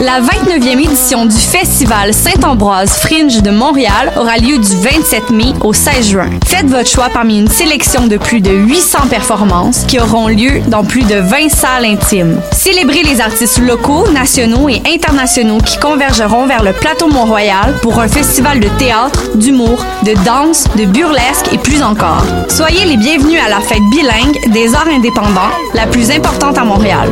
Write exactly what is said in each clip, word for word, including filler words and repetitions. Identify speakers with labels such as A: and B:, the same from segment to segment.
A: La vingt-neuvième édition du Festival Saint-Ambroise Fringe de Montréal aura lieu du vingt-sept mai au seize juin. Faites votre choix parmi une sélection de plus de huit cents performances qui auront lieu dans plus de vingt salles intimes. Célébrez les artistes locaux, nationaux et internationaux qui convergeront vers le plateau Mont-Royal pour un festival de théâtre, d'humour, de danse, de burlesque et plus encore. Soyez les bienvenus à la fête bilingue des arts indépendants, la plus importante à Montréal.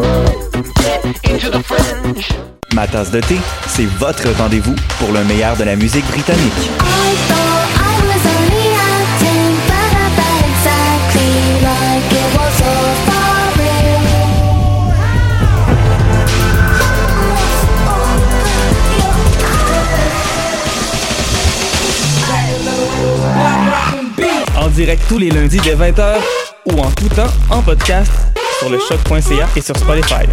B: Ma tasse de thé, c'est votre rendez-vous pour le meilleur de la musique britannique.
C: En direct tous les lundis dès vingt heures ou en tout temps en podcast sur le choc point c a et sur Spotify.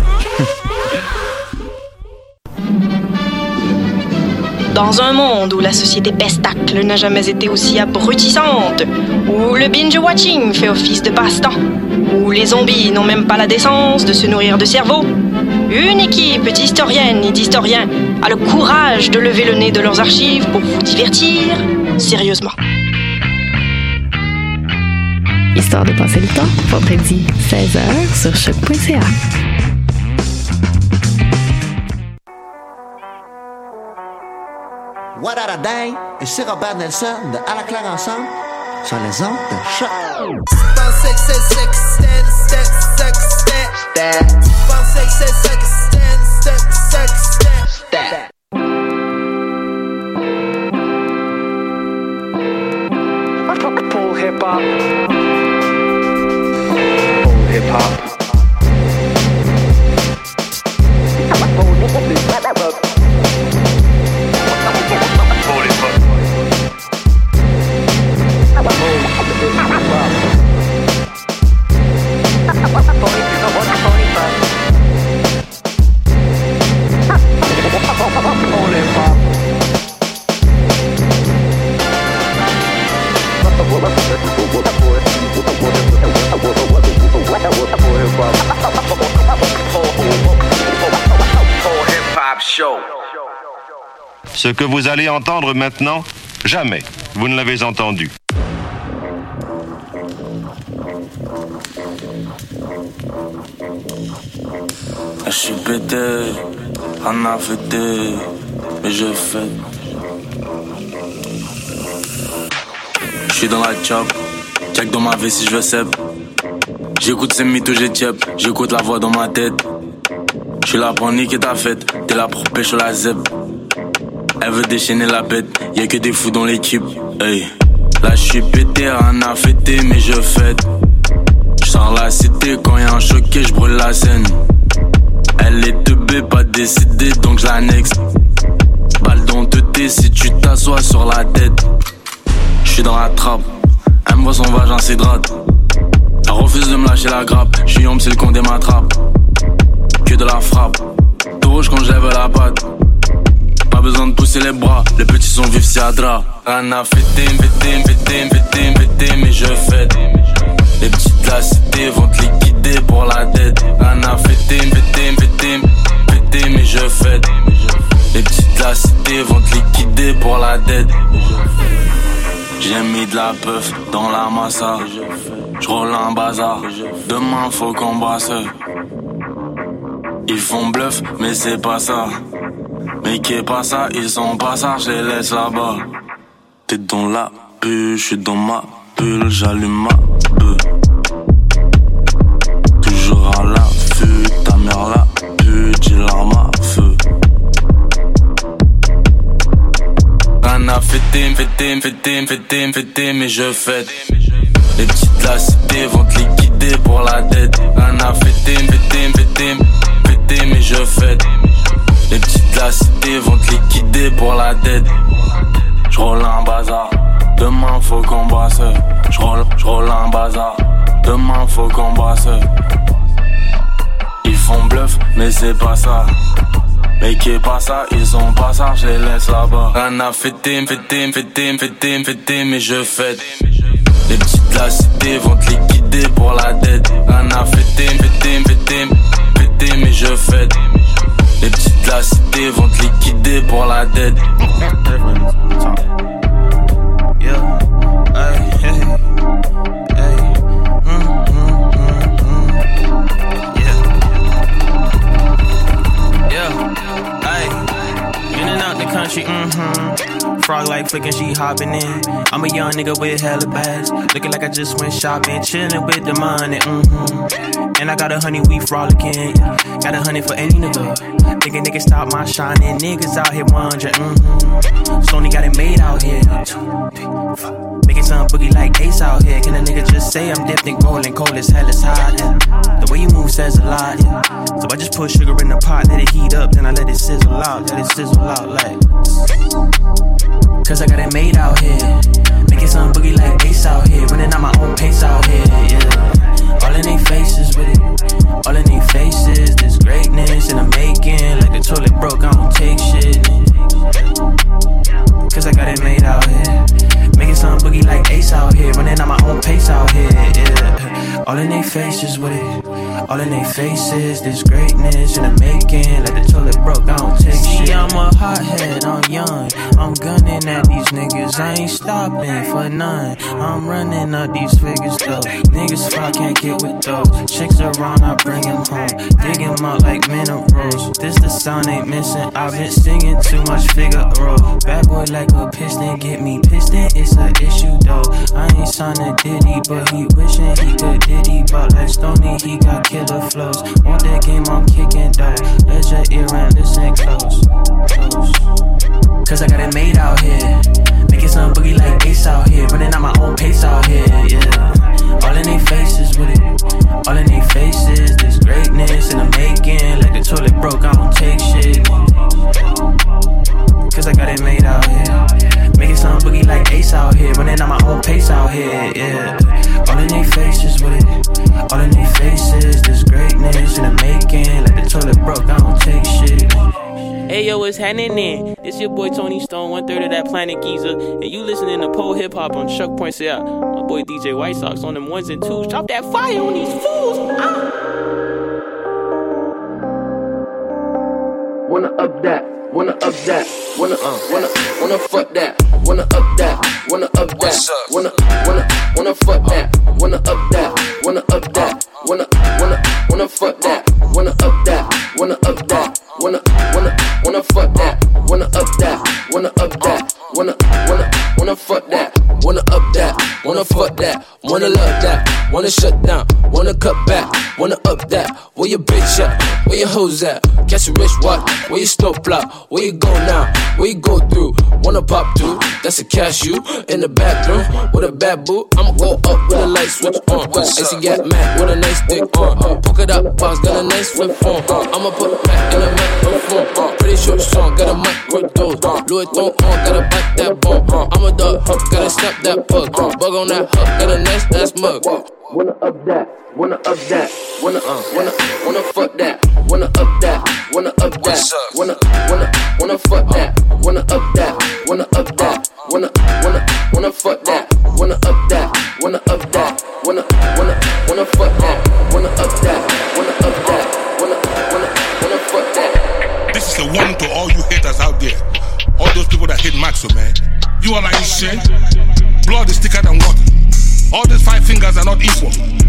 D: Dans un monde où la société pestacle n'a jamais été aussi abrutissante, où le binge-watching fait office de passe-temps, où les zombies n'ont même pas la décence de se nourrir de cerveau, une équipe d'historiennes et d'historiens a le courage de lever le nez de leurs archives pour vous divertir sérieusement.
E: Histoire de passer le temps, vendredi seize heures sur choc point c a.
F: What a Day, et c'est Robert Nelson de À la claire ensemble sur les ondes de Choc.
G: Full hip hop. Full hip hop.
H: Ce que vous allez entendre maintenant, jamais vous ne l'avez entendu.
I: Je suis pété, en affecté, mais je fais. Je suis dans la chop, check dans ma vie si je veux sep. J'écoute ces mythos, j'ai tiep, j'écoute la voix dans ma tête. Je suis là pour niquer ta fête, t'es là pour pêcher la zeb. Elle veut déchaîner la bête, y'a que des fous dans l'équipe. Hey. Là je suis pété, en affecté, mais je fête. J'sors la cité, quand y'a un choqué, j'brûle la scène. Elle est teubée, pas décidée, donc j'l'annexe. Balle dans te thé si tu t'assois sur la tête. J'suis dans la trappe, elle me voit son vagin s'hydrate. Elle refuse de me lâcher la grappe, j'suis homme, c'est le con des m'attrape. Que de la frappe, tout rouge quand j'lève la patte. Pas besoin de pousser les bras, les petits sont vifs si à drap. Rien à fêter, fêter, fêter, fêter, fêter, mais je fête. Les petites de la cité vont te liquider pour la dette. Rien à fêter, fêter, fêter, fêter, mais je fête. Les petites de la cité vont te liquider pour la dette. J'ai mis de la puff dans la massa. J'roule un bazar, demain faut qu'on brasse. Ils font bluff, mais c'est pas ça. Mais qui est pas ça, ils sont pas ça, je les laisse là-bas. T'es dans la bulle, je suis dans ma bulle, j'allume ma bulle. Toujours à l'affût, ta mère la pute, j'ai l'arme à feu. Rien à fêter, fêter, fêter, fêter, fêter, mais je fête. Les petites de la cité vont te liquider pour la dette. Rien à fêter, fêter, fêter, fêter, mais je fête. Les petites de la cité vont te liquider pour la dette. J'roule un bazar, demain faut qu'on brasse. J'roule, j'roule un bazar, demain faut qu'on brasse. Ils font bluff, mais c'est pas ça. Mais qui est pas ça, ils sont pas ça, je les laisse là-bas. Rien à fêter, fêter, fêter, fêter, fêter, mais je fête. Les petites de la cité vont te liquider pour la dette. Rien à fêter, fêter, fêter, fêter, mais je fête. Les petites de la cité vont te liquider pour la dette. Yeah, hey, hey, hey, mm, mm, mm, mm. Yeah, yeah, hey, in and out the country, mm-hmm. Frog like flicking, she hopping in. I'm a young nigga with hella bags, looking like I just went shopping, chilling with the money, mm-hmm. And I got a honey, we frolicking. Got a honey for any nigga. Thinking niggas stop my shining, niggas out here wondering, mm-hmm. Sony got it made out here. Making some boogie like Ace out here. Can a nigga just say I'm dipped in gold and cold as hell is hot, yeah. The way you move says a lot, yeah. So I just put sugar in the pot, let it heat up, then I let it sizzle out, let it sizzle out like. Cause I got it made out here. Making some boogie like Ace out here. Running at my own pace out here, yeah. All in they faces with it. All in they faces, this greatness in the making. Like the toilet broke, I don't take shit. Cause I got it made out here. Making some boogie like Ace out here. Running at my own pace out here, yeah. All in they faces with it. All in they faces, this greatness in the making. Like the toilet broke, I don't take shit. See, I'm a hothead, I'm young. I'm gunning at these niggas, I ain't stopping for none. I'm running up these figures though. Niggas fly, can't get with those. Chicks around, I bring them home. Dig them out like minerals. This the sound ain't missing. I've been singing too much Figaro. Bad boy like a piston, get me piston, it's an issue though. I ain't signed Diddy, but he wishing he could Diddy. But like Stoney, he got killer flows. Want that game, I'm kicking though. Let your ear and listen close, close. Cause I got it made out here. Making some boogie like Ace out here. Running at my own pace out here, yeah. All in they faces with it. All in they faces, this greatness in the making. Like the toilet broke, I don't take shit. Cause I got it made out here. Making some boogie like Ace out here. Running at my own pace out here, yeah. All in they faces with it. All in they faces, this greatness in the making. Like the toilet broke, I don't take shit.
G: Hey yo, what's happening in? It's your boy Tony Stone, one third of that Planet Giza, and you listening to Pole Hip Hop on Chuck Points Out. My boy D J White Sox on them ones and twos. Drop that fire on these fools. Ah.
J: Wanna up that, wanna up that, wanna uh, wanna wanna fuck that, wanna up that, wanna up that, wanna wanna wanna fuck that, wanna up that, wanna up that, wanna wanna wanna fuck that, wanna up that, wanna up that, wanna wanna wanna fuck that, wanna up that, wanna up that, wanna wanna wanna fuck that, wanna up that, wanna fuck that, wanna love that, wanna shut down, wanna cut back, wanna up that. Where your bitch at? Where your hoes at? Catch a rich watch. Where you snow plot? Where you go now? Where you go through? Wanna pop through? That's a cashew in the bathroom with a bad boo. I'ma go up with a light switch on. And she got mad with a nice dick on. Polka dot box got a nice flip on. I'ma put back in a microphone. Pretty short song, got a microdose. Louis Vuitton on, gotta bite that bone. I'm a dog, gotta snap that pug. Bug on that hook, got a nice ass mug. Wanna up that, wanna up that, wanna uh, wanna wanna fuck that, wanna up that, wanna up that, wanna wanna wanna fuck that, wanna up that, wanna up that, wanna wanna wanna fuck that, wanna up that, wanna up that, wanna wanna wanna fuck that, wanna up that, wanna up that, wanna wanna wanna fuck that.
K: This is a warning to all you haters out there, all those people that hate Maxo, man. You all are in shit. Blood is thicker than water. All these five fingers are not equal.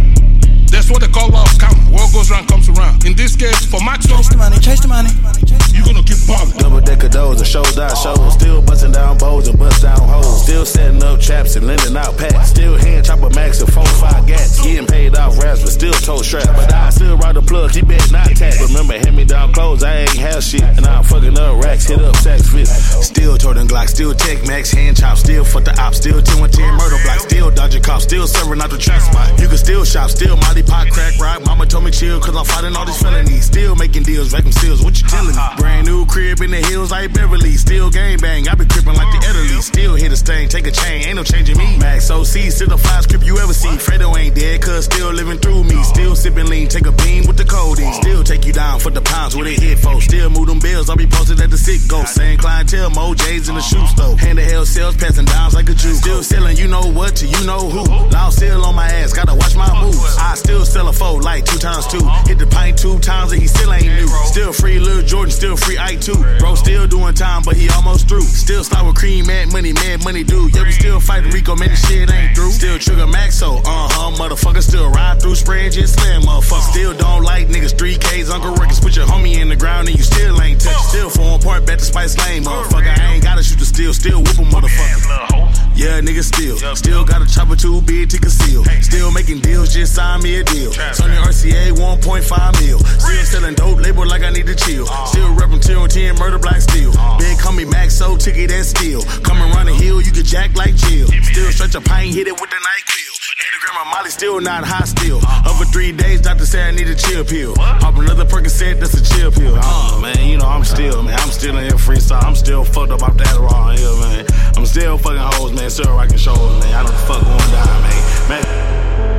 K: That's what they call law of karma. What goes around comes around. In this case, for Maxo,
L: chase the money, chase the money.
K: You gonna keep balling.
M: Double decker doors and shows out shows. Still busting down bowls and bust down hoes. Still setting up traps and lending out packs. Still hand chopper max and four five gats. Getting paid off raps but still toe straps. But I still ride the plug, he bet not tax. Remember, hand me down clothes, I ain't have shit. And I'm fucking up racks, hit up sacks fit. Still Jordan Glock, still Tech Max, hand chop. Still fuck the op, still ten one ten murder block. Still dodging cops, still serving out the trap spot. You can still shop, still Molly pot crack rock. Mama told me chill cause I'm fighting all these felonies. Still making deals, vacuum seals, what you telling me? Brand new crib in the hills like Beverly. Still gang bang, I been crippin' like the Italy. Still hit a stain, take a chain, ain't no changing me. Max Max O C, still the fly script you ever see. Fredo ain't dead, cuz still living through me. Still sipping lean, take a beam with the codeine. Still take you down for the pounds where they hit folks. Still move them bills, I'll be posted at the sick ghost. Same clientele, Mo J's in the shoe store. Hand to hell sales, passing downs like a Jew. Still selling, you know what to you know who. Now still on my ass, gotta watch my moves. I still sell a foe like two times two. Hit the pint two times and he still ain't new. Still free Lil Jordan, still free Ike too. Bro still doing time, but he almost through. Still start with cream, mad money, mad money dude. Yeah, we still fighting Rico, man, the shit ain't through. Still trigger Maxo, uh-huh, motherfucker. Still ride through spray and just slam, motherfucker. Still don't like niggas, three K's, Uncle Records. Put your homie in the ground and you still ain't touch. Still form part, bet the Spice Lane, motherfucker. I ain't gotta shoot the steel, still whoop 'em, motherfucker. Yeah, nigga, still. Still got a chopper too big to conceal. Still making deals, just sign me a deal. Sony R C A one point five mil. Still selling dope, label like I need to chill. Still reppin' T N T and Murder Black Steel. Big call me Max, so ticket that steel. Come around the hill, you can jack like Jill. Still stretch a pint, hit it with the NyQuil. Hit a gram of Molly, still not high still. Over three days, doctor said I need a chill pill. Pop another Percocet, that's a chill pill. Oh man, you know I'm still, man, I'm still in here freestyle. I'm still fucked up off that raw here, man. I'm still fucking hoes, man. Still rocking shows, man. I don't fuck one die, man. Man.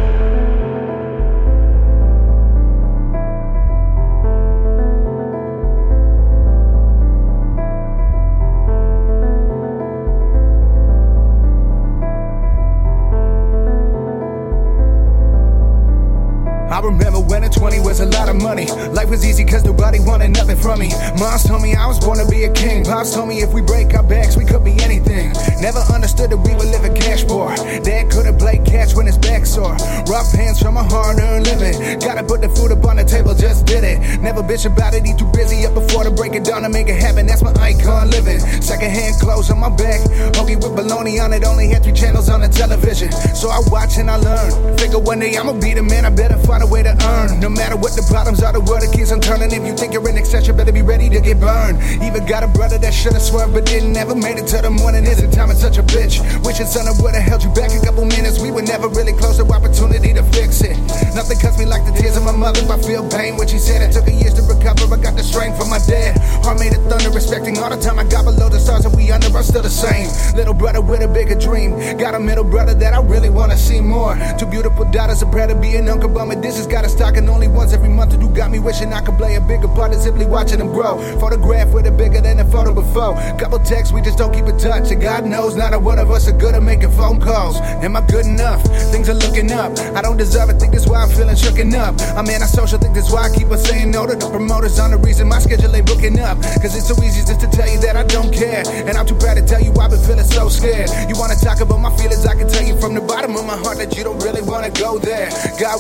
L: I remember when at twenty was a lot of money. Life was easy cause nobody wanted nothing from me. Moms told me I was born to be a king. Pops told me if we break our backs we could be anything. Never understood that we were living cash poor. Dad couldn't play catch when his back sore. Rough hands from a hard-earned living. Gotta put the food up on the table, just did it. Never bitch about it, he too busy up before to break it down to make it happen. That's my icon living. Secondhand clothes on my back. Hoagie with bologna on it, only had three channels on the television. So I watch and I learn. Figure one day I'ma be the man, I better find a way to earn. No matter what the problems are, the world it keeps on turning. If you think you're in excess, you better be ready to get burned. Even got a brother that should've swerved but didn't, never made it till the morning. Isn't time is such a bitch. Wishing son of would've held you back a couple minutes. We were never really close to opportunity to fix it. Nothing cuts me like the tears of my mother. I feel pain when she said it took her years to recover. I got the strength from my dad. Heart made of thunder, respecting all the time I got below the stars and we under are still the same. Little brother with a bigger dream. Got a middle brother that I really wanna see more. Two beautiful daughters, I'm proud to be an uncle, but my dishes got a stock and only once every month. You got me wishing I could play a bigger part than simply watching them grow. Photograph with it bigger than the photo before. Couple texts, we just don't keep in touch. And God knows not a one of us are good at making phone calls. Am I good enough? Things are looking up. I don't deserve it, think that's why I'm feeling shooken up. I'm antisocial, think that's why I keep on saying no to the promoters on the reason my schedule ain't booking up. Cause it's so easy just to tell you that I don't care. And I'm too proud to tell you I've been feeling so scared. You wanna talk about my feelings, I can tell you from the bottom of my heart that you don't really wanna go there. God.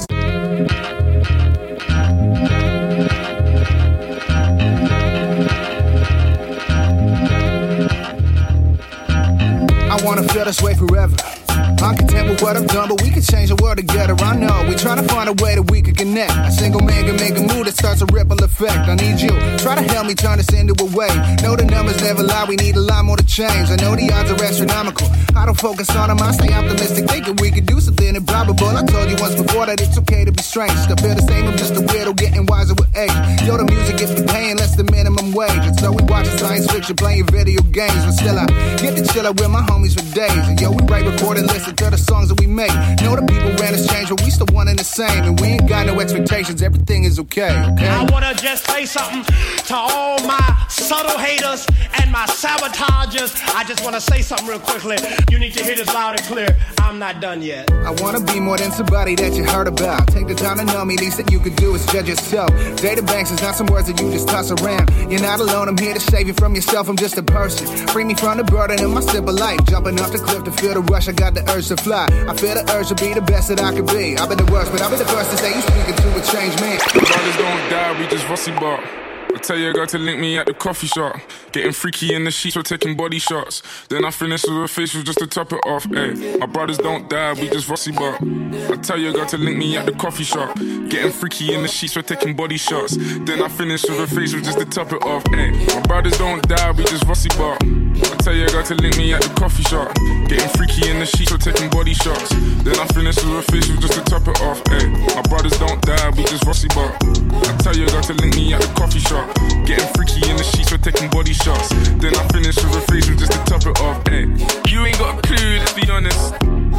L: I wanna feel this way forever. I'm content with what I've done, but we can change the world together. I know, we trying to find a way that we can connect. A single man can make a move that starts a ripple effect. I need you, try to help me turn this into a way. Know the numbers never lie, we need a lot more to change. I know the odds are astronomical. I don't focus on them, I stay optimistic, thinking we can do something improbable. I told you once before that it's okay to be strange. Still feel the same, I'm just a weirdo getting wiser with age. Yo, the music gets me paying less than minimum wage. And so we watching science fiction, playing video games. But still I get to chill out with my homies for days. And yo, we write, record, and listen to the songs that we make. Know the people ran us change, but we still one and the same. And we ain't got no expectations, everything is okay, okay?
N: I wanna just say something to all my subtle haters and my sabotagers. I just wanna say something real quickly. You need to hear this loud and clear. I'm not done yet.
L: I wanna be more than somebody that you heard about. Take the time to know me, least that you could do is judge yourself. Data banks is not some words that you just toss around. You're not alone, I'm here to save you from yourself, I'm just a person. Free me from the burden of my simple life. Jumping off the cliff to feel the rush, I got the urge to fly. I feel the urge to be the best that I could be. I've been the worst, but I'll be the first to say you speaking to a changed man.
O: The brothers don't die, we just rusty bark. I tell your girl to link me at the coffee shop. Getting freaky in the sheets, we're taking body shots. Then I finish with a facial just to top it off. Ay, my brothers don't die, we just rusty bark. I tell your girl to link me at the coffee shop. Getting freaky in the sheets, we're taking body shots. Then I finish with a facial just to top it off. Ay, my brothers don't die, we just rusty bark. I tell your girl to link me at the coffee shop. Getting freaky in the sheets, we're taking body shots. Then I finish with a facial just to top it off. Ay, my brothers don't die, we just rusty bark. I tell your girl to link me at the coffee shop. Getting freaky in the sheets, we're taking body shots. Then I finish with a facial just to top it off. Ay, you ain't got a clue, let's be honest.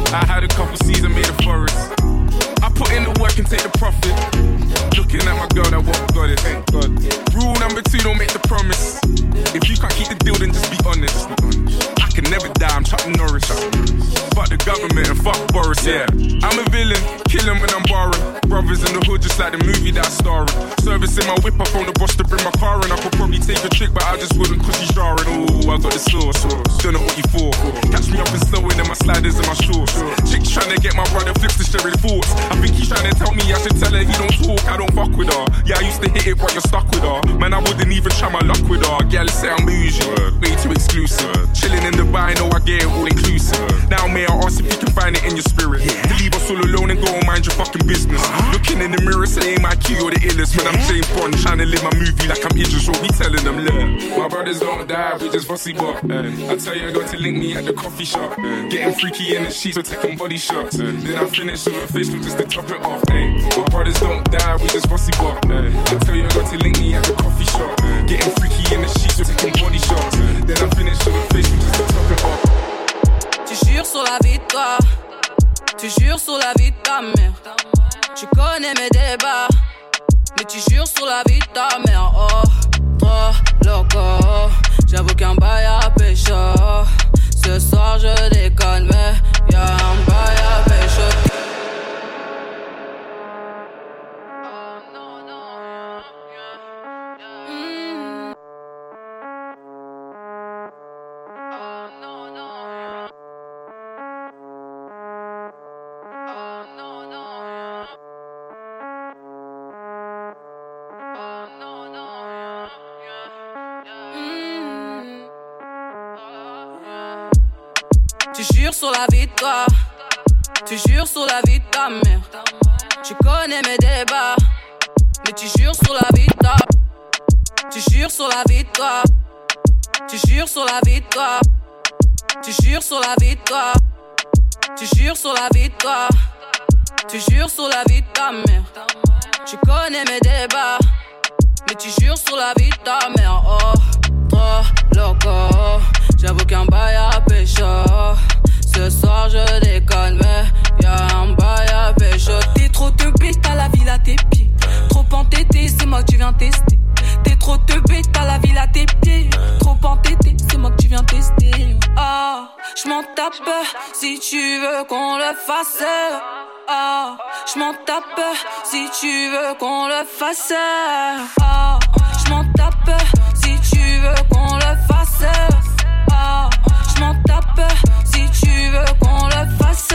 O: I had a couple seeds and made a forest. I put in the work and take the profit. Looking at my girl, that what got it, thank God. Rule number two, don't make the promise. If you can't keep the deal, then just be honest. I can never die, I'm Chuck Norris. Fuck the government and fuck Boris, yeah. I'm a villain, killing when I'm borrowing. Brothers in the hood, just like the movie that I star in. Servicing my whip, I phone the boss to bring my car in. I could probably take a trick, but I just wouldn't cause she's jarring. Ooh, I got the sauce, don't know what you for. Catch me up and slow in my sliders and my shorts. Chicks trying to get my brother flips to sharing thoughts. I think he's trying to tell me I should tell her he don't talk, I don't fuck with her. Yeah, I used to hit it, but you're stuck with her. Man, I wouldn't even try my luck with her. Girl, say I'm bougie, way too exclusive. Chilling in Dubai, know I get it all inclusive. Now, may I ask if you can find it in your spirit? To leave us all alone and go and mind your fucking business. Looking in the mirror, saying my key or the illest. When I'm James Bond, trying to live my movie like I'm Idris, what we telling them, look. My brothers don't die, we just fussy bop. I tell you, I got to link me at the coffee shop. Getting freaky in the sheets, we're taking body shots. Then I finish with a face just to top it off. My brothers don't die, we just fussy bop. I tell you, I got to link me at the coffee shop. Getting freaky in the sheets, we're taking body shots. Then I finish with a face just to top it off.
P: Tu jures sur la vie de toi, tu jures sur la vie de ta mère. Tu connais mes débats, mais tu jures sur la vie de ta mère. Oh, trop loco, j'avoue qu'un bail à pécho. Ce soir je déconne, mais y'a un bail à pécho. Tu jures sur la vie de toi, tu jures sur la vie de ta mère. Tu connais mes débats, mais tu jures sur la vie de ta. Tu jures sur la vie de toi, tu jures sur la vie de toi, tu jures sur la vie de toi, tu jures sur la vie de toi, tu jures sur la vie de ta mère. Tu connais mes débats, mais tu jures sur la vie de ta mère. Oh, trop loco, j'avoue qu'un bail à pécho. Ce soir je déconne, mais y'a un bail à pécho. T'es trop te bête, t'as la ville à tes pieds. Trop entêté, c'est moi que tu viens tester. T'es trop te bête, t'as la ville à tes pieds. Trop entêté, c'est moi que tu viens tester. Ah, oh, j'm'en tape si tu veux qu'on le fasse. Ah, oh, j'm'en tape si tu veux qu'on le fasse. Ah, oh, j'm'en tape si tu veux qu'on le fasse. Ah, oh, j'm'en tape si tu veux qu'on le fasse.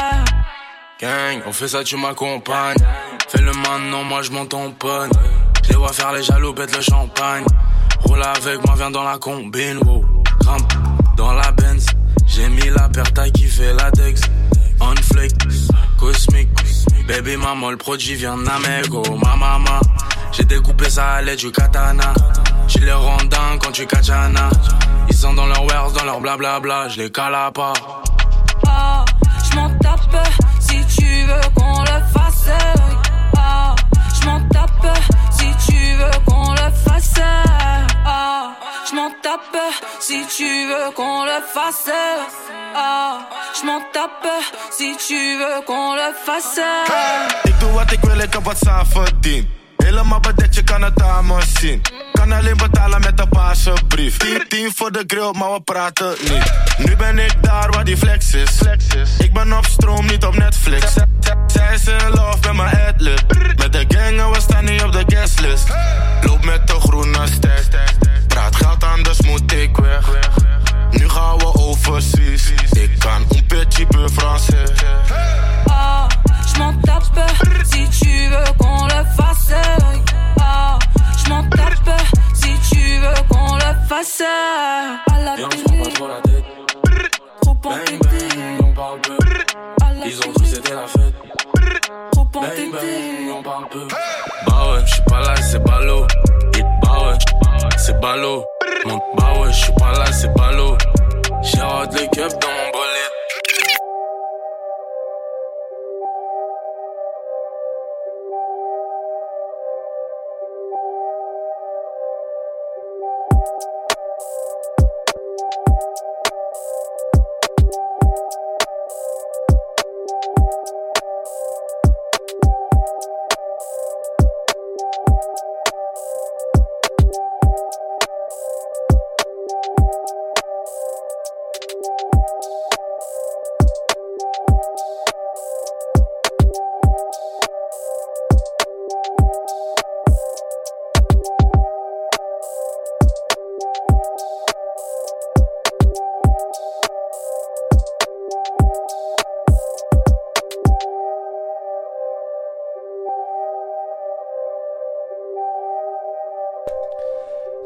I: Gang, on fait ça, tu m'accompagnes. Fais le maintenant, moi je m'en tamponne. Je les vois faire les jaloux, pète le champagne. Roule avec moi, viens dans la combine, wow. Grimpe dans la Benz. J'ai mis la paire taille qui fait la Dex. On flick, cosmique. Baby maman, le produit vient d'Amego. Ma maman, j'ai découpé ça à l'aide du katana. J'les les rondins quand tu kachana. Ils sont dans leur wares, dans leur blablabla. Je les cala pas.
P: Ah, j'm'en tape si tu veux qu'on le fasse. Ah, j'm'en tape si tu veux qu'on le fasse. Ah, j'm'en tape si tu veux qu'on le fasse. Ah, j'm'en tape si tu veux qu'on le fasse.
M: Ik doe wat ik wil, ik heb wat zelf verdiend. Helemaal bedekt, je kan het aan me zien. Kan alleen betalen met een paarse brief. tien tien voor de grill, maar we praten niet. Nu ben ik daar waar die flex is. Ik ben op stroom, niet op Netflix. Zij is in love met mijn adlib. Met de gang en we staan niet op de guestlist. Loop met de groene stack. Praat geld, anders moet ik weg. Nu gaan we overseas. Ik kan un petit peu français.
P: Ah, j'm'en tape si tu veux qu'on le fasse. Ah, j'm'en tape si tu veux qu'on le fasse. À la télé, trop entêté.
I: On parle peu. Ils ont cru c'était la fête.
P: Trop entêté.
I: On parle peu. Bah ouais, j'suis pas là, c'est ballot. Bah ouais, c'est ballot. Bah ouais, j'suis pas là, c'est ballot. J'ai hâte les keufs dans mon bolide.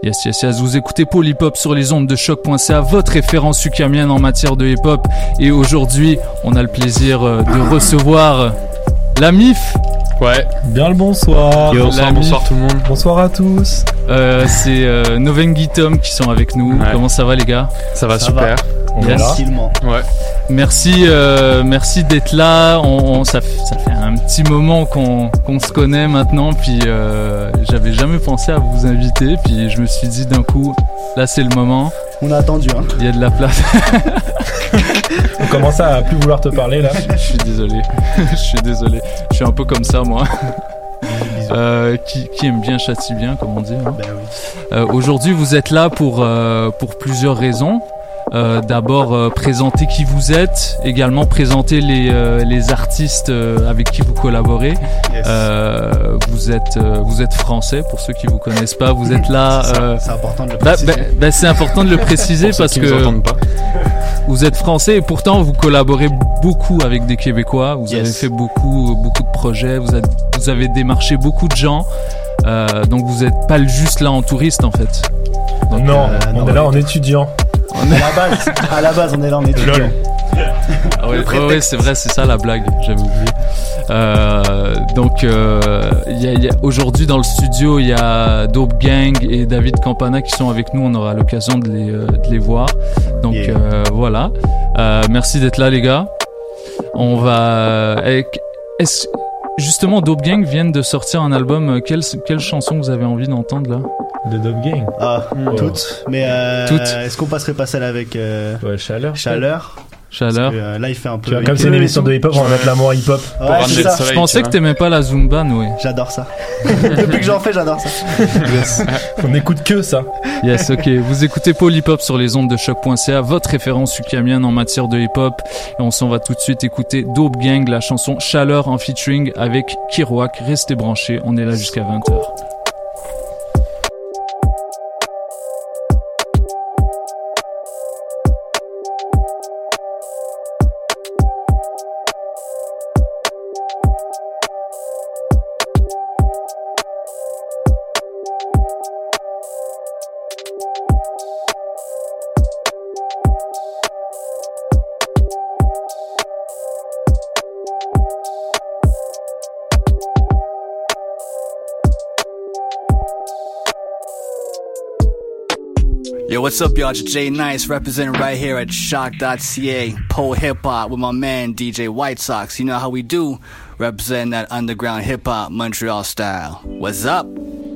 Q: Yes, yes, yes. Vous écoutez Paul Hip Hop sur les ondes de choc point c a, votre référence ukamienne en matière de hip hop. Et aujourd'hui, on a le plaisir de recevoir la M I F.
R: Ouais. Bien le bonsoir.
Q: Yo, bonsoir,
R: bonsoir tout le monde. Bonsoir à tous.
Q: Euh, c'est euh, Novengi Tom qui sont avec nous. Ouais. Comment ça va les gars?
R: Ça va ça super. Va.
Q: On yes. est là. Ouais. Merci, euh, merci d'être là. On, on, ça, ça fait un petit moment qu'on, qu'on se connaît maintenant. Puis euh, j'avais jamais pensé à vous inviter. Puis je me suis dit d'un coup, là c'est le moment.
S: On a attendu. Hein.
Q: Il y a de la place.
R: On commence à plus vouloir te parler là.
Q: Je suis désolé. Je suis désolé. Je suis un peu comme ça moi. Euh, qui, qui aime bien châtie bien, comme on dit. Hein.
S: Ben oui.
Q: Euh, aujourd'hui, vous êtes là pour euh, pour plusieurs raisons. Euh, d'abord euh, présenter qui vous êtes, également présenter les euh, les artistes euh, avec qui vous collaborez.
S: Yes.
Q: Euh, vous êtes euh, vous êtes français pour ceux qui vous connaissent pas. Vous êtes là.
S: C'est,
Q: euh,
S: c'est important de le préciser.
Q: Bah, bah, bah, c'est important de le préciser
R: pour
Q: parce
R: ceux qui
Q: que
R: nous entendent pas.
Q: Vous êtes français et pourtant vous collaborez beaucoup avec des Québécois. Vous yes. avez fait beaucoup beaucoup de projets. Vous avez vous avez démarché beaucoup de gens. Euh, donc vous êtes pas juste là en touriste en fait.
R: Donc, non, euh, on non, est là en étudiant.
S: On est... À la base, à la base, on est là en étudiant.
Q: Ah oui, ouais, ouais, c'est vrai, c'est ça la blague, j'avais oublié. Euh, donc, euh, y a, y a, aujourd'hui dans le studio, il y a Dope Gang et David Campana qui sont avec nous. On aura l'occasion de les, euh, de les voir. Donc yeah. euh, voilà. Euh, merci d'être là, les gars. On va. Est-ce... Justement, Dope Gang viennent de sortir un album. Quelle, quelle chanson vous avez envie d'entendre là?
R: De Dope Gang.
S: Ah, mmh. toutes. Mais euh,
Q: toutes.
S: Est-ce qu'on passerait pas celle avec euh,
R: ouais, Chaleur.
S: Chaleur.
Q: Chaleur.
S: Que, euh, là, il fait un peu.
R: Tu vois, comme c'est une émission de hip-hop, on va mettre l'amour hip-hop.
S: Ouais, pour ramener le soleil.
Q: Je pensais que t'aimais pas la Zumba, Noé.
S: J'adore ça. Depuis que j'en fais, j'adore ça.
R: Yes. On écoute que ça.
Q: Yes, ok. Vous écoutez Paul Hip Hop sur les ondes de choc point c a, votre référence ukamienne en matière de hip-hop. Et on s'en va tout de suite écouter Dope Gang, la chanson Chaleur en featuring avec Kiroak. Restez branchés, on est là jusqu'à vingt heures.
T: Yo, what's up, y'all? It's Jay Nice representing right here at shock dot c a, Pole Hip Hop with my man D J White Sox. You know how we do, representing that underground hip hop Montreal style. What's up?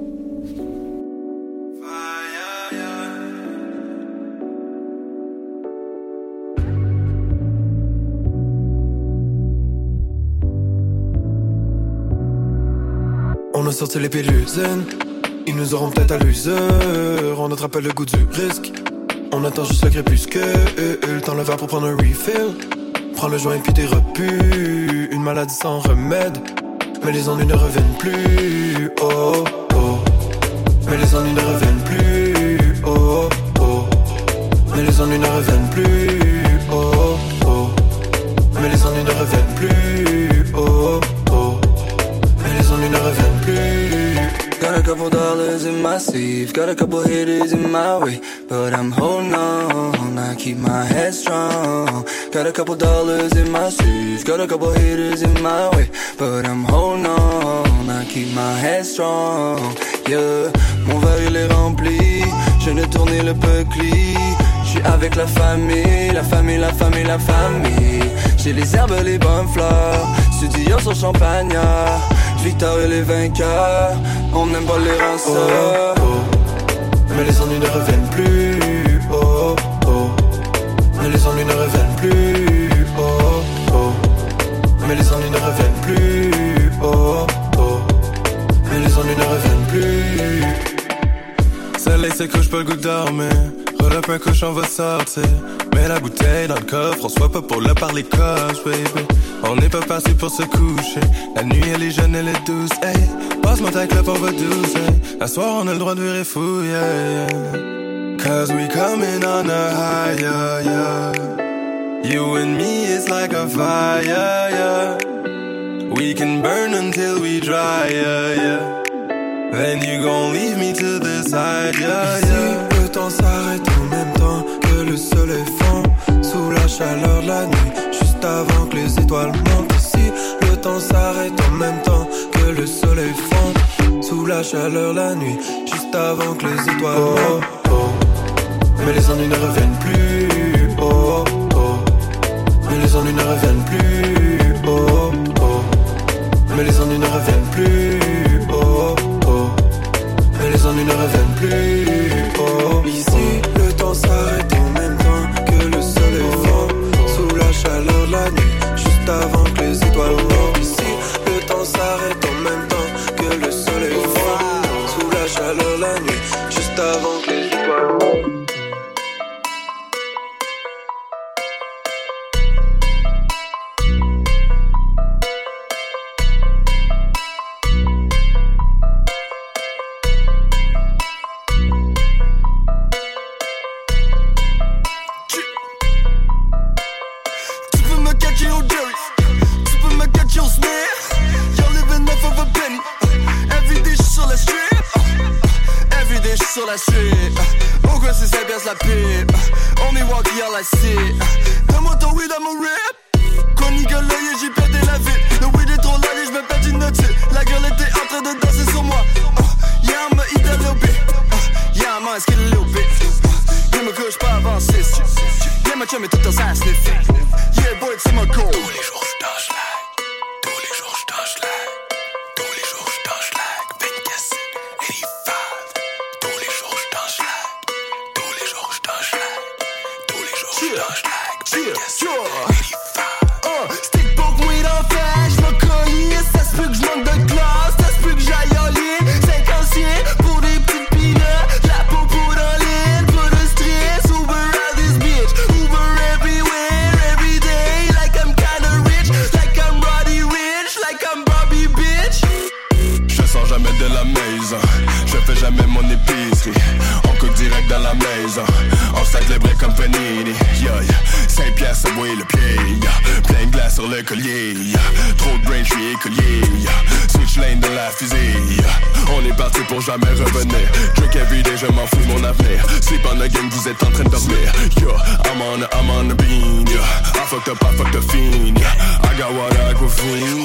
U: On a sorti les pilules zen. Ils nous auront peut-être à l'usure. On attrape le goût du risque. On attend juste le crépuscule. Le temps le verre pour prendre un refill. Prends le joint puis t'es repu. Une maladie sans remède. Mais les ennuis ne reviennent plus. Oh oh. Mais les ennuis ne reviennent plus. Oh oh. Mais les ennuis ne reviennent plus. Oh oh. Mais les ennuis ne reviennent plus. Oh oh. Mais les ennuis ne reviennent plus.
V: Got a couple dollars in my sleeve, got a couple hitters in my way, but I'm holding on, I keep my head strong. Got a couple dollars in my sleeve, got a couple hitters in my way, but I'm holding on, I keep my head strong. Yeah, mon verre il est rempli, je ne tourne le peucli. J'suis avec la famille, la famille, la famille, la famille. J'ai les herbes, les bonnes fleurs, studio sur Champagnat. Victor et les vainqueurs, on n'aime pas les ranceurs.
U: Oh, oh. Mais les ennuis ne reviennent plus. Oh, oh. Mais les ennuis ne reviennent plus. Oh, oh. Mais les ennuis ne reviennent plus. Oh, oh. Mais les ennuis ne reviennent plus. Celle-là c'est que j'peux le goût de dormir. Roll up un cochon va sortir. Mets la bouteille dans le coffre, on soit pas pour le parler coche, baby. On n'est pas parti pour se coucher. La nuit elle est jeune, elle est douce, hey. Passe-moi ta clope, on va douce, hey. À soir on a le droit de virer fou, yeah, yeah. Cause we coming on a high, yeah, yeah. You and me, it's like a fire, yeah. We can burn until we dry, yeah, yeah.
A: And you gon' leave me to the side, yeah,
U: Ici,
A: yeah.
U: le temps s'arrête en même temps que le soleil fond. Sous la chaleur de la nuit, juste avant que les étoiles montent. Ici, le temps s'arrête en même temps que le soleil fond. Sous la chaleur de la nuit, juste avant que les étoiles montent. Oh, oh. Mais les ennuis ne reviennent plus. Oh, oh. Mais les ennuis ne reviennent plus. Oh, oh. Mais les ennuis ne reviennent plus. Oh, oh. Mais les ennuis ne reviennent plus. Oh, ici, le temps s'arrête en même temps que le soleil fond. Sous la chaleur de la nuit, juste avant que les étoiles montent. Ici, le temps s'arrête en même temps que le soleil fond. Sous la chaleur de la nuit, juste avant que les étoiles montent.
A: Sur la street, au gros c'est cinq piastres la pipe. On me walk here like shit. Donne-moi ton weed à mon rip. Quand nigga l'œil j'ai pété la vie. Le weed est trop large, je me pète une note. La girl était en train de danser sur moi. uh, Yeah, I'ma eat that little bit. uh, Yeah, I'ma ask it a little bit. uh, Yeah, me couche pas avant six. Yeah, ma chum est tout en ça sniff. Yeah, boy, c'est ma goal. Tous les jours j'dash like. Tous les jours j'dash like. Tous les jours j'dash like. vingt-quatre, eighty-five. Tous les jours j'dash like. Tous les jours j'dash like. Tous les jours j'dash like. vingt-quatre, eighty-five. Uh, stick poke weed en fait, j'me collier. Ça se peut que j'manque de classe, ça se peut que j'aille en ligne. cinquante pour des petites peanuts. La popo dans l'île, pas de stress. Uber out this bitch. Uber everywhere, every day. Like I'm kinda rich, like I'm Roddy Rich, like I'm Bobby bitch.
B: Je sors jamais de la maison, je fais jamais mon épicerie. On cook direct dans la maison, on stack les breaks comme panini. Yeah, yeah. cinq piastres à mouiller le pied, yeah. Plein de glace sur le collier, yeah. Trop de brain, j'suis écolier, yeah. Switch lane dans la fusée, yeah. On est parti pour jamais revenir. Drink everyday, je m'en fous de mon avenir. Sleep on the game, vous êtes en train de dormir. Yo, I'm on a, I'm on a bean, yeah. I fucked up, I fucked up fiend, yeah. I got what I go fiend.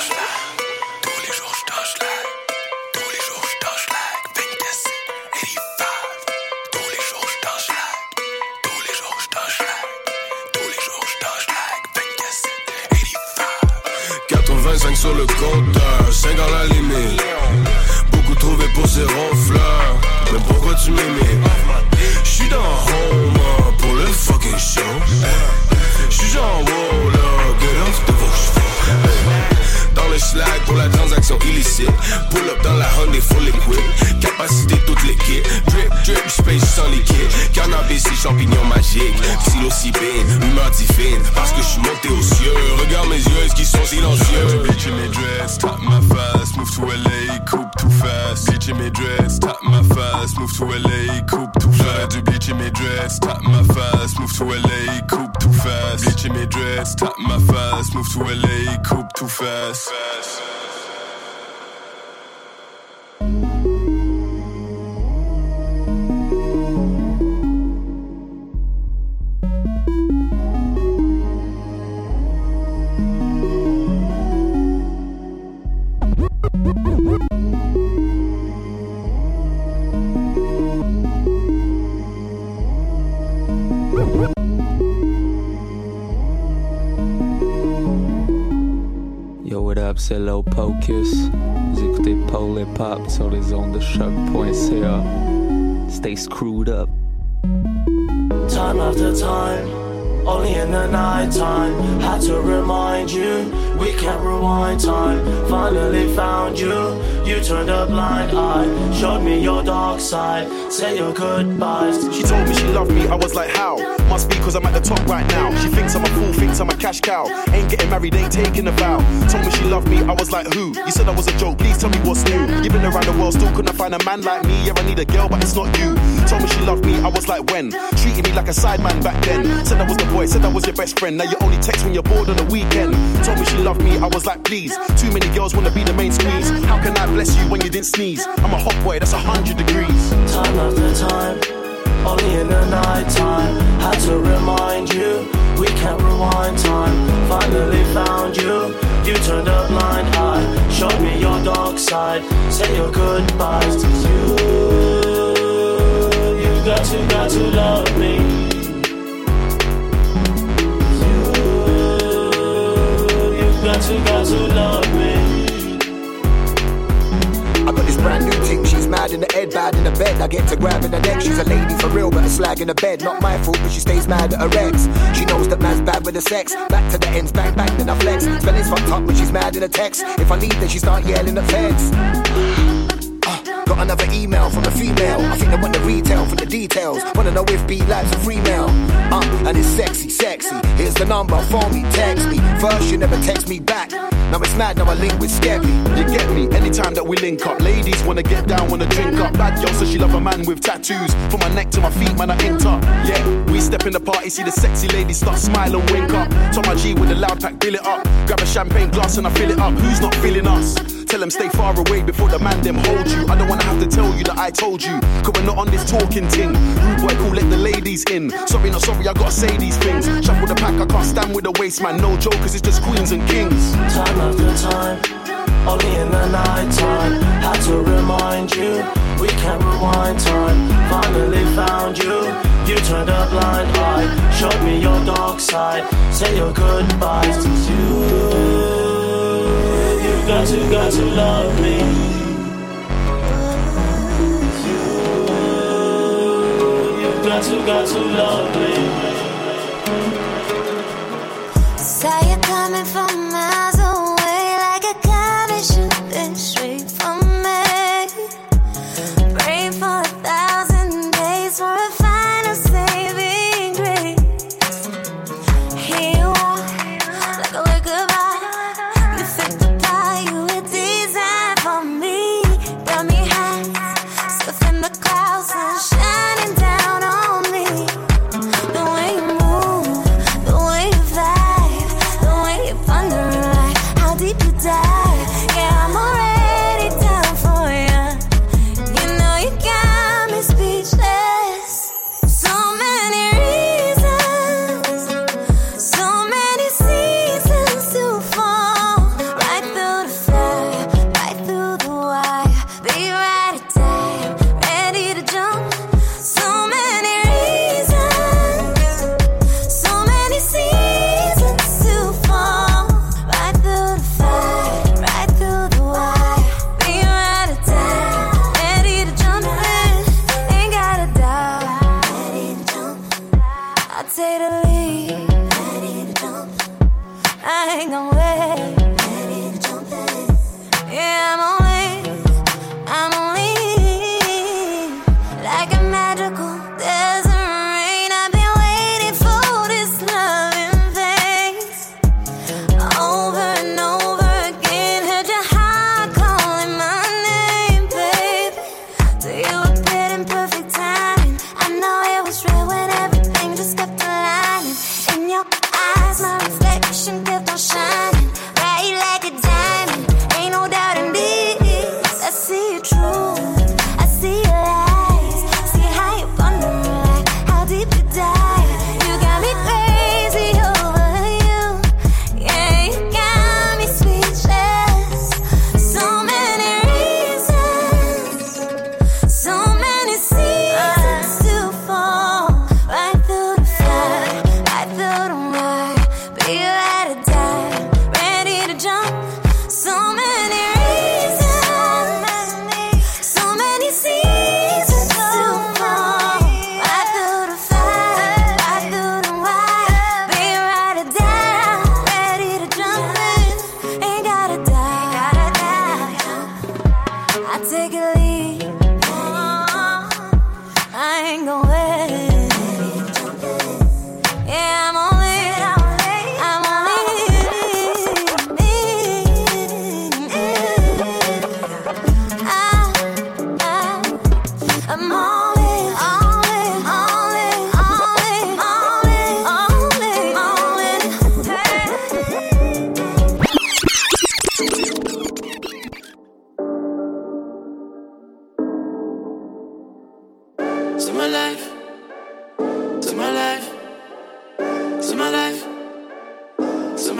A: quatre-vingt-cinq sur le compteur, cinq à la limite. Beaucoup trouvé pour ces ronfleurs. Mais pourquoi tu m'imites? J'suis dans home pour le fucking show. J'suis genre wow là, get off de vos cheveux. Dans le slack pour la transaction illicite. Pull up dans la Hyundai full liquid. Capacité toute l'équipe. Drip, drip, space sans liquide. Cannabis et champignons magiques. Psilocybine, humeur divine. Parce que j'suis monté aux cieux. Regarde mes yeux, est-ce qu'ils sont silencieux?
B: Bitch in my dress, tap my fast. Move to L A, coupe too fast. Bitch in my dress, tap my fast. Move to L A, coupe too fast. Du bitch in my dress, tap my fast. Move to L A, coupe too fast. Bitch in my dress, tap my fast. Move to L A, coupe too fast.
W: Yo, what up, c'est Low Pocus. Vous écoutez Paul Hip Hop sur les ondes de choc point c a. Stay screwed up.
X: Time after time, only in the night time. Had to remind you, we can't rewind time. Finally found you, you turned a blind eye. Showed me your dark side, say your goodbyes.
Y: She told me she loved me, I was like, how?
C: Must be cause I'm at the top right now. She thinks I'm a fool, thinks I'm a cash cow. Ain't getting married, ain't taking a vow. Told me she loved me, I was like, who? You said I was a joke, please tell me what's new. You've been around the world, still couldn't find a man like me. Yeah, I need a girl, but it's not you. Told me she loved me, I was like, when? Treated me like a sideman back then. Said I was the boy, said I was your best friend. Now you only text when you're bored on the weekend. Told me she loved me, I was like, please. Too many girls wanna be the main squeeze. How can I bless you when you didn't sneeze? I'm a hot boy, that's a hundred degrees.
X: Time after time, only in the night time. Had to remind you, we can't rewind time. Finally found you, you turned a blind eye. Showed me your dark side, say your goodbyes to you. You got to, got to love me. You, you got to, got to love me.
D: I got this brand new thing, she's mad in the head, bad in the bed. I get to grabbing her neck, she's a lady for real, but a slag in the bed. Not my fault, but she stays mad at her ex. She knows that man's bad with the sex. Back to the ends, bang bang, then I flex. Spelling's fucked up when she's mad in the text. If I leave, then she start yelling at feds. Got another email from a female. I think they want the retail for the details. Wanna know if B-Lab's a free mail. Uh, and it's sexy, sexy. Here's the number, phone me, text me. First you never text me back. Now it's mad, now I link with Scabby.
C: You get me, anytime that we link up. Ladies wanna get down, wanna drink up. Bad girl says she love a man with tattoos. From my neck to my feet, man, I inked up. Yeah, we step in the party, see the sexy ladies start smile and wink up. Tom my G with the loud pack, bill it up. Grab a champagne glass and I fill it up. Who's not feeling us? Tell them stay far away before the man them hold you. I don't wanna have to tell you that I told you, cause we're not on this talking ting. Rude boy cool, let the ladies in. Sorry, not sorry, I gotta say these things. Shuffle the pack, I can't stand with the waste, man. No joke, cause it's just queens and kings.
X: Time after time, only in the night time. Had to remind you, we can't rewind time. Finally found you, you turned a blind eye. Showed me your dark side, say your goodbyes to you. You got to, got to love me. You got to, got to love me.
E: Say you're coming from miles away, like a comet shooting straight from me. Pray for a thousand days for a final saving grace. Here you are, like a liquor bar. You fit the pie, you were designed for me. Got me high, surfing the clouds and shining down on me. The way you move, the way you vibe, the way you ponder like how deep you dive. Yeah, I'm already down for you. You know you got me speechless. So many reasons, so many seasons to fall. Right through the fire, right through the wire. Be right at time, ready to jump. So many reasons, so many seasons to fall. Right through the fire, right through the wire. Be right at time, ready to jump in. Ain't got a doubt, ready to jump. I take the lead, ready to jump. I ain't gon' wait, ready to jump in. Yeah, I'm on it, I'm on it. Like a magical desert rain, I've been waiting for this loving face. Over and over again, heard your heart calling my name, baby. So you appeared in perfect timing. I know it was real when everything just kept aligning. In your eyes, my reflection kept on shining.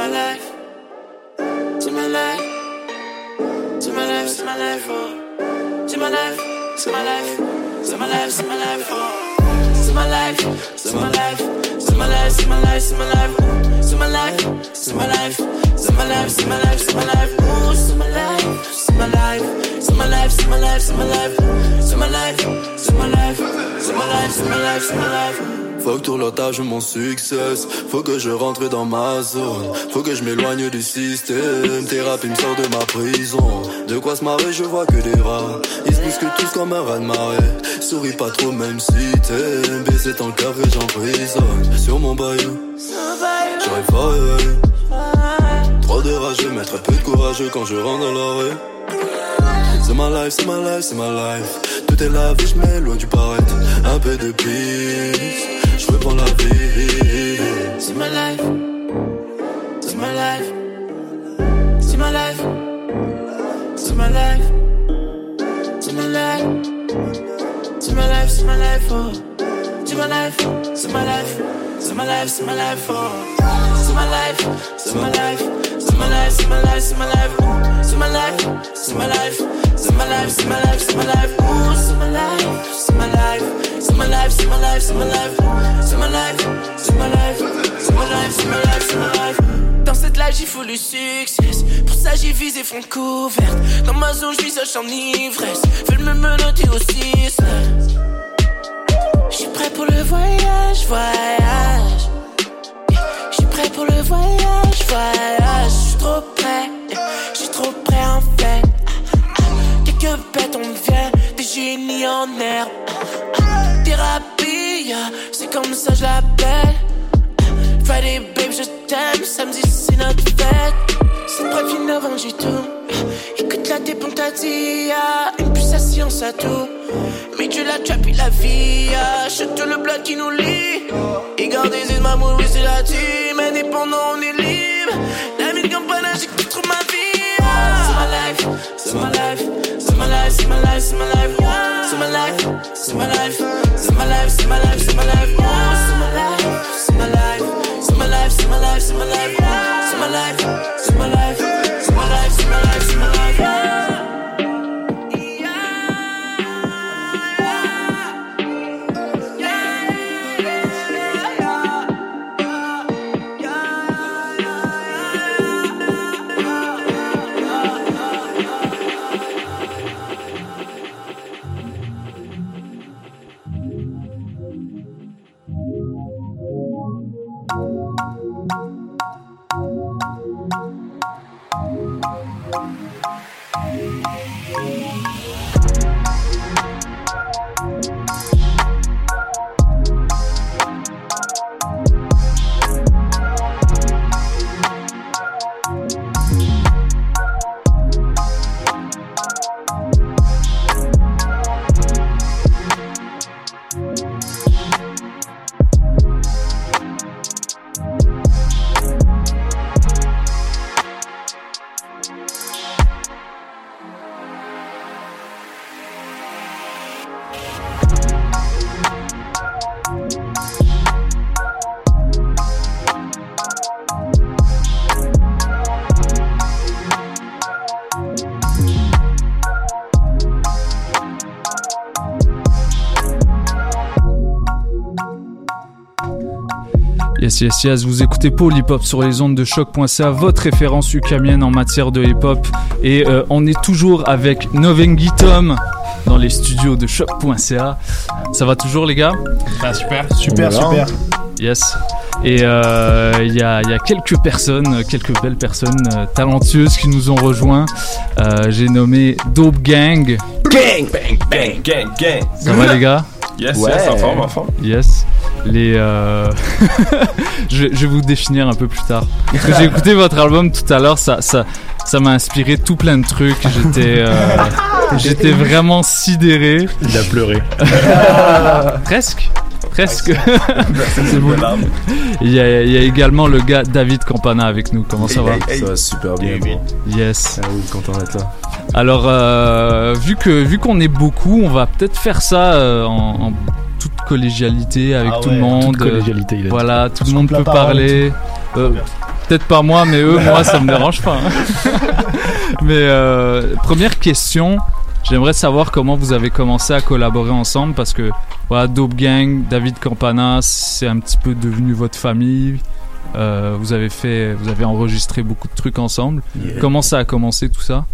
X: my life. C'est ma life. C'est ma life, c'est ma life, oh. C'est ma life, c'est ma life. C'est ma life, c'est ma life, oh. C'est ma life, c'est ma life. C'est ma life, c'est ma life, c'est ma life. C'est ma life, c'est ma life. C'est ma life, c'est ma life, c'est ma life. Oh, c'est ma life, c'est ma life. C'est ma life, c'est ma life, c'est ma life. C'est ma life, c'est ma life. C'est ma life, c'est ma life, c'est ma life.
U: Faut que tout le temps je mon succès. Faut que je rentre dans ma zone. Faut que je m'éloigne du système. Thérapie me sort de ma prison. De quoi se marrer, je vois que des rats. Ils se bousculent tous comme un raz de marée. Souris pas trop même si t'aimes. Baisser dans le café, j'emprisonne. Sur mon bayou, j'arrive pas à réveiller. Trop de rageux, mais très peu de courageux quand je rentre dans la rue. C'est ma life, c'est ma life, c'est ma life. Tout est la vie, je m'éloigne du paraître. Un peu de peace, je reprends la vie.
X: C'est ma life, c'est ma life. C'est ma life, c'est ma life. C'est ma life, c'est ma life, c'est ma life, oh. C'est ma life, c'est ma life. C'est ma life, c'est ma life, oh. C'est ma life, c'est ma life. C'est ma life, c'est ma life, c'est ma life. C'est ma life, c'est ma life. C'est ma life, c'est ma life, c'est ma life. Oh, c'est ma life, c'est ma life. C'est ma life, c'est ma life, c'est ma life. C'est ma life, c'est ma life. C'est ma life, c'est ma life, c'est ma life. Dans cette life, il faut le succès. Pour ça, j'ai visé front couverte. Dans ma zone, je vis en ivresse. Veulent me menotter aussi. J'suis prêt pour le voyage, voyage. J'suis prêt pour le voyage, voyage. J'suis trop prêt, j'suis trop prêt en fait. Quelques bêtes, on vient, des génies en herbe. Thérapie, c'est comme ça je l'appelle. Friday babe, je t'aime, samedi c'est notre fête. C'est pas fini avant j'ai tout. Écoute la dépon t'as dit, une puce à science à tout. Mais Dieu la trap et la vie, chute le bloc qui nous lie. Et gardez les mamours, oui c'est la team. Indépendant on est libre. La ville campagne, j'écoute trop ma vie. C'est ma life, c'est ma life. C'est ma life, c'est ma life, c'est ma life. C'est ma life, c'est ma life. C'est ma life, c'est ma life, c'est ma life. C'est ma life, c'est ma life. C'est ma life, c'est ma life, c'est ma life. C'est ma life, c'est ma life. C'est ma life, c'est ma life, c'est ma life.
Q: Yes, yes, yes, vous écoutez Paul Hip Hop sur les ondes de choc point c a, votre référence ukamienne en matière de hip hop. Et euh, on est toujours avec Novengi Tom dans les studios de choc point c a. Ça va toujours, les gars?
R: Ah, super,
S: super, super.
Q: Yes. Et il euh, y, a, y a quelques personnes, quelques belles personnes euh, talentueuses qui nous ont rejoints. Euh, j'ai nommé Dope Gang.
R: Gang, bang, bang, gang, gang.
Q: Ça va, les gars?
R: Yes, ouais. Yes, en forme, en forme.
Q: Yes. Les euh... je, je vais vous définir un peu plus tard. Parce que j'ai écouté votre album tout à l'heure, ça, ça, ça m'a inspiré tout plein de trucs. J'étais, euh... j'étais vraiment sidéré.
R: Il a pleuré.
Q: Presque. Presque. C'est bon. Il y, a, il y a également le gars David Campana avec nous. Comment ça va?
R: Ça va super bien. bien.
Q: Yes.
R: Ah oui, content d'être là.
Q: Alors, euh, vu que vu qu'on est beaucoup, on va peut-être faire ça euh, en, en toute collégialité avec
R: ah
Q: tout
R: ouais,
Q: le monde.
R: Toute collégialité, il a
Q: voilà,
R: dit.
Q: tout le monde peut parler. Euh, peut-être pas moi, mais eux, moi, ça me dérange pas. Hein. Mais euh, première question, j'aimerais savoir comment vous avez commencé à collaborer ensemble parce que voilà, Dope Gang, David Campana, c'est un petit peu devenu votre famille. Euh, vous avez fait, vous avez enregistré beaucoup de trucs ensemble. Yeah. Comment ça a commencé tout ça?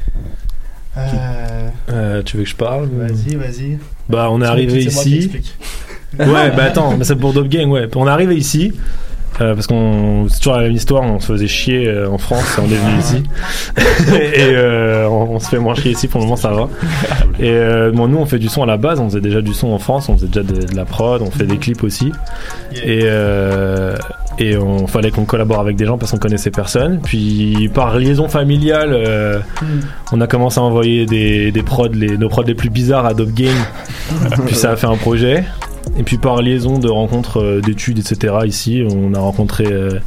R: Euh... Euh, tu veux que je parle?
S: Vas-y, vas-y.
R: Bah, on est
S: c'est
R: arrivé ici. Ouais, bah attends, mais c'est pour Dope Gang, ouais. On est arrivé ici. Euh, parce qu'on c'est toujours la même histoire, on se faisait chier euh, en France et on est venu ici et euh, on, on se fait moins chier ici, pour le moment ça va. Et euh, bon, nous on fait du son à la base, on faisait déjà du son en France, on faisait déjà de, de la prod, on fait des clips aussi. Et euh, et on fallait qu'on collabore avec des gens parce qu'on connaissait personne. Puis par liaison familiale, euh, mm. on a commencé à envoyer des des prods, les, nos prods les plus bizarres à Dope Gang. Puis ça a fait un projet. Et puis par liaison de rencontres euh, d'études, et cetera, ici, on a rencontré euh,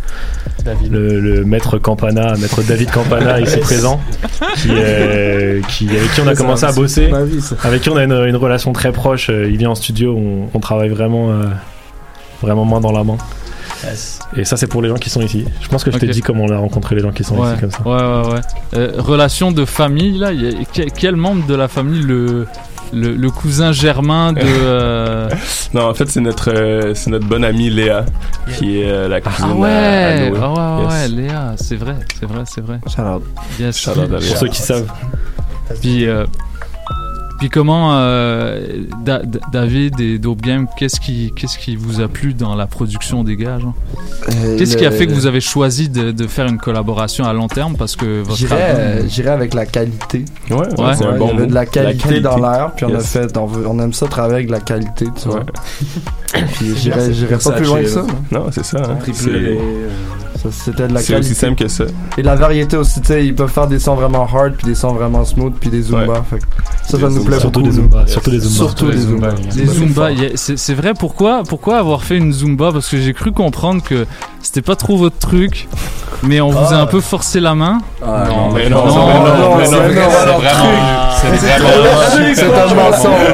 R: le, le maître Campana, maître David Campana, ici présent, qui, euh, qui, avec qui on a commencé à bosser, avec qui on a une, une relation très proche. Il vient en studio, on, on travaille vraiment, euh, vraiment main dans la main. Yes. Et ça, c'est pour les gens qui sont ici. Je pense que je okay. t'ai dit comment on a rencontré les gens qui sont
Q: ouais.
R: ici comme ça.
Q: Ouais, ouais, ouais. Euh, relation de famille, là, y a, quel membre de la famille le... Le, le cousin germain de. Euh...
F: Non, en fait, c'est notre, euh, c'est notre bonne amie Léa, qui est euh, la cousine
Q: ah ouais,
F: à, à Noé.
Q: Ah ouais,
F: yes.
Q: ouais, Léa, c'est vrai, c'est vrai, c'est vrai.
S: Shout-out.
Q: Yes.
F: Shout-out à Léa.
R: Pour ceux qui savent.
Q: Puis, euh, puis comment euh, da- da- David et Dope Gang, qu'est-ce qui, qu'est-ce qui vous a plu dans la production des gars, genre euh, Qu'est-ce le... qui a fait que vous avez choisi de, de faire une collaboration à long terme parce que votre
G: j'irais,
Q: album...
G: euh, j'irais avec la qualité.
F: Ouais, ouais, ouais c'est
G: ouais,
F: un bon
G: il y avait
F: mot.
G: de la qualité, la qualité. Dans l'air, puis on
F: yes.
G: a fait, on, veut, on aime ça travailler avec de la qualité, tu
F: ouais.
G: vois. Puis j'irais, j'irais pas plus loin que ça.
F: Non, c'est ça. Hein.
G: C'est... Ça, c'était de la
F: c'est
G: qualité.
F: aussi simple que ça.
G: Et de la variété aussi, tu sais, ils peuvent faire des sons vraiment hard, puis des sons vraiment smooth, puis des zumba. Ouais. Fait que ça, ça nous plaît
R: surtout
G: beaucoup.
R: Des zumba. Surtout des zumba.
G: Surtout des zumba.
Q: Les zumba, yeah, c'est, c'est vrai. Pourquoi, pourquoi avoir fait une zumba? Parce que j'ai cru comprendre que c'était pas trop votre truc, mais on vous ah. a un peu forcé la main.
F: Ah,
Q: non,
F: non, mais non,
Q: non,
F: non,
Q: non,
F: non,
Q: mais
F: c'est
Q: vraiment,
F: c'est vraiment,
G: c'est un mensonge.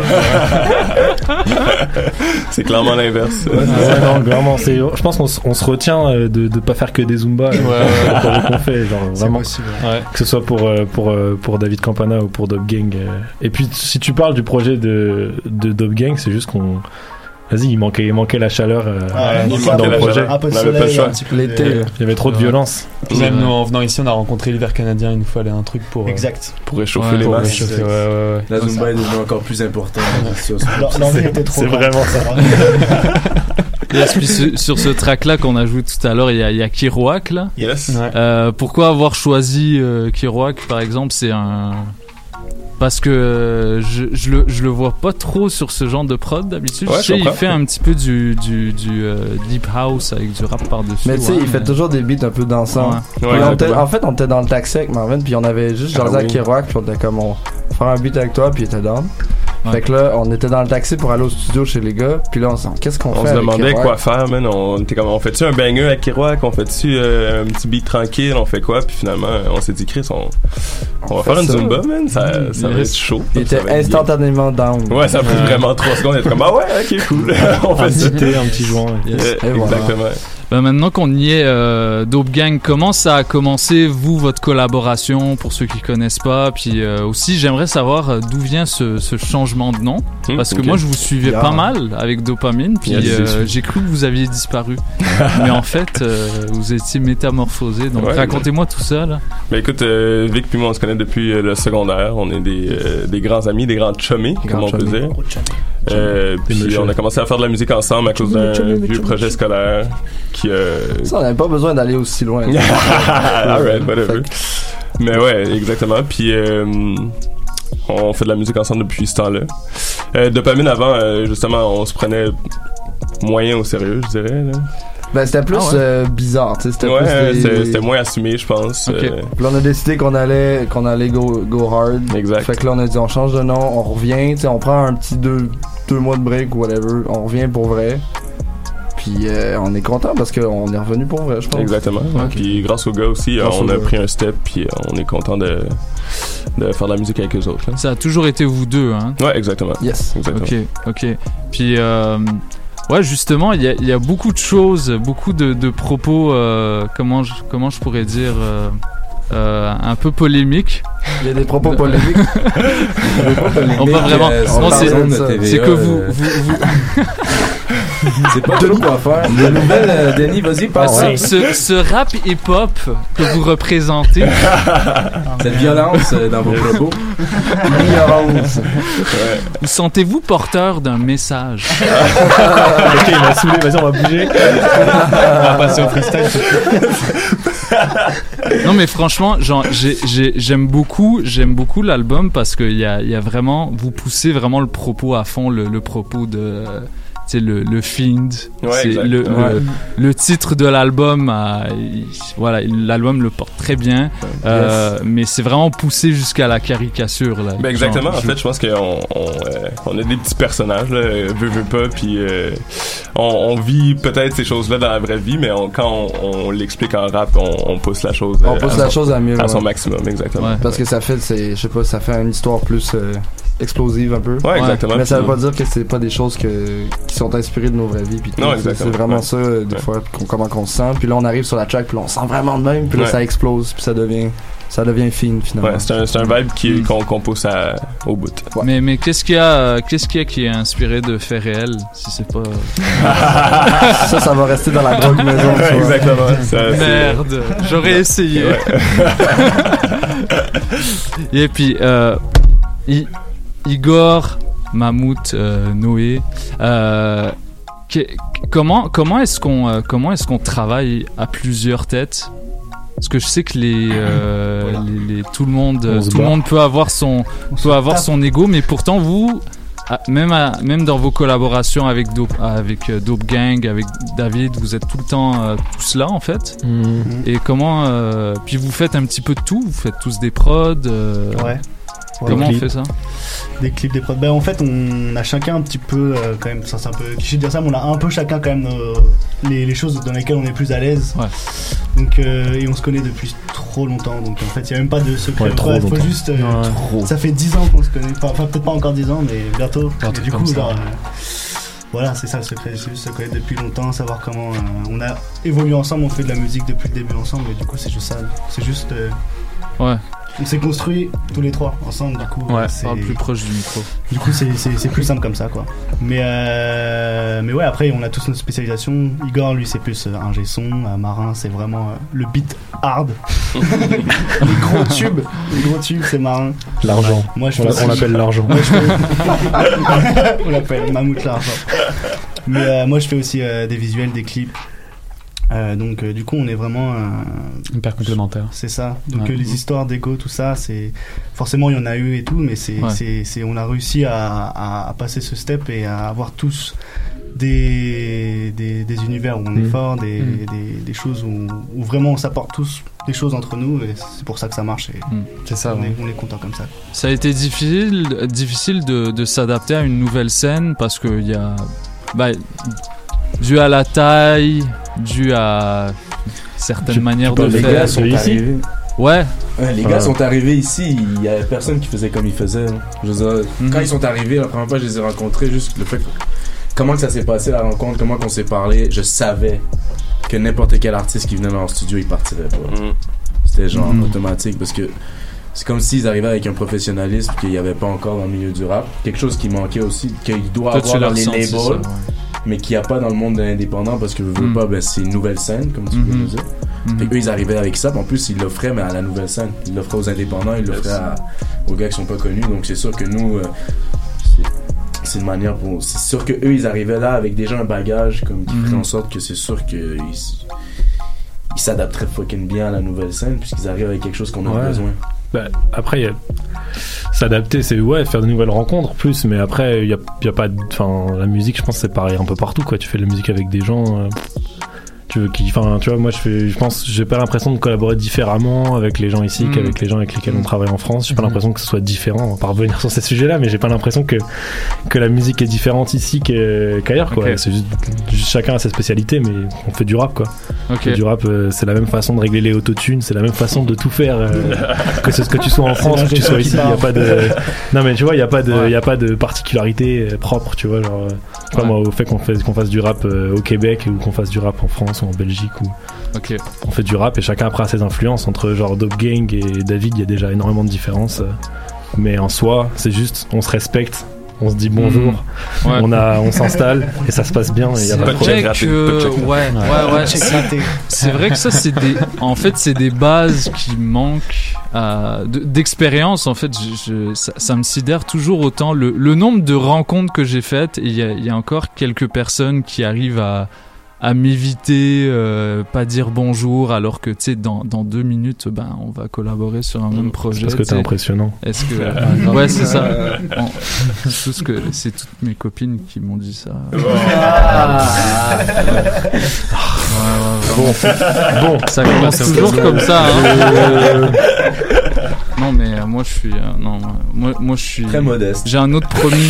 F: C'est clairement l'inverse.
R: Ouais, ouais, non, clairement, c'est. Je pense qu'on on se retient de de pas faire que des zumba. Ouais, ouais. Qu'on fait, genre vraiment. Ouais. Que ce soit pour pour pour David Campana ou pour Dope Gang. Et puis si tu parles du projet de de Dope Gang, c'est juste qu'on Vas-y, il manquait, il manquait la chaleur euh,
F: ouais, il
R: dans le projet.
S: Un peu de soleil, un petit peu
G: l'été.
R: Il y avait trop de violence.
H: Puis même nous, en venant ici, on a rencontré l'hiver canadien. Il nous fallait un truc pour.
S: Exact.
F: Euh, pour réchauffer
H: ouais,
F: les
H: pour
F: masses.
H: Réchauffer, ouais, ouais, ouais.
J: La Zumba est devenue encore plus importante.
S: L'envie était trop.
R: C'est vraiment ça.
Q: Yes, puis sur, sur ce track-là qu'on a joué tout à l'heure, il y a, il y a Kiroak là.
F: Yes.
Q: Ouais. Euh, pourquoi avoir choisi euh, Kiroak par exemple? C'est un. Parce que euh, je, je, le, je le vois pas trop sur ce genre de prod d'habitude.
F: Ouais,
Q: je sais, il fait un petit peu du, du, du euh, deep house avec du rap par-dessus.
G: Mais tu sais,
Q: ouais,
G: il fait
Q: mais...
G: toujours des beats un peu dansants.
F: Ouais. Ouais,
G: on
F: ouais,
G: était,
F: ouais.
G: En fait, on était dans le taxi avec Marvin, puis on avait juste jasé
F: ah,
G: à
F: oui.
G: Kiroak, puis on était comme, on va faire un beat avec toi, puis il était down. Ouais. Fait que là, on était dans le taxi pour aller au studio chez les gars, puis là, on s'en qu'est-ce qu'on
F: on
G: fait?
F: On se demandait
G: Kiroak?
F: Quoi faire, man. On était comme, on fait-tu un banger avec Kiroak? On fait-tu euh, un petit beat tranquille? On fait quoi? Puis finalement, on s'est dit, Chris, on, on, on va faire une ça. Zumba, man. Ça, mmh, ça va être chaud.
G: Il était instantanément down.
F: Ouais, ça a pris ouais. vraiment trois secondes. On était comme, ah ouais, ok, cool. On fait
R: un petit thé, un petit joint.
F: Yes. Euh, exactement.
Q: Voilà. Ben maintenant qu'on y est, euh, Dope Gang, comment ça a commencé, vous, votre collaboration, pour ceux qui connaissent pas? Puis euh, aussi, j'aimerais savoir euh, d'où vient ce, ce changement de nom. Mmh, parce que okay. moi, je vous suivais yeah. pas mal avec Dopamine, puis yeah, euh, j'ai cru que vous aviez disparu. Mais en fait, euh, vous étiez métamorphosé. Donc, ouais, racontez-moi ouais. tout ça, là.
F: Ben écoute, euh, Vic puis moi, on se connaît depuis euh, le secondaire. On est des, euh, des grands amis, des grands chummies, comme on peut dire. Euh, puis on a commencé à faire de la musique ensemble à cause d'un vieux projet scolaire. Qui, euh...
G: Ça, on n'avait pas besoin d'aller aussi loin.
F: Alright, whatever. Mais ouais, exactement. Puis euh, on fait de la musique ensemble depuis ce temps-là. Euh, Dopamine avant, euh, justement, on se prenait moyen au sérieux, je dirais. Là.
G: Ben c'était plus ah ouais. euh, bizarre, tu sais, c'était
F: ouais,
G: plus des...
F: c'était, c'était moins assumé, je pense.
G: Okay.
F: Euh...
G: Puis là, on a décidé qu'on allait qu'on allait go go hard.
F: Exact.
G: Fait que là on a dit on change de nom, on revient, tu sais, on prend un petit deux deux mois de break ou whatever, on revient pour vrai. Puis euh, on est content parce qu'on est revenu pour vrai, je pense.
F: Exactement. Okay. Puis grâce aux gars aussi, grâce on a gars. pris un step, puis on est content de de faire de la musique avec eux autres. Là.
Q: Ça a toujours été vous deux, hein?
F: Ouais, exactement.
G: Yes.
F: Exactement.
Q: Ok, ok. Puis euh, ouais, justement, il y a, il y a beaucoup de choses, beaucoup de, de propos, euh, comment, je, comment je pourrais dire, euh, euh, un peu polémiques.
G: Il y a des propos polémiques.
Q: On peut vraiment.
J: Euh,
Q: non, c'est,
J: c'est,
Q: c'est que vous. vous, vous...
J: c'est pas tout quoi faire. La nouvelle, euh, Denis, vas-y, passe.
Q: Ah, ce, ce, ce rap hip-hop que vous représentez.
J: Cette violence euh, dans vos propos.
G: Violence.
F: Ouais.
Q: Vous sentez-vous porteur d'un message?
R: Ok, il m'a saoulé, vas-y, on va bouger. On va passer au freestyle.
Q: Non mais franchement, genre, j'ai, j'ai, j'aime beaucoup, j'aime beaucoup l'album parce que il y a, il y a vraiment, vous poussez vraiment le propos à fond, le, le propos de, tu sais, le, le Fiend.
F: Ouais,
Q: c'est
F: exact.
Q: le,
F: Ouais.
Q: le, le titre de l'album, euh, il- voilà, l'album le porte très bien, euh, mais c'est vraiment poussé jusqu'à la caricature là.
F: Ben exactement,
Q: Genre,
F: en
Q: je-
F: fait, je pense qu'on on, euh, on a des petits personnages, là, euh, veut, veut pas, puis euh, on, on vit peut-être ces choses-là dans la vraie vie, mais on, quand on, on l'explique en rap, on, on pousse la chose.
G: On
F: euh,
G: pousse
F: à
G: la
F: son-
G: chose à mieux.
F: à son
G: ouais.
F: maximum, exactement.
G: Parce que ça fait, c'est, je sais pas, ça fait une histoire plus euh, explosive un peu.
F: Ouais, exactement.
G: Mais ça veut
F: Puis-
G: pas dire que c'est pas des choses que, qui sont inspirées de nos vraies vies. Puis tout.
F: Non,
G: C'est-
F: exactement.
G: C'est vraiment
F: Ouais.
G: ça, euh, des
F: Ouais.
G: fois, qu'on- comment qu'on se sent. Puis là, on arrive sur la track, puis là, on sent vraiment de même. Puis là,
F: Ouais.
G: ça explose, puis ça devient, ça devient fine finalement.
F: Ouais, c'est un, c'est un vibe qui, qu'on, qu'on pousse à, au bout.
Q: Mais, mais qu'est-ce qu'il y a, euh, qu'est-ce qu'il y a qui est inspiré de faits réels, si c'est pas.
G: Ça, ça va rester dans la drogue maison. tu vois.
F: Exactement. Ça, c'est-
Q: Merde, j'aurais essayé.
F: Ouais.
Q: Et puis, euh, I- Igor, Mammouth, euh, Noé, euh, que- comment, comment est-ce qu'on, euh, comment est-ce qu'on travaille à plusieurs têtes? Parce que je sais que les, euh, les, les- tout le monde,
R: On se
Q: tout le
R: bat.
Q: monde peut avoir son, peut avoir
S: tape.
Q: son ego, mais pourtant vous, ah, même, à- même dans vos collaborations avec Dope, avec euh, Dope Gang, avec David, vous êtes tout le temps euh, tous là en fait.
R: Mhm.
Q: Et comment, euh, puis vous faites un petit peu de tout, vous faites tous des prods. euh,
S: Ouais. Ouais.
Q: Comment
R: Des
Q: on
R: clips.
Q: fait ça?
S: Des clips, des prods. Ben, en fait, on a chacun un petit peu, euh, quand même, ça c'est un peu cliché de dire ça, mais on a un peu chacun quand même nos- les, les choses dans lesquelles on est plus à l'aise.
Q: Ouais.
S: Donc, euh, et on se connaît depuis trop longtemps, donc en fait, il n'y a même pas de secret.
R: Ouais, trop
S: Ouais, faut
R: longtemps.
S: juste. euh,
R: Ouais. Trop.
S: Ça fait dix ans qu'on se connaît, enfin, enfin, peut-être pas encore dix ans, mais bientôt.
H: Un
S: Et
H: truc
S: du
H: comme
S: coup,
H: ça.
S: genre, euh, voilà, c'est ça le secret, c'est juste se connaître depuis longtemps, savoir comment. euh, on a évolué ensemble, on fait de la musique depuis le début ensemble, et du coup, c'est juste ça. C'est juste. euh,
Q: Ouais.
S: On s'est construit tous les trois ensemble, du coup.
Q: Ouais,
S: c'est...
Q: parle plus proche du micro.
S: Du coup, c'est, c'est, c'est plus simple comme ça, quoi. Mais, euh, mais ouais, après, on a tous notre spécialisation. Igor, lui, c'est plus euh, ingé son. Euh, Marin, c'est vraiment euh, le beat hard. Les gros tubes. Les gros tubes, c'est Marin.
R: L'argent.
S: Moi, je
R: on,
S: fais
R: l'a- on
S: aussi-
R: l'appelle l'argent.
S: Moi, je fais- on l'appelle Mammouth l'argent. Mais euh, moi, je fais aussi euh, des visuels, des clips. Euh, donc euh, du coup on est vraiment euh,
H: hyper complémentaire.
S: C'est ça. Donc
H: Ouais.
S: euh, les histoires d'ego, tout ça, c'est forcément il y en a eu et tout, mais c'est,
Q: Ouais.
S: c'est, c'est on a réussi à, à, à passer ce step et à avoir tous des des, des univers où on est
Q: Mhm.
S: fort, des,
Q: Mhm.
S: des, des choses où, où vraiment on s'apporte tous des choses entre nous et c'est pour ça que ça marche. Et
Q: Mhm.
H: C'est ça.
S: on,
H: Ouais.
S: est, on est content comme ça.
Q: Ça a été difficile, difficile de, de s'adapter à une nouvelle scène parce que il y a, bah, dû à la taille, dû à certaines
J: Tu-
Q: manières
J: tu
Q: de
J: parles, les
Q: faire.
J: gars sont arrivés.
Q: Ouais.
J: Ouais, les gars sont arrivés ici, il y avait personne qui faisait comme ils faisaient. hein. Je veux dire,
Q: Mhm.
J: quand ils sont arrivés, la première fois, je les ai rencontrés, juste le fait que- comment que ça s'est passé la rencontre, comment qu'on s'est parlé, je savais que n'importe quel artiste qui venait dans leur studio, il partirait pas.
F: Mhm.
J: C'était genre
Q: Mhm.
J: automatique parce que c'est comme s'ils arrivaient avec un professionnalisme qu'il n'y avait pas encore dans le milieu du rap. Quelque chose qui manquait aussi, qu'il doit
Q: Toi, tu
J: avoir
Q: l'as
J: dans les
Q: ressenti,
J: labels,
Q: ça, ouais.
J: mais qu'il n'y a pas dans le monde de l'indépendant parce que veux, veux
Q: Mhm.
J: pas, ben, c'est une nouvelle scène, comme tu
Q: Mhm.
J: veux le dire.
Q: Mhm.
J: Fait qu'eux, ils arrivaient avec ça, puis en plus, ils l'offraient, mais à la nouvelle scène. Ils l'offraient aux indépendants, ils l'offraient à- aux gars qui sont pas connus. Donc, c'est sûr que nous, euh, c'est- c'est une manière pour. C'est sûr que eux, ils arrivaient là avec déjà un bagage, comme qui ferait
Q: Mhm.
J: en sorte que c'est sûr qu'ils ils s'adapteraient fucking bien à la nouvelle scène, puisqu'ils arrivent avec quelque chose qu'on a
R: Ouais.
J: besoin.
R: Bah, après, y a- s'adapter, c'est ouais, faire de nouvelles rencontres plus, mais après, il y a, y a pas. de- Enfin, la musique, je pense, c'est pareil un peu partout, quoi. Tu fais de la musique avec des gens. euh, Tu veux, qui, enfin, tu vois, moi, je fais, je pense, j'ai pas l'impression de collaborer différemment avec les gens ici mmh. qu'avec les gens avec lesquels on travaille en France. J'ai pas mmh. l'impression que ce soit différent. On va pas revenir sur ces sujets-là, mais j'ai pas l'impression que que la musique est différente ici que, qu'ailleurs, quoi. Okay. C'est juste, juste chacun a sa spécialité, mais on fait du rap, quoi. Okay. On fait du rap, euh, c'est la même façon de régler les autotunes, c'est la même façon de tout faire, euh, que ce que tu sois en France ou que tu sois ici. Il y a pas de, non mais tu vois, il y a pas de, il ouais. y a pas de particularité propre, tu vois, genre, je sais pas ouais. moi, au fait qu'on fasse qu'on fasse du rap euh, au Québec ou qu'on fasse du rap en France ou en Belgique ou
Q: okay.
R: on fait du rap et chacun après a ses influences. Entre genre Dope Gang et David, il y a déjà énormément de différences, euh, mais en soi, c'est juste, on se respecte. On se dit bonjour, mmh. ouais. on a, on s'installe et ça se passe bien. Et y a
Q: pas de check. Que... Ouais, ouais, ouais. ouais c'est, c'est vrai que ça, c'est des. En fait, c'est des bases qui manquent euh, de, d'expérience. En fait, je, je, ça, ça me sidère toujours autant le, le nombre de rencontres que j'ai faites. Et il y a, y a encore quelques personnes qui arrivent à. à m'éviter, euh, pas dire bonjour, alors que tu sais dans dans deux minutes, ben on va collaborer sur un même projet.
R: Parce que t'es impressionnant.
Q: Est-ce que euh, ouais c'est ça. Bon, tout ce que c'est toutes mes copines qui m'ont dit ça. Ah. Ouais, ouais, bon, bon, ça commence toujours comme ça. Hein. Non mais euh, moi je suis euh, non moi moi je suis
J: très modeste.
Q: J'ai un autre promis.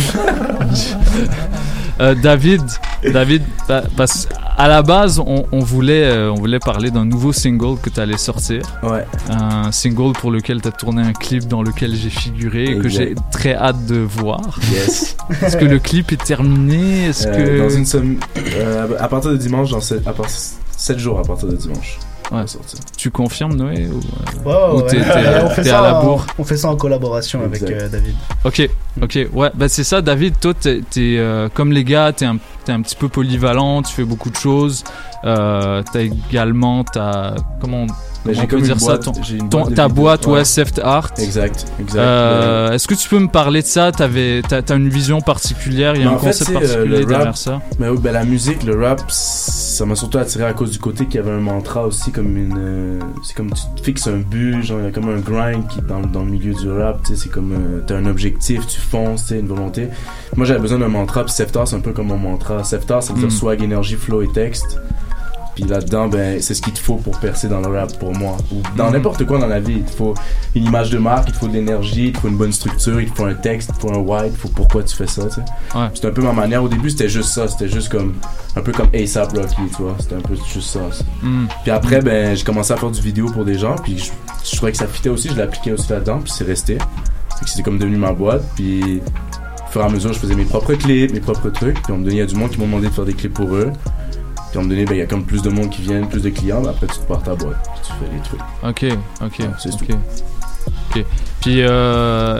Q: euh, David, David, bah, parce à la base on, on voulait euh, on voulait parler d'un nouveau single que tu allais sortir.
J: Ouais.
Q: Un single pour lequel tu as tourné un clip dans lequel j'ai figuré et que j'ai très hâte de voir.
J: Yes.
Q: Est-ce que le clip est terminé? Est-ce
J: euh,
Q: que
J: dans une somme, euh, à partir de dimanche, dans sept, à part sept jours à partir de dimanche.
Q: Ouais. Tu confirmes Noé ou,
S: ouais, ouais,
Q: ou t'es,
S: ouais.
Q: t'es,
S: on, fait
Q: t'es
S: ça
Q: à la bourre
S: en, on fait ça en collaboration exact. Avec euh, David.
Q: Ok, ok, ouais, bah c'est ça David, toi t'es, t'es euh, comme les gars, t'es un, t'es un petit peu polyvalent, tu fais beaucoup de choses, euh, t'as également, t'as, comment on,
J: comment
Q: on peut dire
J: boîte,
Q: ça, ton,
J: ton,
Q: ta boîte, ouais,
J: ouais.
Q: Seft Art.
J: Exact, exact.
Q: Euh, est-ce que tu peux me parler de ça? T'avais, t'as, t'as une vision particulière, il y a mais un concept fait, particulier euh, derrière rap, ça?
J: Mais oui, ben la musique, le rap, ça m'a surtout attiré à cause du côté qu'il y avait un mantra aussi, comme une, euh, c'est comme tu te fixes un but, genre il y a comme un grind qui dans, dans le milieu du rap, tu sais, c'est comme euh, t'as un objectif, tu fonces, tu sais, une volonté. Moi j'avais besoin d'un mantra, puis Seft Art c'est un peu comme mon mantra. Seft Art ça veut dire mm. swag, énergie, flow et texte. Puis là-dedans, ben, c'est ce qu'il te faut pour percer dans le rap pour moi. Ou dans mmh. n'importe quoi dans la vie. Il te faut une image de marque, il te faut de l'énergie, il te faut une bonne structure, il te faut un texte, il te faut un why, il te faut pourquoi tu fais ça, tu sais.
Q: Ouais.
J: C'était un peu ma manière. Au début, c'était juste ça. C'était juste comme, un peu comme A$AP Rocky, tu vois. C'était un peu juste ça.
Q: Mmh.
J: Puis après, ben, j'ai commencé à faire du vidéo pour des gens, puis je, je trouvais que ça fitait aussi, je l'appliquais aussi là-dedans, puis c'est resté. C'était comme devenu ma boîte, puis au fur et à mesure, je faisais mes propres clips, mes propres trucs, puis on me donnait, il y a du monde qui m'ont demandé de faire des clips pour eux. Puis à un moment donné, il ben, y a comme plus de monde qui viennent, plus de clients, ben après tu te pars ta boîte, puis tu fais les trucs.
Q: Ok, ok,
J: ouais, c'est
Q: ok.
J: Tout.
Q: Ok. Puis euh,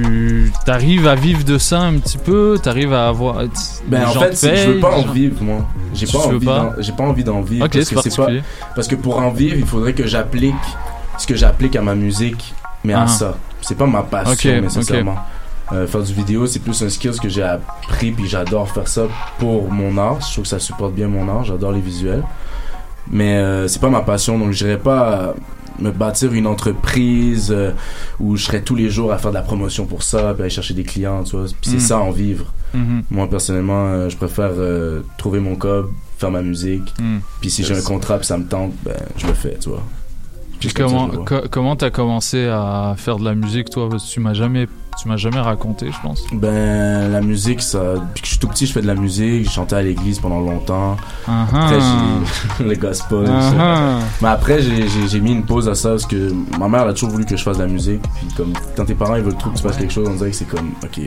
Q: tu t'arrives à vivre de ça un petit peu, t'arrives à avoir.
J: Ben en fait, payent, je veux pas en gens... vivre moi. J'ai pas envie,
Q: pas?
J: D'en... j'ai pas envie d'en vivre.
Q: Ok,
J: parce
Q: c'est
J: que
Q: particulier.
J: C'est pas... Parce que pour en vivre, il faudrait que j'applique ce que j'applique à ma musique, mais ah. à ça. C'est pas ma passion okay, nécessairement. Okay. Euh, faire du vidéo, c'est plus un skill que j'ai appris, puis j'adore faire ça pour mon art. Je trouve que ça supporte bien mon art, j'adore les visuels. Mais euh, c'est pas ma passion, donc j'irais pas me bâtir une entreprise euh, où je serais tous les jours à faire de la promotion pour ça, puis aller chercher des clients, tu vois. Puis c'est mm. ça, en vivre. Mm-hmm. Moi, personnellement, euh, je préfère euh, trouver mon cob, faire ma musique. Mm. Puis si yes. j'ai un contrat, puis ça me tente, ben je le fais, tu vois.
Q: Puis comment ça, co- comment t'as commencé à faire de la musique, toi? Parce que tu m'as jamais tu m'as jamais raconté, je pense.
J: Ben la musique, ça depuis que je suis tout petit, je fais de la musique. J'ai chanté à l'église pendant longtemps.
Q: Uh-huh.
J: Après j'ai le gospel. Uh-huh. Mais après j'ai, j'ai j'ai mis une pause à ça parce que ma mère elle a toujours voulu que je fasse de la musique. Puis comme quand tes parents ils veulent trop que tu fasses quelque chose, on dirait que c'est comme ok.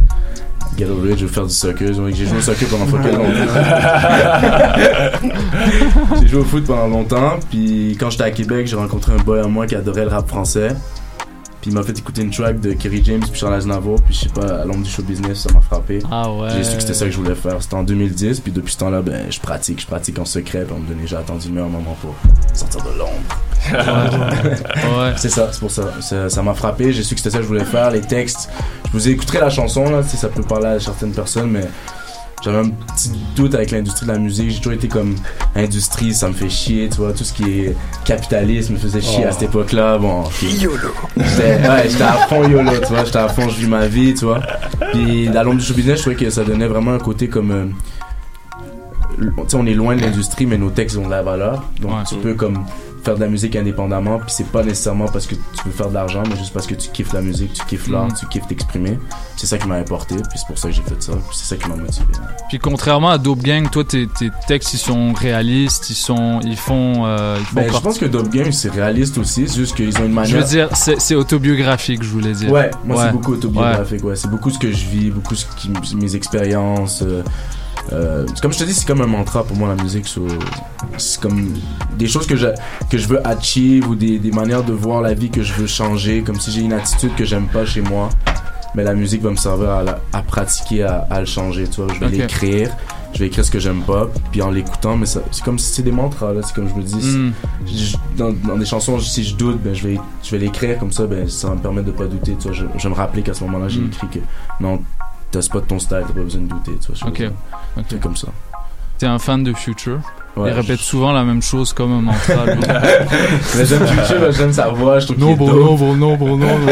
J: Get over it, je veux faire du soccer. J'ai joué au soccer pendant fucking longtemps. J'ai joué au foot pendant longtemps. Puis quand j'étais à Québec, j'ai rencontré un boy à moi qui adorait le rap français. Puis il m'a fait écouter une track de Kerry James puis Charles Aznavour. Puis je sais pas, à l'ombre du show business, ça m'a frappé.
Q: Ah ouais.
J: J'ai su que c'était ça que je voulais faire. C'était en deux mille dix. Puis depuis ce temps-là, ben je pratique. Je pratique en secret. Puis on me donnait, j'ai attendu le meilleur moment pour sortir de l'ombre.
Q: Ouais. Ouais.
J: C'est ça, c'est pour ça. ça. Ça m'a frappé. J'ai su que c'était ça que je voulais faire. Les textes. Je vous ai écouté la chanson là, si ça peut parler à certaines personnes, mais j'avais un petit doute avec l'industrie de la musique. J'ai toujours été comme industrie, ça me fait chier, tu vois. Tout ce qui est capitalisme me faisait chier oh. à cette époque-là. Bon, okay.
A: YOLO.
J: J'étais, ouais, j'étais à fond YOLO, tu vois. J'étais à fond, je vis ma vie, tu vois. Puis à l'ombre du show business, je trouvais que ça donnait vraiment un côté comme. Euh, sais, on est loin de l'industrie, mais nos textes ont de la valeur. Donc,
Q: Ouais.
J: tu peux comme faire de la musique indépendamment, puis c'est pas nécessairement parce que tu veux faire de l'argent, mais juste parce que tu kiffes la musique, tu kiffes l'art,
Q: Mhm.
J: tu kiffes t'exprimer. C'est ça qui m'a importé, puis c'est pour ça que j'ai fait ça, puis c'est ça qui m'a motivé.
Q: Puis contrairement à Dope Gang, toi tes, tes textes ils sont réalistes, ils sont ils font euh, ils font
J: Ben, je
Q: partie-
J: pense que Dope Gang c'est réaliste aussi, c'est juste qu'ils ont une manière.
Q: Je veux dire c'est, c'est autobiographique, je voulais dire.
J: Ouais, moi
Q: Ouais.
J: c'est beaucoup autobiographique, ouais. C'est beaucoup ce que je vis, beaucoup ce qui, mes expériences. Euh, euh, comme je te dis, c'est comme un mantra pour moi la musique. So, c'est comme des choses que je, que je veux achieve ou des, des manières de voir la vie que je veux changer. Comme si j'ai une attitude que j'aime pas chez moi, mais la musique va me servir à, la- à pratiquer, à, à le changer. Tu vois, je vais
Q: Ok.
J: l'écrire, je vais écrire ce que j'aime pas, puis en l'écoutant, mais ça, c'est comme si c'est des mantras là. C'est comme je me dis,
Q: Mm.
J: si- je- dans, dans des chansons, si je doute, ben je vais, je vais l'écrire comme ça, ben ça va me permettre de pas douter. Tu vois, je, je vais me rappeler qu'à ce moment-là, j'ai
Q: Mm.
J: écrit que non, t'as spot ton style, t'as pas besoin de douter. Tu vois, je
Q: Ok.
J: veux dire.
Q: Ok.
J: C'est comme ça.
Q: T'es un fan de Future.
J: Ouais,
Q: il répète
J: je-
Q: souvent la même chose comme un mantra. lui.
J: Mais j'aime Future, j'aime sa voix, je trouve
Q: Non,
J: qu'il est
Q: bon,
J: dope.
Q: non, bon, non, bon, non.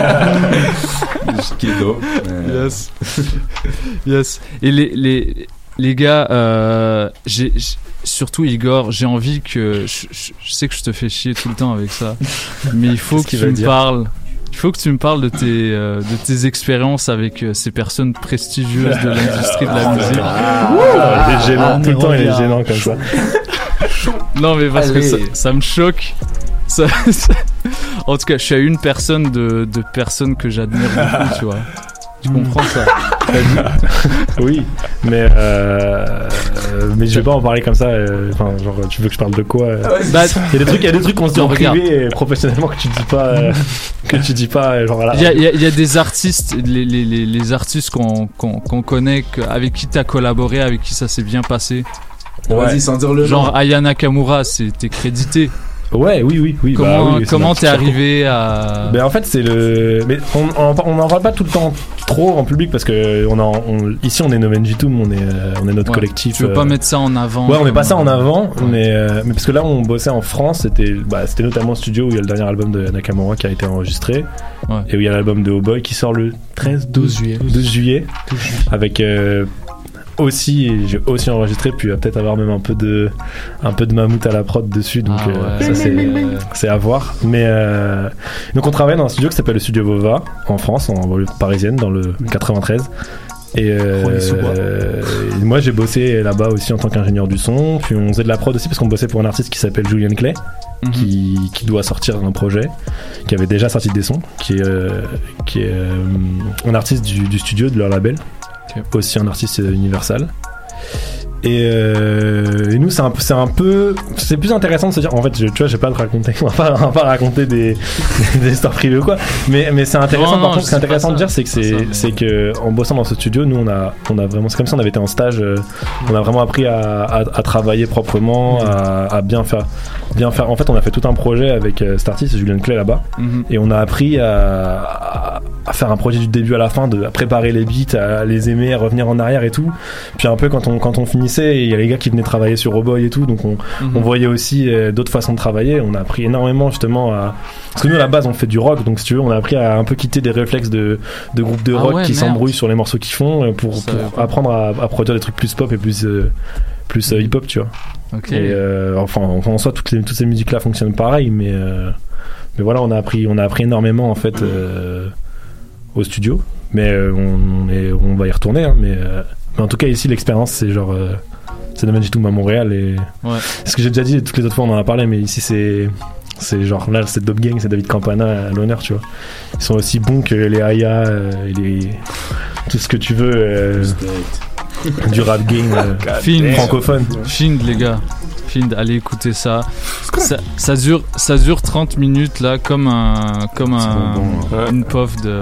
J: Qui est dope. Euh,
Q: Yes. Yes. Et les, les, les gars, euh, j'ai, j'ai- surtout Igor, j'ai envie que. Je, je- je sais que je te fais chier tout le temps avec ça, mais il faut
R: Qu'est-ce
Q: que
R: qu'il
Q: tu
R: va
Q: me
R: dire
Q: parles. Il faut que tu me parles de tes, euh, de tes expériences avec euh, ces personnes prestigieuses de l'industrie de la musique.
R: Ah, il est gênant,
S: on
R: tout
S: y
R: le temps il est
S: revient.
R: gênant comme ça.
Q: Non, mais parce que
J: Allez.
Q: ça, ça me choque. Ça- ça- En tout cas, je suis à une personne de, de personnes que j'admire beaucoup, tu vois. Tu comprends ça?
R: Oui, mais euh, mais je vais pas en parler comme ça. euh, Enfin, genre, tu veux que je parle de quoi euh
Q: Bah,
R: Il y a des trucs, il y a des trucs qu'on se dit
Q: Non,
R: en
Q: regarde.
R: privé et professionnellement que tu dis pas, euh, que tu dis pas, euh, genre voilà.
Q: Il y a, il y a- il y a des artistes, les, les, les, les artistes qu'on qu'on qu'on connaît, que- avec qui t'as collaboré, avec qui ça s'est bien passé.
J: Vas-y, sans dire le
Q: Genre
J: nom.
Q: Aya Nakamura, c'est- t'es crédité.
R: Ouais, oui, oui, oui.
Q: Comment
R: bah oui, c'est
Q: comment
R: ma
Q: t'es
R: petite
Q: arrivé à...
R: Ben en fait c'est le, mais on on on n'en parle pas tout le temps trop en public parce que on en on, ici on est No Vengitum, on est euh, on est notre
Q: Ouais,
R: collectif.
Q: Tu veux pas
R: euh,
Q: mettre ça en avant?
R: Ouais, on met pas ça en
Q: comme, euh,
R: avant, mais, euh, mais parce que là on bossait en France, c'était bah, c'était notamment le studio où il y a le dernier album de Nakamura qui a été enregistré,
Q: Ouais.
R: et où il y a l'album de Oh Boy qui sort le treize douze juillet, douze juillet, avec euh, aussi, j'ai aussi enregistré, puis il va peut-être avoir même un peu de un peu de mammouth à la prod dessus, donc
Q: Ah
R: euh,
Q: ouais.
R: ça c'est c'est à voir. Mais euh, donc on travaille dans un studio qui s'appelle le Studio Vova en France, en banlieue parisienne, dans le quatre-vingt-treize. Et, euh,
S: Rony-sous-Bois.
R: euh, et moi j'ai bossé là-bas aussi en tant qu'ingénieur du son, puis on faisait de la prod aussi parce qu'on bossait pour un artiste qui s'appelle Julian Clay,
Q: Mhm.
R: qui, qui doit sortir un projet, qui avait déjà sorti des sons, qui est, euh, qui est euh, un artiste du, du studio, de leur label,
Q: Ok.
R: aussi un artiste euh, Universal. Et, euh, et nous c'est un, peu- c'est un peu c'est plus intéressant de se dire en fait je, tu vois je vais pas te raconter on va pas, on va pas raconter des, des histoires privées ou quoi, mais, mais c'est intéressant.
Q: Non,
R: par
Q: non,
R: contre
Q: je
R: ce qui est
Q: sais pas
R: intéressant
Q: ça,
R: de dire c'est que
Q: c'est
R: c'est,
Q: pas ça, mais-
R: c'est que en bossant dans ce studio nous on a, on a vraiment, c'est comme si on avait été en stage, euh, on a vraiment appris à, à, à travailler proprement, à, à bien faire bien faire en fait on a fait tout un projet avec euh, cet artiste Julian Clay là-bas,
Q: Mhm.
R: et on a appris à, à, à faire un projet du début à la fin, de à préparer les beats, à les aimer, à revenir en arrière et tout. Puis un peu quand on quand on finissait, il y a les gars qui venaient travailler sur Oh Boy et tout, donc on,
Q: Mhm.
R: on voyait aussi euh, d'autres façons de travailler. On a appris énormément justement à, parce que nous à la base on fait du rock, donc si tu veux on a appris à un peu quitter des réflexes de de groupes de
Q: Ah
R: rock
Q: ouais,
R: qui
Q: merde.
R: s'embrouillent sur les morceaux qu'ils font, euh, pour,
Q: Ça,
R: pour
Q: ouais.
R: apprendre à, à produire des trucs plus pop et plus euh, plus hip hop, tu vois.
Q: Ok.
R: Et euh, enfin, enfin, en soi, toutes, les, toutes ces musiques-là fonctionnent pareil, mais, euh, mais voilà, on a appris, on a appris énormément en fait euh, au studio. Mais euh, on, on, est, on va y retourner. Hein, mais, euh, mais en tout cas, ici, l'expérience, c'est genre. Euh, c'est No Vengitum à Montréal. Et
Q: Ouais.
R: ce que j'ai déjà dit, toutes les autres fois, on en a parlé, mais ici, c'est. C'est genre là, c'est Dope Gang, c'est David Campana à l'honneur, tu vois. Ils sont aussi bons que les Aya, euh, et les. Tout ce que tu veux. Euh, du rap game euh,
Q: Find.
R: francophone.
Q: Find, les gars. Find, allez écouter ça. Ça, ça dure, ça dure trente minutes là, comme un, comme un,
J: bon,
Q: une puff de.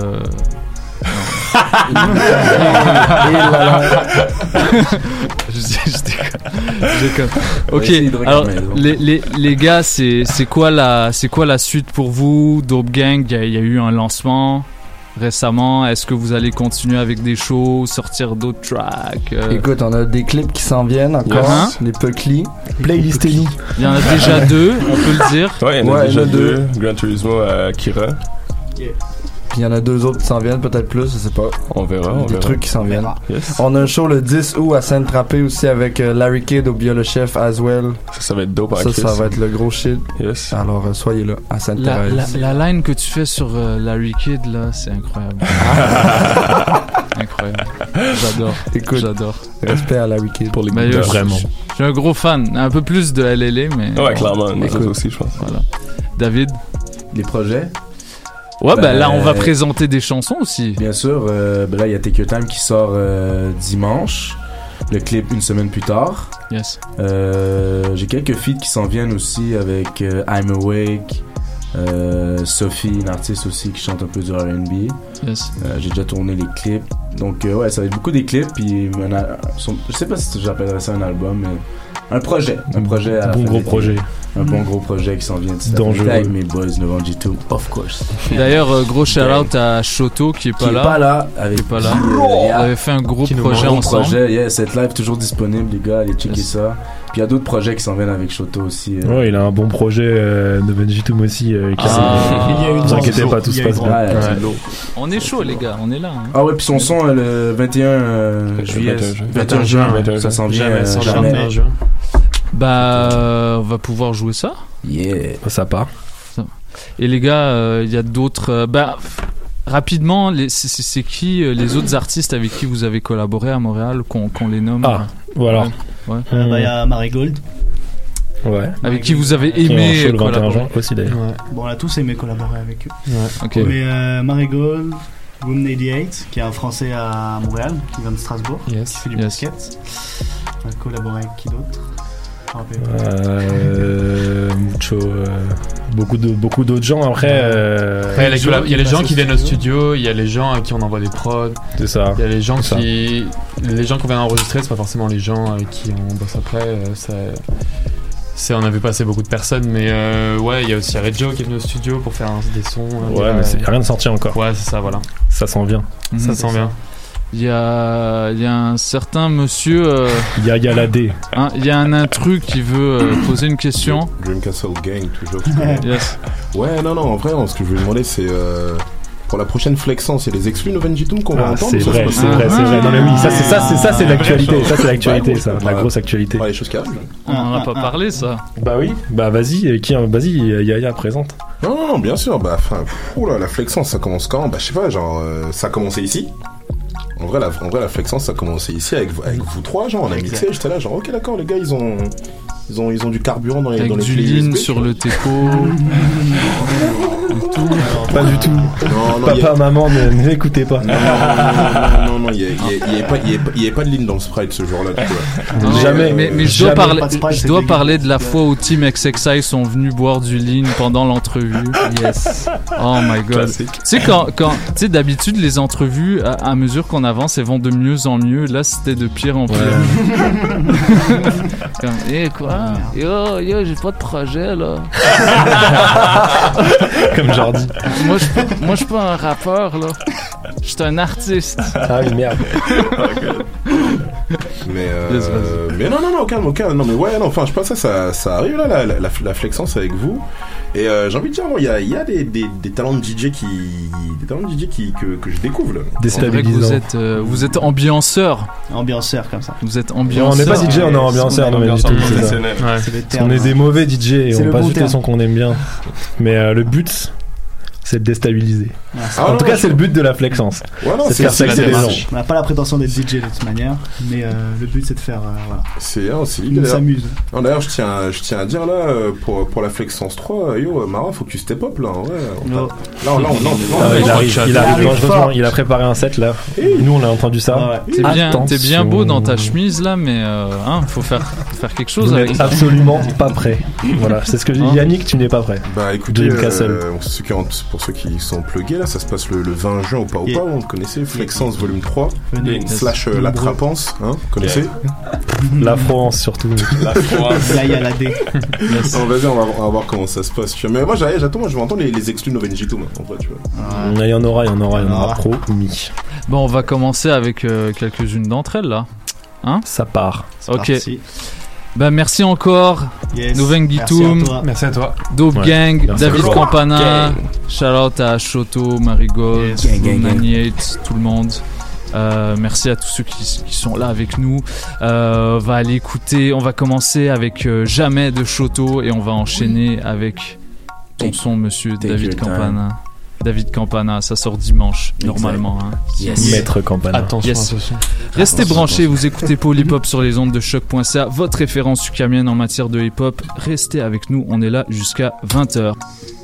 Q: je, je déconne. Je déconne.
J: On va essayer de
Q: Ok.
J: regarder
Q: Alors
J: à la maison.
Q: les, les, les gars, c'est c'est quoi la c'est quoi la suite pour vous? Dope Gang, il y, a- il y a eu un lancement récemment. Est-ce que vous allez continuer avec des shows, sortir d'autres tracks? euh,
G: Écoute, on a des clips qui s'en viennent encore,
Q: Yes.
G: les Puckly.
R: Playlistez-nous.
Q: Il y en a déjà deux, on peut le dire.
F: Ouais, il y en a
G: Ouais,
F: déjà
G: il y en a
F: deux. Gran Turismo à Kira.
G: Puis il y en a deux autres qui s'en viennent, peut-être plus, je sais pas.
F: On verra. On
G: Des
F: verra.
G: trucs qui s'en viennent.
F: Yes.
G: On a un show le dix août à Sainte-Tropez aussi avec euh, Larry Kidd au Biola Chef as well.
F: Ça, ça va être dope.
G: Ça, ça va être le gros shit.
F: Yes.
G: Alors euh, soyez là à
Q: La,
G: Sainte-Thérèse.
Q: la, la line que tu fais sur euh, Larry Kidd là, c'est incroyable. Incroyable. J'adore.
G: Écoute,
Q: j'adore.
G: Respect à Larry Kidd
F: pour les
Q: Ben,
F: gars.
Q: je-
F: Vraiment.
Q: Je suis un gros fan, un peu plus de L L A, mais
F: Ouais, clairement. Nous
Q: Écoute.
F: autres aussi, je pense.
Q: Voilà. David.
J: Les projets.
Q: Ouais, ben,
J: Ben,
Q: là on va présenter des chansons aussi.
J: Bien sûr, euh, ben là il y a Take Your Time qui sort euh, dimanche. Le clip une semaine plus tard.
Q: Yes.
J: Euh, j'ai quelques feats qui s'en viennent aussi avec euh, I'm Awake, euh, Sophie, une artiste aussi qui chante un peu du R and B.
Q: Yes.
J: Euh, j'ai déjà tourné les clips. Donc euh, ouais, ça va être beaucoup des clips. Puis un al- son- je sais pas si j'appellerais ça un album, mais un projet. Un projet à la
R: Bon
J: fin
R: gros
J: d'été.
R: projet.
J: Un bon gros projet qui s'en vient.
R: Dangereux.
J: Avec mes boys Novembre G deux, of course.
Q: D'ailleurs, euh, gros shout out à Shoto qui est pas
J: Qui est
Q: là.
J: pas là, avec
Q: Qui est pas là.
J: qui, euh,
Q: On
J: yeah.
Q: avait fait un gros
J: Qui nous
Q: projet
J: montre.
Q: ensemble.
J: Projet, yeah, cette live toujours disponible, les gars, allez checker
Q: Yes.
J: ça. Puis il y a d'autres projets qui s'en viennent avec Shoto aussi. euh.
R: Ouais, il a un bon projet euh, de Benjitum aussi. Euh, qui
J: Ah.
R: s'est-
J: Il y a eu
R: vous
J: du
R: inquiétez
J: lourd.
R: pas, tout
J: Il y
R: se
J: a eu
R: passe
J: du
R: bien.
J: lourd. Ouais,
R: Ouais.
J: du lourd.
Q: On est chaud, les gars, on est là. hein.
J: Ah ouais, puis son son euh, le vingt et un euh, juillet, vingt et un juin, ça s'en vient.
R: Jamais,
J: euh,
R: sans
J: jamais.
R: jamais. Juin.
Q: Bah, euh, on va pouvoir jouer ça.
J: Yeah.
R: Ça part.
Q: Et les gars, euh, il y a d'autres. euh, bah, f- rapidement, les- c'est- c'est c'est qui euh, les autres artistes avec qui vous avez collaboré à Montréal, qu'on qu'on les nomme
R: Ah, voilà.
Q: Ouais. Ouais.
S: Euh, bah, il y a Marigold.
R: Ouais.
Q: Avec qui vous avez
R: Qui est en
Q: aimé
R: show le vingt et un
Q: collaborer.
R: juin aussi d'ailleurs.
S: Bon, on a tous aimé collaborer avec eux.
Q: Ok.
S: Mais euh, Marigold, Room quatre-vingt-dix, qui est un Français à Montréal, qui vient de Strasbourg, qui fait du
Q: Yes.
S: basket. On a collaboré avec qui d'autre? Je me rappelle pas.
R: Euh, mucho, euh, beaucoup de beaucoup d'autres gens après. euh,
H: Après, il y a les collab- il y a les gens qui viennent au studio, il y a les gens à qui on envoie des prods.
R: C'est ça.
H: Il y a les gens
R: C'est
H: qui. Les gens qu'on vient enregistrer, c'est pas forcément les gens avec qui on bosse après. euh, ça- C'est, on avait passé beaucoup de personnes, mais euh, ouais, il y a aussi Reggio qui est venu au studio pour faire un- des sons. euh,
R: Ouais, mais c'est rien de sorti encore.
H: Ouais, c'est ça, voilà.
R: Ça s'en vient.
H: Ça
Q: Mhm.
H: sent bien.
Q: Il y a, il y a un certain monsieur. euh,
R: Il y a, il y a la D.
Q: hein, il y a un intrus qui veut euh, poser une question.
K: Dream Castle Gang, toujours.
Q: Yes.
K: Ouais, non, non, en vrai, ce que je voulais demander, c'est euh, pour la prochaine Flexence, il y a les exclus Novenjitum qu'on va
R: Ah,
K: entendre.
R: c'est
K: ou ça se
R: vrai,
K: passe-
R: c'est vrai, c'est vrai. Non mais oui, ça c'est ça, c'est ça, c'est l'actualité.
K: Vraie chose.
R: Ça c'est l'actualité,
K: Ouais,
R: ça,
K: bon,
R: la
K: ouais.
R: grosse actualité.
K: Ouais, les choses qui arrivent.
Q: On en a pas parlé, ça.
R: Bah oui. Bah vas-y, euh, qui, vas-y, Yaya présente.
K: Non, non, non, bien sûr. Bah, enfin, oula, la Flexence, ça commence quand? Bah, je sais pas, genre, euh, ça a commencé ici. En vrai, la, en vrai, la Flexence, ça a commencé ici avec, vous- avec vous trois, genre, on a mixé, j'étais là, genre, ok, d'accord, les gars, ils ont, ils ont, ils ont du carburant dans les,
Q: Avec
K: dans les
Q: du
K: clés
Q: lean
K: U S B,
Q: sur
K: tu vois.
Q: le teco.
R: Pas du tout.
K: Non, non,
R: Papa,
K: il y a-
R: maman, ne ne l'écoutez pas.
K: Non, non, non, non, non, il y a- il y a- il y avait pas, il y avait pas- il y avait pas de ligne dans le Sprite ce jour-là, tu vois.
Q: Non,
R: Jamais.
Q: Mais, mais je dois,
R: Jamais.
Q: parler,
S: Pas de Sprite,
Q: je
S: c'est
Q: dois
S: dégueu.
Q: parler de la fois où Team X X I sont venus boire du lean pendant l'entrevue. Yes. Oh my god.
K: Classique.
Q: Tu sais, quand, quand, tu sais, d'habitude, les entrevues, à, à mesure qu'on avance, elles vont de mieux en mieux. Là, c'était de pire en pire. Comme, eh, quoi? Yo, yo, j'ai pas de projet, là.
R: Comme Jordi.
Q: Moi, je suis pas- moi, je suis pas un rappeur, là. Je suis un artiste.
R: Ah oui, merde.
K: Mais, euh,
Q: Yes, vas-y.
K: mais non, non, non, calme, calme. Non, mais ouais, non, enfin, je pense que ça, ça, ça arrive là, la, la, la, la Flexence avec vous. Et euh, j'ai envie de dire, il y a, il y a des, des, des talents de D J qui, des talents de D J qui, que, que je découvre là.
Q: C'est vrai que vous êtes, euh, vous êtes ambianceur.
S: Ambianceur comme ça.
Q: Vous êtes
R: Non,
Q: ambianceur.
R: on n'est pas D J, on est ambianceur, non mais du tout. c'est ça.
F: Professionnel.
H: Ouais.
S: C'est le
R: On
S: terme.
R: est des mauvais D J et
S: C'est
R: on
S: le
R: passe
S: bon
R: juste les
S: terme.
R: sons qu'on aime bien. Mais euh, le but, c'est de déstabiliser.
S: Ah, c'est-
K: Ah,
R: En
K: non,
R: tout
K: non,
R: cas,
K: je-
R: c'est le but de la Flexence.
K: Ouais, non,
R: C'est de
K: c'est
R: faire
K: c'est la
R: sexer les gens.
K: démarche.
S: On n'a pas la prétention d'être D J de toute manière, mais euh, le but c'est de faire. euh, voilà.
K: C'est, hein, c'est
S: On
K: l'idée. d'ailleurs.
S: s'amuse.
K: Non, d'ailleurs, je tiens, à- je tiens à dire là, euh, pour, pour la Flexence trois, euh, yo, Mara, faut que tu step up là. Ouais, on t'a-
S: Oh.
K: là, on- là, on- là, on- là, on-
R: Ah ouais, il
K: là,
R: arrive,
K: on-
R: il arrive
S: arrive
R: dangereusement.
S: fort.
R: Il a préparé un set là. Nous, on a entendu ça.
S: Ah ouais.
Q: T'es bien, t'es bien beau dans ta
R: Attention.
Q: chemise là, mais euh, hein, faut faire, faut faire quelque chose
R: Vous
Q: avec
R: n'êtes
Q: ça.
R: absolument pas prêt. Voilà, c'est ce que je dis.
Q: Hein
R: Yannick, tu n'es pas prêt.
K: Bah écoutez,
R: Dream Castle.
K: euh, ceux qui ont- pour ceux qui sont plugués là, ça se passe le, le vingt juin au pas au
S: Yeah.
K: pas, vous connaissez, Flexence volume trois,
S: Venez.
K: slash euh, la trapance, hein, vous connaissez.
R: La France surtout.
F: La France.
S: Là il y a la D.
K: Non, vas-y, on va, on va voir comment ça se passe. tu vois. Mais moi, j'ai- j'attends, moi, je veux entendre les, les exclus Novenjitum, en vrai, tu vois.
R: Il y en aura, il y en aura, il y en aura
S: Ah.
R: promis.
Q: Bon, on va commencer avec euh, quelques-unes d'entre elles là. Hein?
R: Ça part.
Q: Ok.
S: Parti.
Q: Bah merci encore.
S: Yes.
Q: Nouven Guitoum.
S: Merci à toi.
H: Merci à toi.
Q: Dope
H: Ouais.
Q: Gang,
H: Merci
Q: David
H: à toi.
Q: Campana.
H: Gang.
Q: Shout out à Shoto, Marigold,
H: Yes. Gang, gang, gang.
Q: Naniate, tout le monde. Euh, merci à tous ceux qui, qui sont là avec nous. Euh, on va aller écouter, on va commencer avec euh, Jamais de Shoto et on va enchaîner avec ton son, monsieur
J: Take
Q: David
J: your time.
Q: Campana. David Campana, ça sort dimanche,
J: Exact.
Q: normalement. Hein.
J: Yes.
R: Maître Campana.
H: Attention
Q: Yes.
H: à ce son.
Q: Restez
H: Attention,
Q: branchés,
H: attention.
Q: vous écoutez Polypop sur les ondes de choc point c a, votre référence ukamienne en matière de hip-hop. Restez avec nous, on est là jusqu'à vingt heures.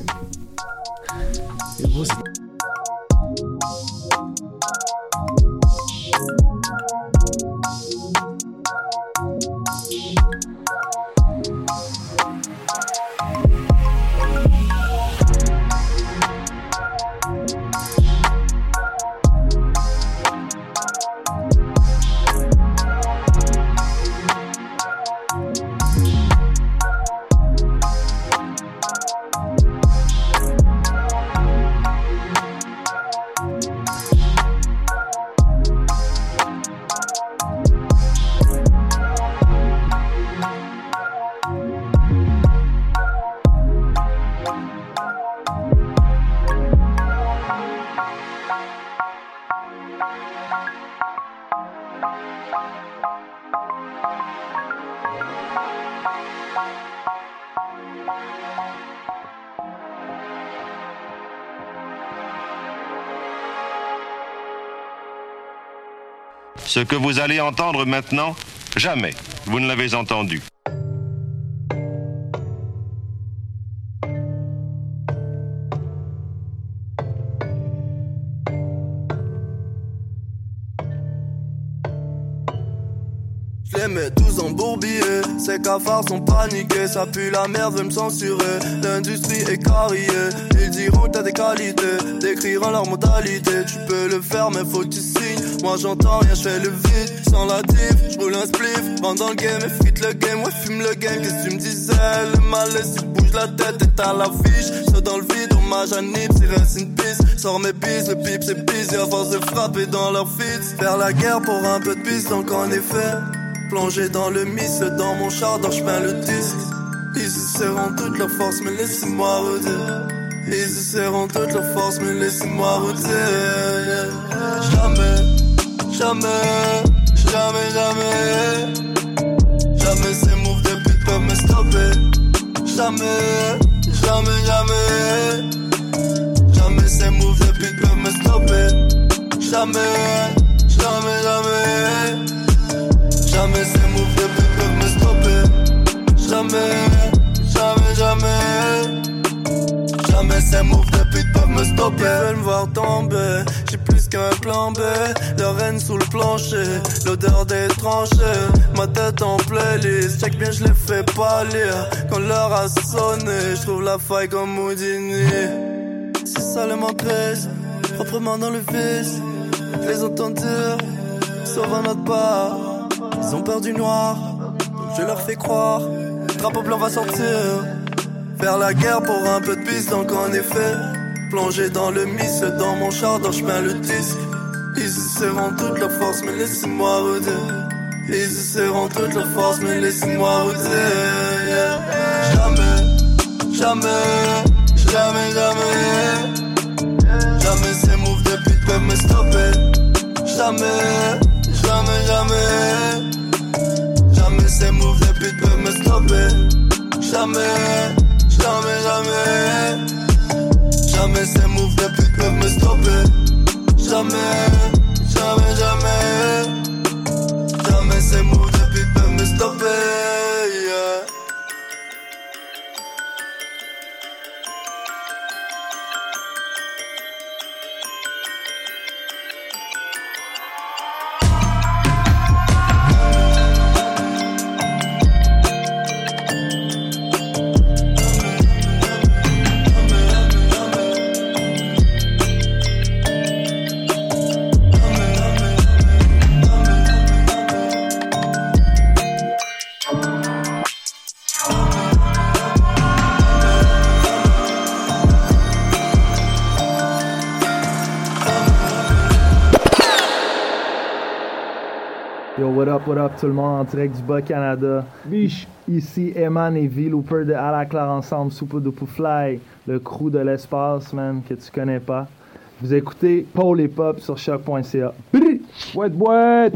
L: Ce que vous allez entendre maintenant, jamais vous ne l'avez entendu.
U: Je les mets tous en bourbier, ces cafards sont paniqués, ça pue la merde, veut me censurer, l'industrie est carriée, ils diront que t'as des qualités, décriront leur modalité, tu peux le faire mais faut que tu signes, moi j'entends rien, je fais le vide, sans la div, je roule un spliff, rentre dans le game, effrite le game, ouais fume le game, qu'est-ce que tu me disais, le malaise, il bouge la tête et t'as l'affiche, saute dans le vide, hommage à Nip, c'est reste une piste, sors mes pistes, le pipe c'est pisse, et à force de frapper dans leur fits, faire la guerre pour un peu de piste, donc en effet, plongé dans le miss, dans mon char, dans chemin le disque. Ils essaieront toute leur force, mais laissez-moi redire. Ils essaieront toute leur force, mais laissez-moi redire. Jamais, jamais, jamais, jamais. Jamais ces moves de pute peuvent me stopper. Jamais, jamais, jamais. Jamais ces moves de pute peuvent me stopper. Jamais, jamais, jamais. Jamais ces moves de pute peuvent me stopper. Jamais, jamais, jamais. Jamais ces moves de pute peuvent me stopper. Ils veulent me voir tomber, j'ai plus qu'un plan B. Leur haine sous le plancher, l'odeur des tranchées. Ma tête en playlist, check bien je les fais pas lire. Quand l'heure a sonné, je trouve la faille comme Houdini. C'est ça le m'empêche, proprement dans le vice. Je les entends dire, sauf à notre part. Ils ont peur du noir, donc je leur fais croire. Le drapeau blanc va sortir. Faire la guerre pour un peu de piste, donc en effet, plongé dans le miss, dans mon char, dans chemin le disque. Ils essaieront toute leur force, mais laissez-moi redire. Ils essaieront toute leur force, mais laissez-moi redire. Yeah. Jamais, jamais, jamais, jamais. Jamais ces moves de pute peuvent me stopper. Jamais. Jamais, jamais. Jamais ces moves de pute peuvent me stopper. Jamais, jamais, jamais. Jamais ces moves de pute peuvent me stopper. Jamais, jamais, jamais. Jamais ces moves de pute peuvent me stopper. Yeah.
M: What up, what up tout le monde en direct du Bas-Canada. Biche. Ici Eman et V-Looper de À la Claire Ensemble, Super Duper Fly, le crew de l'espace, man, que tu connais pas. Vous écoutez Paul et Pop sur choc point c a. Boîte, boîte!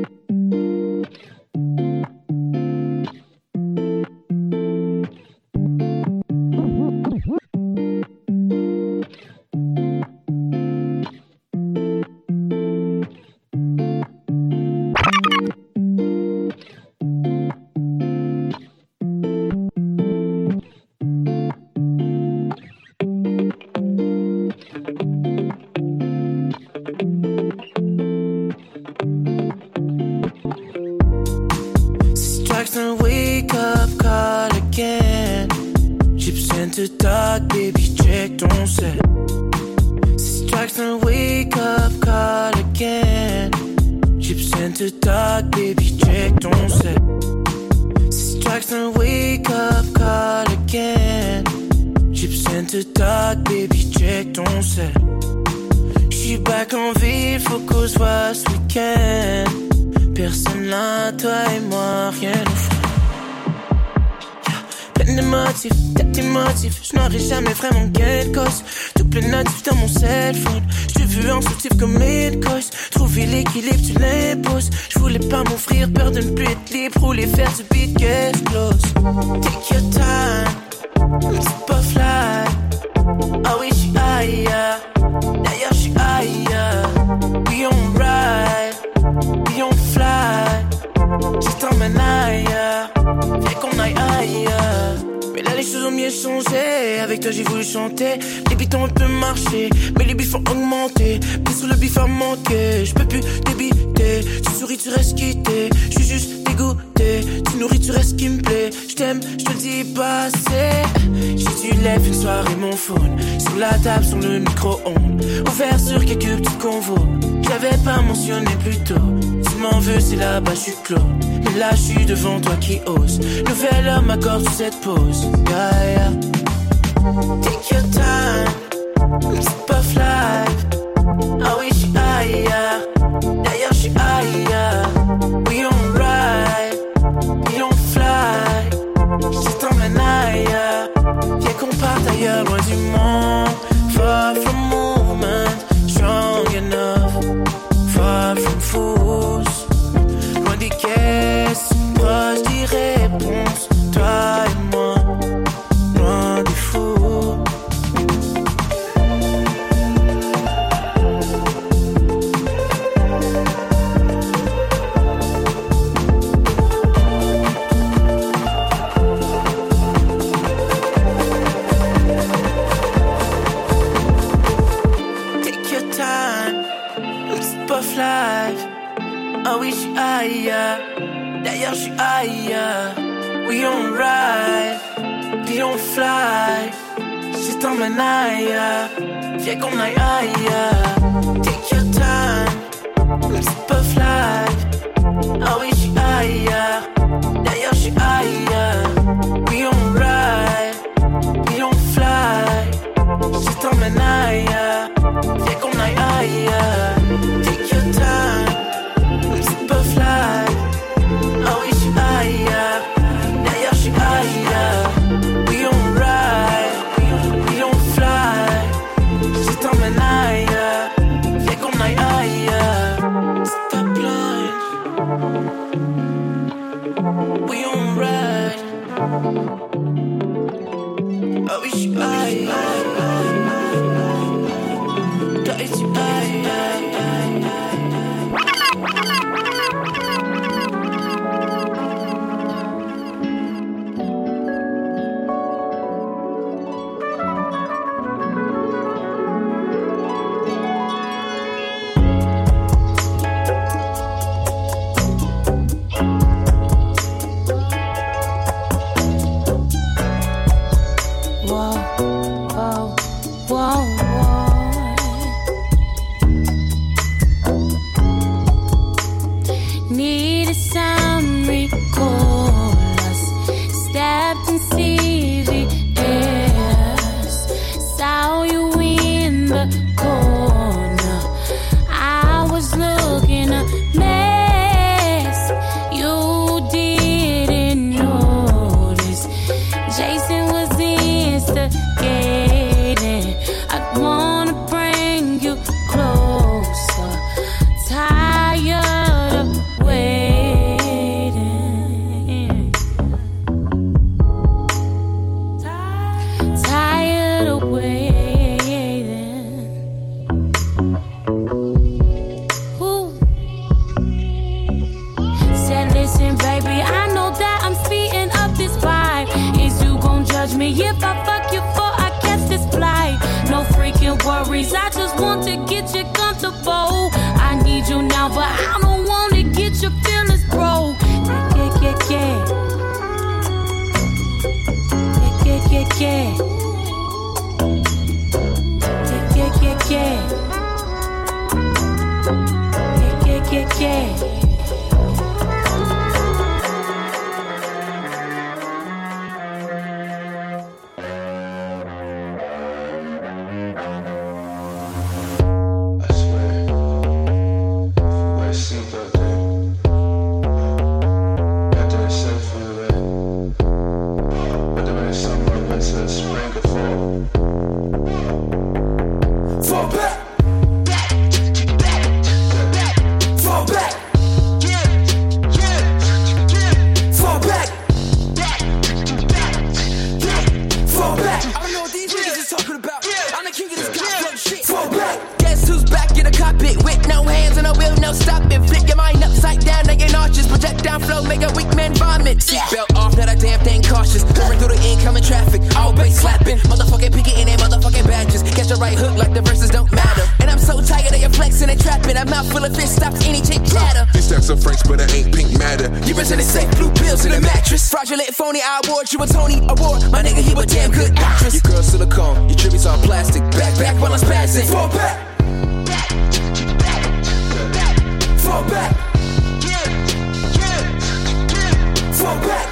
X: Je n'aurai jamais vraiment gain de cause. Double natif dans mon cell phone. Je t'ai vu en soutif comme Midcoast. Trouver l'équilibre, tu l'imposes. Je voulais pas m'offrir peur de ne plus être libre. Rouler, faire du beat qui explose. Take your time, c'est pas fly. Ah oui, j'suis ailleurs. D'ailleurs, j'suis ailleurs. We on ride, we on fly. Je t'emmène ailleurs. Viens qu'on aille ailleurs. Mais là les choses ont mieux changé. Avec toi j'ai voulu chanter. Les beats ont un peu marché, mais les bifs ont augmenté. Puis sur le bif a manqué. J'peux plus débiter. Tu souris, tu restes quitté. J'suis juste dégoûté. Tu nourris, tu restes qui me plaît. J't'aime, j'te le dis pas assez. J'ai dû lève une soirée mon phone sur la table, sur le micro-ondes. Ouvert sur quelques petits convos. J'avais pas mentionné plus tôt. Tu m'en veux, c'est là-bas, j'suis clos. Mais là, j'suis devant toi qui ose. Nouvel homme m'accorde sur cette pause. Yeah, yeah. Take your time, c'est pas fly. Ah oui, j'suis ailleurs. D'ailleurs, j'suis ailleurs. We on ride, we on fly. Je t'emmène ailleurs. Viens qu'on parte ailleurs, loin du monde. Far from movement, strong enough. Far from fools. Loin des caisses, proche des réponses. Toi et moi, loin des fous. Take your time, c'est pas life. Ah oui, j'suis ailleurs. D'ailleurs, j'suis ailleurs. We on ride, we on fly. Je t'emmène ailleurs. Viens qu'on aille ailleurs. Take your time, c'est pas fly. Ah oui, j'suis ailleurs. D'ailleurs, j'suis ailleurs. We on ride, we on fly. Je t'emmène ailleurs. Viens qu'on aille ailleurs. Take your time, c'est pas fly. Ah oui, j'suis ailleurs. D'ailleurs, j'suis ailleurs. We on ride, we on fly. Je t'emmène ailleurs. Viens qu'on aille ailleurs. Stop blind. We on ride. Ah oui, j'suis ailleurs. Toi et tu ailleurs.
E: Corner, I was looking a mess.
I: comfortable. I need you now, but I don't wanna get your feelings broke. Yeah, yeah, yeah, yeah. Yeah, yeah, yeah, yeah. Yeah, yeah, yeah, yeah. Yeah, yeah, yeah.
N: You a Tony Award, my nigga, you a damn good actress. Your girl silicone, your tributes all plastic. Back, back while I'm spazzing. Fall back. Fall back. Fall back.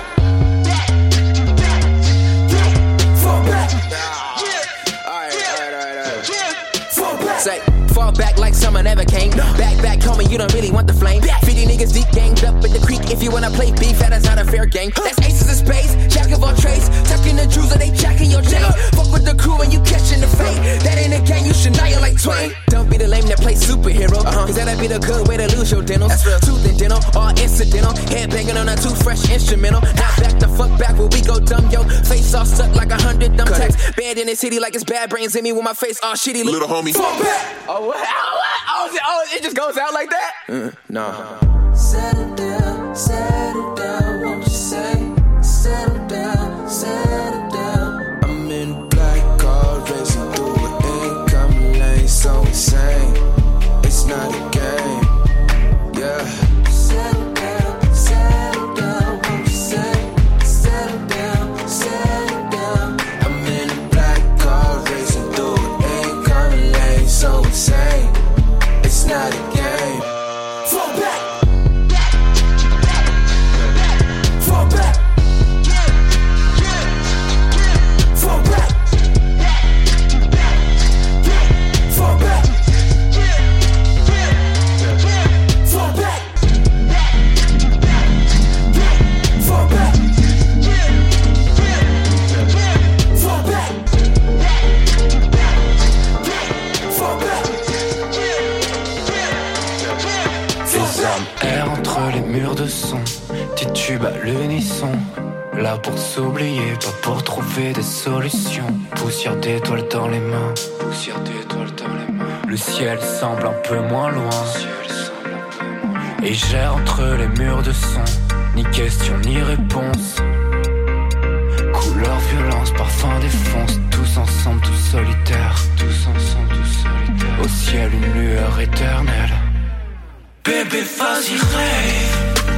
N: Fall back. Alright, alright, alright, alright. Fall back. Say, fall back like summer never came. Back, back, homie, you don't really want the flame. fifty niggas deep ganged up in the creek. If you wanna play beef, that is not a fair game. That's aces of spades, jack of all trades. Tucking the jewels or they jacking your chain. Fuck with the crew when you catching the fade. That ain't a game, you should Shania like Twain. Don't be the lame that plays superhero. Uh-huh. Cause that'd be the good way to lose your dentals. That's real. Tooth and dental, all incidental. Head banging on a too fresh instrumental. Now back the fuck back where we go dumb, yo. Face all stuck like a hundred dumb tacks. Bad in the city like it's bad brains in me with my face all shitty. Little homie. Fall back. Oh, what? Oh, what? Oh, oh, it just goes out like that? Uh, nah.
X: Settle down, settle down, won't you say? Settle down, settle down.
U: I'm in a black car racing through an incoming lane, so insane. It's not a game, yeah.
X: Settle down, settle down, won't you say? Settle down, settle down.
U: I'm in a black car racing through an incoming lane, so insane. It's not a game.
X: Fall back.
W: De son, titube à l'unisson. Là pour s'oublier, pas pour trouver des solutions. Poussière d'étoiles dans les mains. Poussière d'étoiles dans les mains. Le ciel semble un peu moins loin. Et j'ai entre les murs de son, ni question ni réponse. Couleur, violence, parfum défonce. Tous ensemble, tous solitaires. Tous ensemble, tous solitaires. Au ciel une lueur éternelle.
X: Bébé, vas-y, rêve.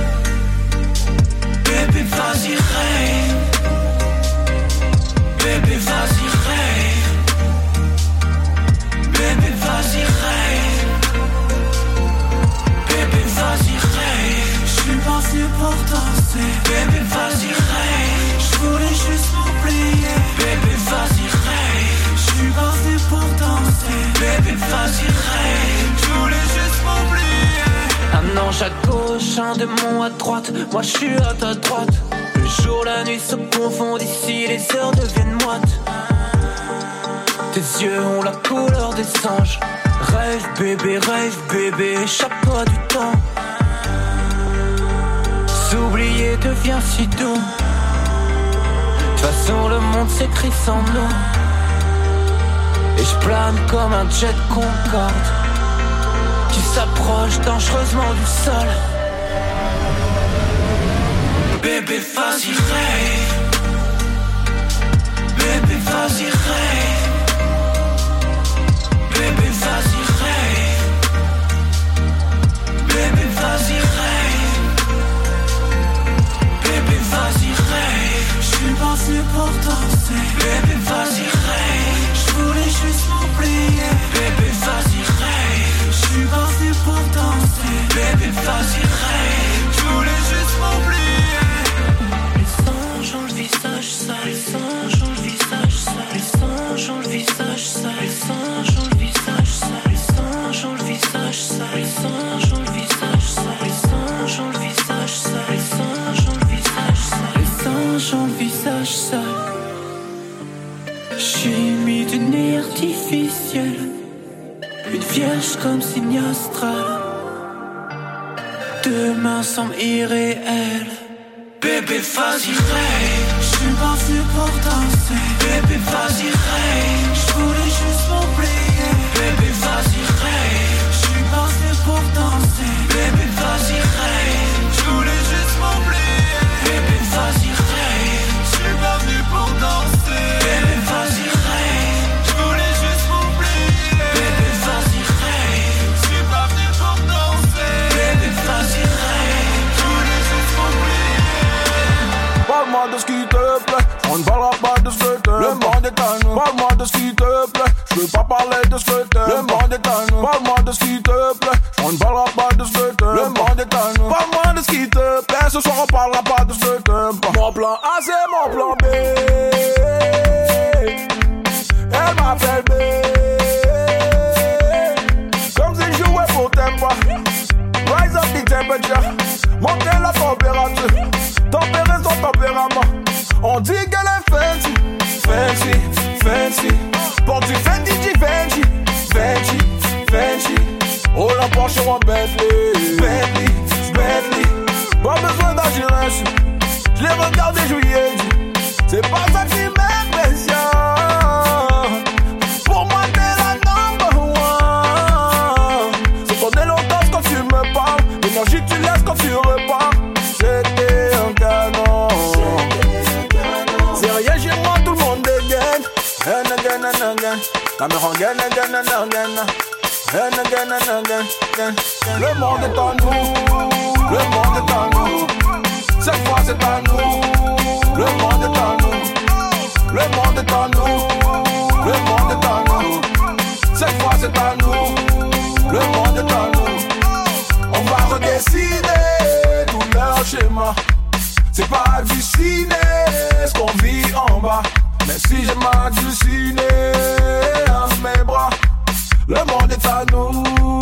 X: Bébé, vas-y, rêve. Bébé, vas-y, rêve. Bébé, vas-y, rêve. Bébé, vas-y, rêve. J'suis pas venu pour danser. Bébé, vas-y, rêve. J'voulais juste m'oublier. Bébé, vas-y, rêve. J'suis pas venu pour danser. Bébé, vas-y, rêve. J'voulais juste m'oublier.
W: Un ange à gauche, un démon à droite. Moi je suis à ta droite. Le jour, la nuit se confondent ici, les heures deviennent moites. Tes yeux ont la couleur des anges. Rêve bébé, rêve bébé, échappe pas du temps. S'oublier devient si doux. De toute façon le monde s'écrit sans nous. Et je plane comme un jet Concorde qui s'approche dangereusement du sol.
X: Bébé, vas-y, rêve. Bébé, vas-y, rêve. Bébé, vas-y, rêve.
W: visage sale. Les singes ont le visage sale. Les singes ont le visage sale. Les singes ont le visage sale. Les singes ont le visage sale. Les singes ont le visage sale. Les singes ont le visage sale. Chimie du nez artificiel. Une vierge comme signe astral. Demain semble irréel. Bébé vas-y rêve. J'suis pas venu pour danser. Bébé vas-y rêve. J'voulais juste m'oublier. Bébé vas-y rêve. J'suis pas venu pour danser. Bébé vas-y rêve. J'voulais juste m'oublier. Bébé vas-y rêve. J'suis pas venu pour danser. Bébé vas-y rêve. J'voulais juste m'oublier. Bébé vas-y rêve. J'suis pas venu pour danser. Bébé vas-y rêve. J'voulais juste m'oublier.
O: Parle-moi de ce qui te plaît, on ne parlera pas de ce que t'aimes. Le monde est à nous. Parle-moi de ce qui te plaît, je veux pas parler de ce que t'aimes. Le monde est à nous. Parle-moi de ce qui te plaît, on ne parlera pas de ce que t'aimes. Le monde est à nous. Parle-moi de ce qui te plaît, ce soir on parlera pas de ce que t'aimes. Mon plan A c'est mon plan B. Elle m'appelle B. Comme si je jouais pour Tempa. Rise up the temperature, monter la température. Tempérer son tempérament. On dit qu'elle est fancy, fancy, fancy. Porte du Fendi, Givenchy, Fendi, Fendi. Oh la Porsche en Bentley, Bentley, Bentley. Pas besoin d'agir ainsi. Je l'ai regardé jouer, c'est pas ça qui m'impressionne. Pour moi t'es la number one. C'est ton éloquence quand tu me parles, l'énergie que tu laisses quand tu repars. C'était un canon. C'est rien chez moi, tout le monde dégaine. And again and again. La me rend again, again and again. And again and again. Le monde est à nous. Le monde est à nous. Cette fois c'est à nous. Le monde est à nous. Le monde est à nous. Le monde est à nous. Cette fois c'est à nous. Le monde est à nous. On va redessiner tout leur schéma. C'est pas halluciné ce qu'on vit en bas. Mais si j'ai m'halluciné à mes bras, le monde est à nous.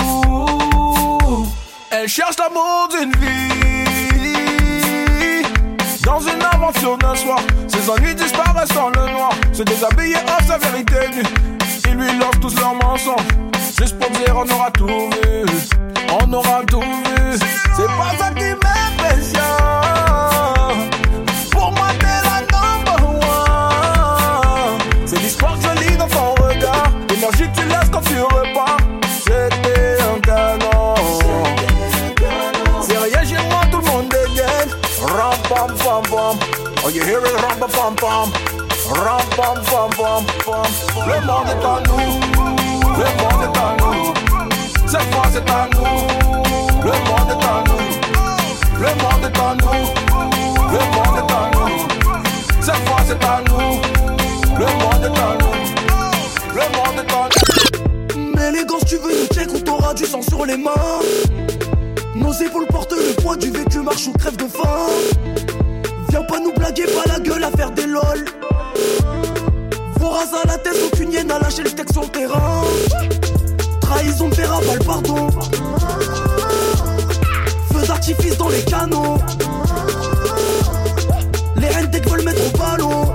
O: Elle cherche l'amour d'une vie. Dans une aventure d'un soir, ses ennuis disparaissent dans le noir. Se déshabiller à sa vérité nue. Ils lui lancent tous leurs mensonges. Juste pour dire on aura tout vu. On aura tout vu. C'est pas ça qui m'impressionne. Pour moi t'es la number one. C'est l'histoire que je lis dans ton regard. L'énergie que tu laisses quand tu repars. C'était un canon. C'est rien chez moi, tout le monde dégaine. Ram pam pam pam. Oh you hear it ram pam pam pam. Ram pam pam pam pam. Le monde est à nous. Le monde est à nous. Cette fois c'est à nous. Le monde est à nous. Le monde est à nous. Le monde est à nous. Cette fois c'est à nous. Le monde est à nous. Le monde est à nous.
X: Mais les gants, tu veux nous check ou t'auras du sang sur les mains. Nos épaules portent le poids du vécu, marche ou crève de faim. Viens pas nous blaguer, pas la gueule à faire des lol. Voraz à la tête, aucune hyène à lâcher le texte sur le terrain. Trahison de verra, pas le pardon. Feux d'artifice dans les canons. Les reines dès que veulent mettre au ballon.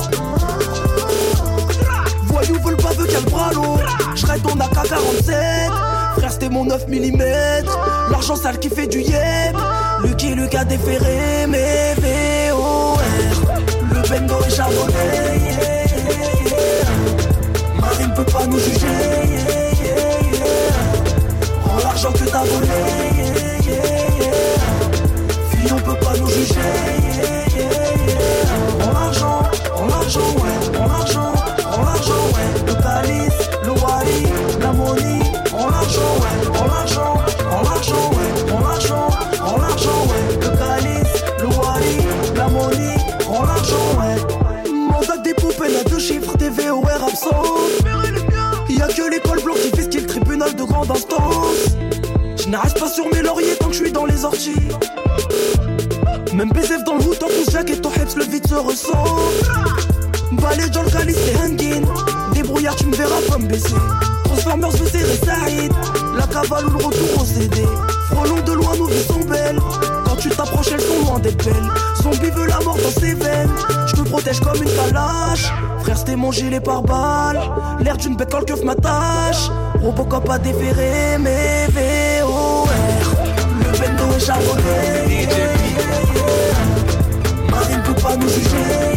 X: Voyous veulent pas, veut qu'elle bras long. J'raide ton A K quarante-sept. Frère c'était mon neuf millimètres. L'argent sale qui fait du yep. Lucky Lucas déféré. Mes V O R. Le bendo est charbonné, yeah, yeah, yeah. Marine peut pas nous juger, yeah, yeah, yeah. Rends l'argent que t'as volé, yeah, yeah, yeah. Fille on peut pas nous juger, yeah, yeah, yeah. Rends l'argent, rends l'argent, ouais. Rends l'argent, rends l'argent, ouais. Le calice, le wali, la money. Rends l'argent, ouais. Rends l'argent, rends l'argent, ouais. Rends l'argent, rends l'argent, ouais. Le calice, le wali, la money. Rends l'argent, ouais. Mandat des poupées, là deux chiffres, T V O R absent. Y'a que l'école blanche qui fait ce qui est le tribunal de grande instance. Je n'arrête pas sur mes lauriers tant que je suis dans les orties. Même P S F dans le hood, tant qu'on se jack et ton heps, le vide se ressent. Balai dans le calice, les hangin'. des brouillards, tu me verras pas me baisser. Transformers veut serrer Saïd, la cavale ou le retour au C D. Frelons de loin, nos vies sont belles. Quand tu t'approches, elles sont loin d'être belles. Zombie veut la mort dans ses veines. Je te protège comme une calache. Frère, c'était mon gilet par balle. L'air d'une bête quand le keuf m'attache. Robocop a déféré mes V O R. Le bendo est charbonné. Marine peut pas nous juger.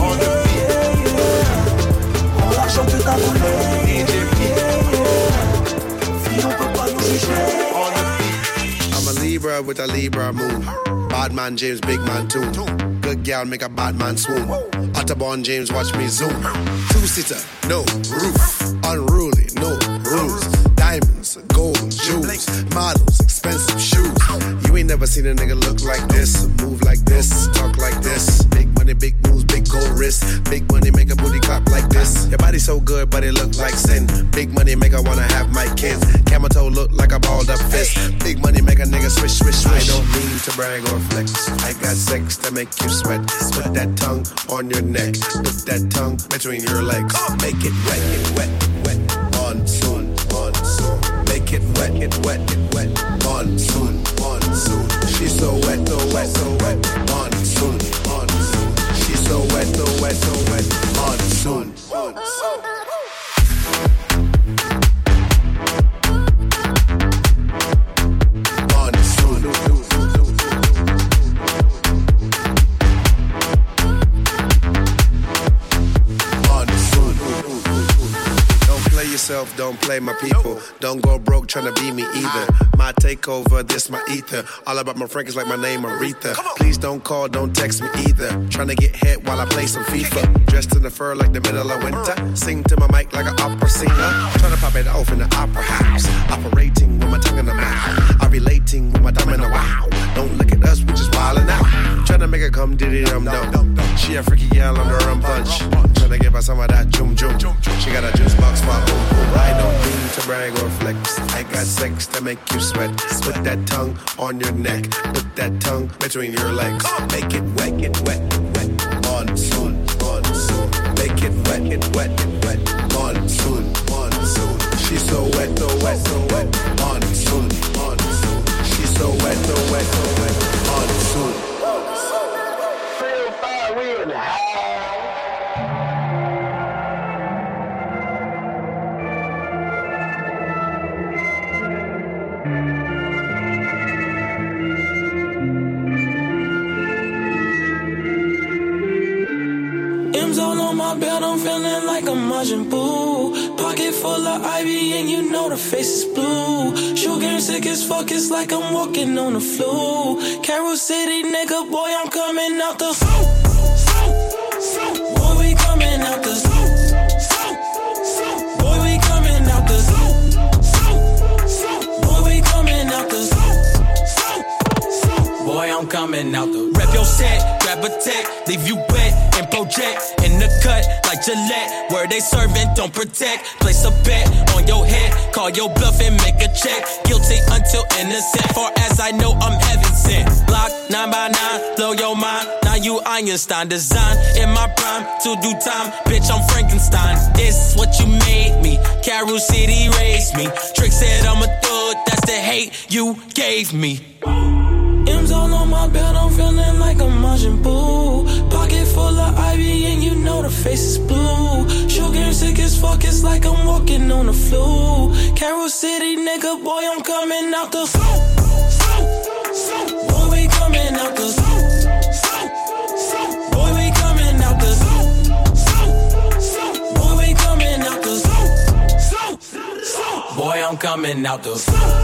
X: Prends l'argent que t'as volé. Fille, on peut pas nous juger.
B: I'm a Libra with a Libra moon. Bad man James, big man too. Good gal make a bad man swoon. Otterborn James, watch me zoom. Two-seater, no roof. Unruly, no rules. Diamonds, gold, jewels. Models, expensive shoes. You ain't never seen a nigga look like this. Move like this, talk like this. Big money, big moves, big gold wrist. Big money make a booty clap like this. Your body so good, but it look like sin. Big money make I wanna have my kids. Camel toe look like a balled up fist. Big money make a nigga swish, swish, swish. I don't mean to brag or flex. I got sex to make you sweat. Put that tongue on your neck. Put that tongue between your legs. Make it wet, it wet, wet. Monsoon, monsoon. Make it wet, it wet, it wet. Monsoon, monsoon. She's so wet, so wet, so wet. Monsoon, monsoon. She's so wet, so wet, so wet. Monsoon, monsoon. Don't play my people. Don't go broke tryna be me either. My takeover, this my ether. All about my Frank is like my name Aretha. Please don't call, don't text me either. Tryna get hit while I play some FIFA. Dressed in the fur like the middle of winter. Sing to my mic like an opera singer. Tryna pop it off in the opera house. Operating with my tongue in the mouth. I'm relating with my thumb in the wow. Don't look at us, we just wildin' out. Tryna make her come diddy dum dum. She a freaky gal on the rum punch. Tryna give her some of that jum jum. She got a juice box for boom boom. I don't mean to brag or flex. I got sex to make you sweat. Put that tongue on your neck. Put that tongue between your legs. Make it wet, it wet, wet. Monsoon, monsoon. Make it wet, it wet, it wet. Monsoon, monsoon. She's so wet, so wet, so wet. Monsoon, monsoon. She's so wet, so wet, so wet. Monsoon. Feel fire, we in the house.
X: M's all on my belt, I'm feeling like a Majin Buu. Pocket full of ivy and you know the face is blue. Shoe game sick as fuck, it's like I'm walking on the flu. Carol City nigga, boy, I'm coming out the boy, we coming out the boy, we coming out the boy, we coming out the boy, I'm coming out the rep your set, grab a tech, leave you wet and project in the cut like Gillette. Where they serving, don't protect. Place a bet on your head, call your bluff and make a check. Guilty until innocent. Far as I know, I'm heaven sent. Block nine by nine, blow your mind. Now you Einstein, design in my prime to do time. Bitch, I'm Frankenstein. This what you made me. Carol City raised me. Trick said I'm a thug. That's the hate you gave me. M's all on my belt, I'm feeling like a Majin Buu. Pocket full of ivy and you know the face is blue. Shoe game sick as fuck, it's like I'm walking on the flu. Carol City nigga, boy, I'm coming out the boy, we coming out the boy, we coming out the boy, we coming out the boy, I'm coming out the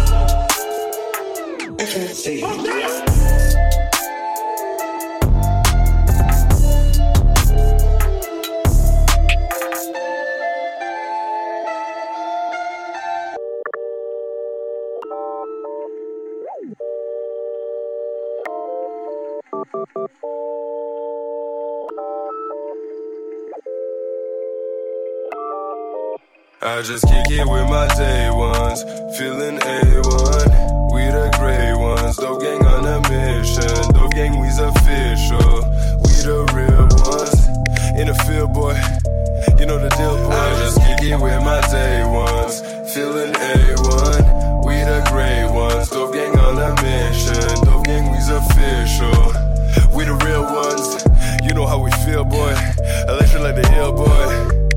U: I just kick it with my day ones, feeling A one. We the gray ones, Dope Gang on a mission. Dope Gang, we's official. We the real ones, in the field, boy. You know the deal, boy. I just kick it with my day ones. Feeling A one. We the gray ones. Dope gang on a mission. Dope gang, we's official. We the real ones. You know how we feel, boy. Electric like the hill, boy.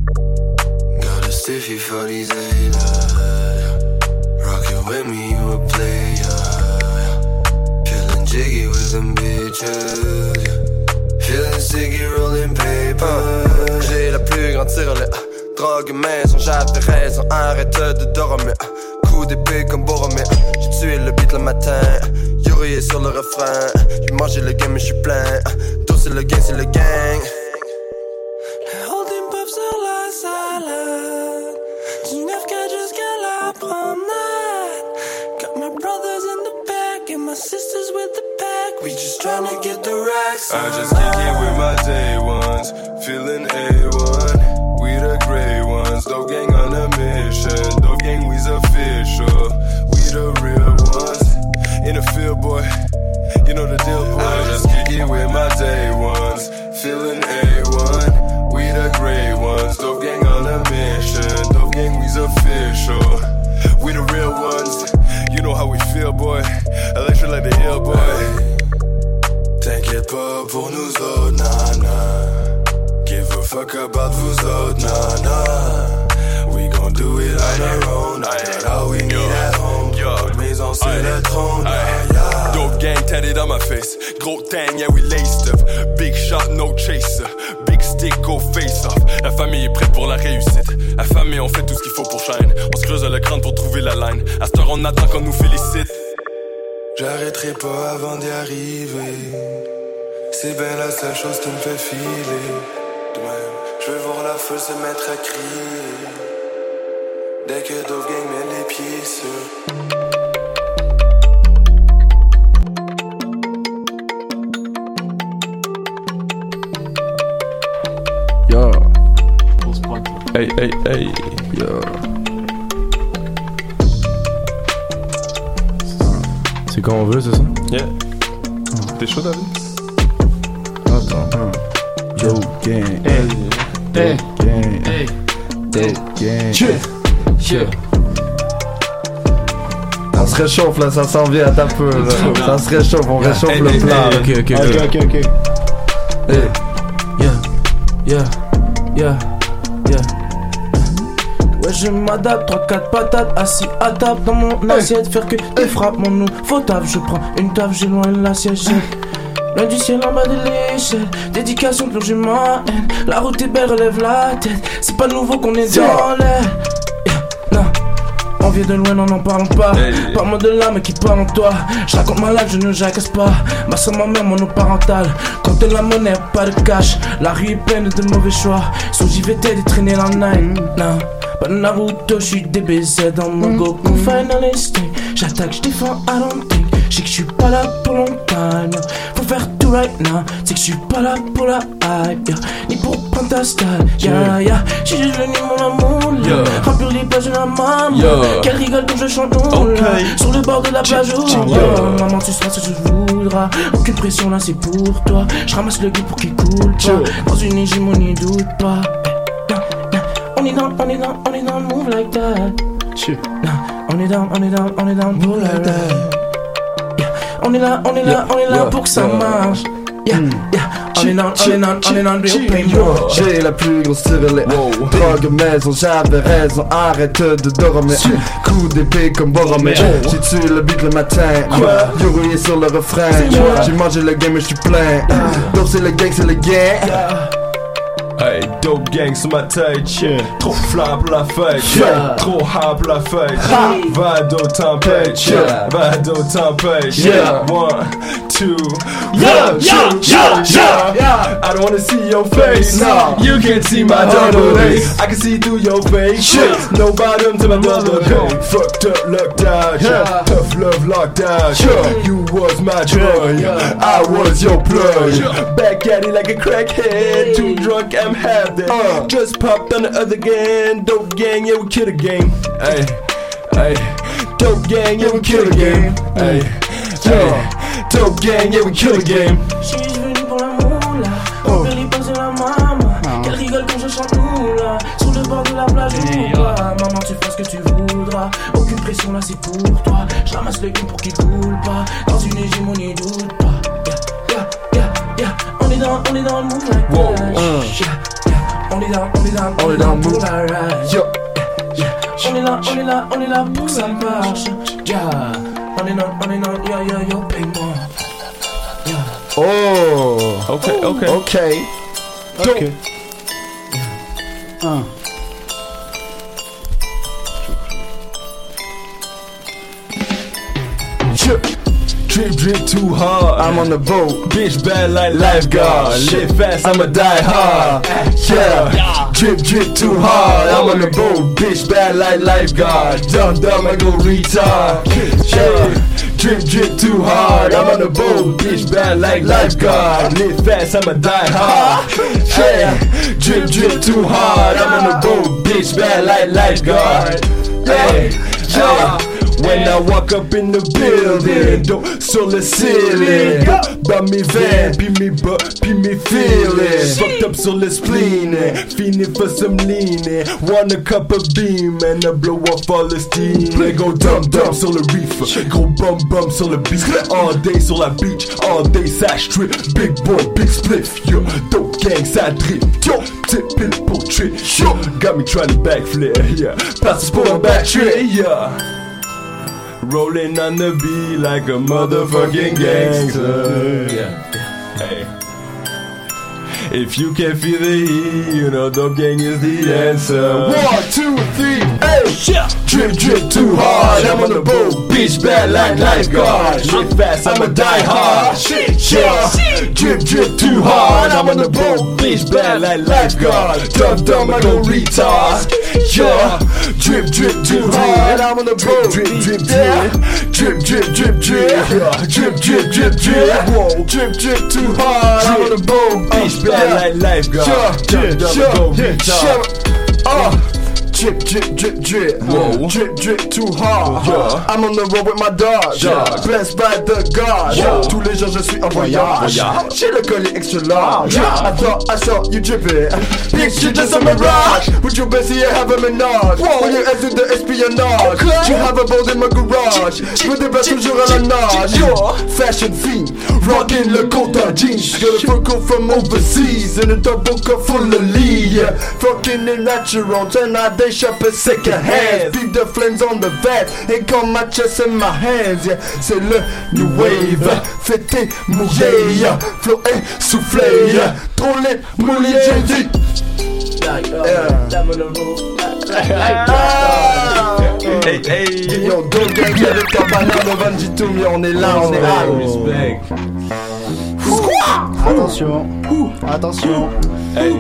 U: Got a stiffy for these haters. Rockin' with me, you a player. Feeling jiggy with them bitches. Feeling sticky, rolling paper. J'ai la plus grande tirelire. Drogue maison, j'avais raison. Arrête de dormir. Coup d'épée comme Boromir. J'ai tué le beat le matin. Yuri est sur le refrain. J'ai mangé le game, mais j'suis plein. Tout c'est le gang, c'est le gang.
X: Holding pop sur la salade. dix-neuf K jusqu'à la promenade. Got my brothers in the back and my sisters with the pack. We just tryna get the racks.
U: I just kick it with my day ones. Feeling A one. We the gray ones. Dope gang on a mission. Dope gang, we's official. We the real ones. In the field, boy. You know the deal, boy. I just kick it with my day ones. Feeling A one. We the gray ones. Dope gang on a mission. Dope gang, we's official. We the real ones. You know how we feel, boy. Electric like the hill, boy. T'inquiète pas pour nous autres, nah nah. Give a fuck about vous autres, nah nah. We gon' do it on our own. I got all we need at home. Maison sur le trône, yeah, yeah.
D: Dope gang tatted on my face. Gros thing, yeah, we laced up. Big shot, no chaser. Big stick, go face off. La famille est prête pour la réussite. La famille, on fait tout ce qu'il faut pour shine. On se creuse le crâne pour trouver la line. À cette heure, on attend qu'on nous félicite.
U: J'arrêterai pas avant d'y arriver. C'est bien la seule chose qui me fait filer. De même, je veux voir la foule se mettre à crier. Dès que Dove Gang met les pieds sur.
G: Yo.
F: Hey, hey, hey.
G: Yo.
J: C'est quand on veut, c'est ça?
F: Yeah. T'es chaud, David?
G: Attends. Yo, gang.
Q: Hey. Hey.
G: Gang.
Q: Hey.
G: Hey. Gang.
Q: Chill. Chill.
G: On se réchauffe là, ça s'en vient à ta peu là. Ça se réchauffe, on réchauffe
J: Hey,
G: le
J: hey,
G: plat.
J: hey, ok, ok,
G: ok, ok, ok.
J: Hey. Yeah, yeah, yeah, yeah.
X: Ouais, je m'adapte, trois quatre patates, assis à table dans mon assiette. Faire que des frappes, mon nouveau taf. Je prends une taf, j'éloigne l'assiette. Loin du ciel en bas de l'échelle. Dédication, plonger ma haine. La route est belle, relève la tête. C'est pas nouveau qu'on est dans l'air. Yeah, non. On vient de loin, non, n'en parlons pas. Hey. Parle-moi de l'âme qui parle en toi. Je raconte ma life, je ne jacasse pas. Ma soeur, ma mère, monoparentale. Compte la monnaie, pas de cash. La rue est pleine de mauvais choix. So j'y vais t'aider, traîner la night. Non. Pas de Naruto, j'suis D B Z dans mon Goku Final Instinct. J'attaque, j'défends, I don't think. J'sais que j'suis pas là pour longtemps, no. Faut faire tout right now. C'est que j'suis pas là pour la hype, yeah. Ni pour prendre ta style, yeah, yeah. J'suis juste venu mon amour, là. Yeah. Remplir les plages de la maman, yeah. Qu'elle rigole quand je chante, oh, okay. Là. Sur le bord de la plage, oh, yeah. Yeah. Maman, tu seras ce que tu voudras. Aucune pression là, c'est pour toi. J'ramasse le guide pour qu'il coule pas. Yeah. Dans une hégémonie, doute pas. On est down, on est down, on est down, move like that. Shit. Nah, on est down, on est down, on est down, move like that. Yeah. On est là, on est là, yeah, on est là yeah, pour que ça yeah. marche. Yeah, yeah. On est down, on est down, on est down, real pain.
G: J'ai la plus grosse tirelire. Drogue maison, j'avais raison. Arrête de dormir. Coup d'épée comme Boromir. J'ai tué le beat le matin. J'ai rouillé sur le refrain. J'ai mangé le game et j'suis plein. Donc c'est le gang, c'est le gang.
D: Hey, dope gang sur ma tête, yeah. Trop flat pour la fête, yeah. Trop hard pour la fête, yeah. Va d'autant tempête, yeah. Va d'autant tempête, yeah. One, two, yeah, yeah, yeah, yeah, yeah. I don't wanna see your face, no. You can't see my double face. I can see through your face, shit. No bottom to my mother, hey. Fucked up, locked out, yeah. Tough love, locked out, yeah. You was my drug, yeah. I was your plug, yeah. Back at it like a crackhead, too drunk, I'm have that. Uh, Just popped on the other gang. Dope gang, yeah, we kill the game. Hey, hey. Dope gang, yeah, we kill the game. Hey, hey. Dope gang, yeah, we kill the game.
X: J'suis venu pour l'amour là. On peut les passer la maman. Qu'elle rigole quand je chante oula. Sur le bord de la plage ou pas. Maman tu feras ce que tu voudras. Aucune pression là c'est pour toi. Je ramasse le game pour qu'il coule pas. Dans une hégémonie doute pas. Yeah, yeah, yeah, yeah. On est dans, on est dans le move like
G: wow.
X: that.
G: uh.
X: Yeah, yeah. On est dans, on est dans,
G: on est dans le move.
X: La ride.
G: Yo.
X: On est là, on est là, on est là pour que ça marche. Yeah. On est dans, on est dans, yo yo yo, paye-moi. Yeah.
G: Oh.
F: Ok, ok.
G: Ok.
S: Ok. Un.
D: Drip, drip, drip too hard.
G: I'm on the boat.
D: Bitch bad like lifeguard. Live fast, I'ma die hard. Yeah. Drip, drip too hard. I'm on the boat. Bitch bad like lifeguard. Dumb, dumb, I go retard. Yeah. Drip, drip too hard. I'm on the boat. Bitch bad like lifeguard. Live fast, I'ma die hard. Yeah. Drip, drip too hard. I'm on the boat. Bitch bad like lifeguard. Hey. Yeah. When I walk up in the building, dos sur le ceiling, dans mes veines, puis mes bas, puis mes feelings. Fucked up sur le spleen, fiending for some lean. Want a cup of beam and I blow off all the steam. Play go dumb dumb sur le reef, gros bum bum sur le beat. All day sur la beach, all day ça strip. Big boy, big spliff, yo, dope gang ça drip. Yo, petite pile pour trip, yo, got me trying to backflip, yeah. Passe pour un back trip, yeah. Rolling on the beat like a motherfucking gangster. Yeah. Hey. If you can feel the heat, you know Dope Gang is the answer. One, two, three, hey! Yeah. Drip, drip too hard. I'm on the boat. Bitch bad like lifeguard. Live fast, I'ma die hard. Yeah. Drip, drip too hard. I'm on the boat. Bitch bad like lifeguard. Dumb, dumb, I go retard. Yeah. Drip, drip too hard. I'm on the boat. Drip, drip, drip. Drip, drip, drip, drip. Drip, drip, drip, drip. Whoa. Drip, drip too hard. I'm on the boat. Bitch bad. Like lifeguard,
G: yeah,
D: drip,
G: yeah,
D: go
G: yeah,
D: retard.
G: Uh, drip, drip, drip, drip.
D: Whoa.
G: Drip, drip too hard.
D: Yeah.
G: I'm on the road with my dog.
D: Yeah.
G: Blessed by the God.
D: Yeah.
G: Tous les jours je suis en voyage.
D: Voyage.
G: J'ai le collier extra large.
D: Yeah.
G: I thought I saw you dripping. Bitch, you just a mirage. With your bestie, you have a menage. Whoa. When you enter the espionnage, okay. You have a boat in my garage. Je me déplace toujours à la nage. Yo. Fashion fiend, rockin' le coat en jeans. Got a fur coat from overseas and a double cup full of lead. Yeah. Fucking it natural, turn out they shop at second hand. Beat the flames on the vat and come my chest in my hands. Yeah. C'est le new wave, fêté, mouillé, yeah. Flow et soufflé, yeah. Trop lit, mouillé, j'ai dit.
D: Hey, hey.
G: Yo, Dope Gang avec ta banane au Vanditoum, yo, on est là, on est là.
D: Respect.
S: Attention, attention.
D: Hey,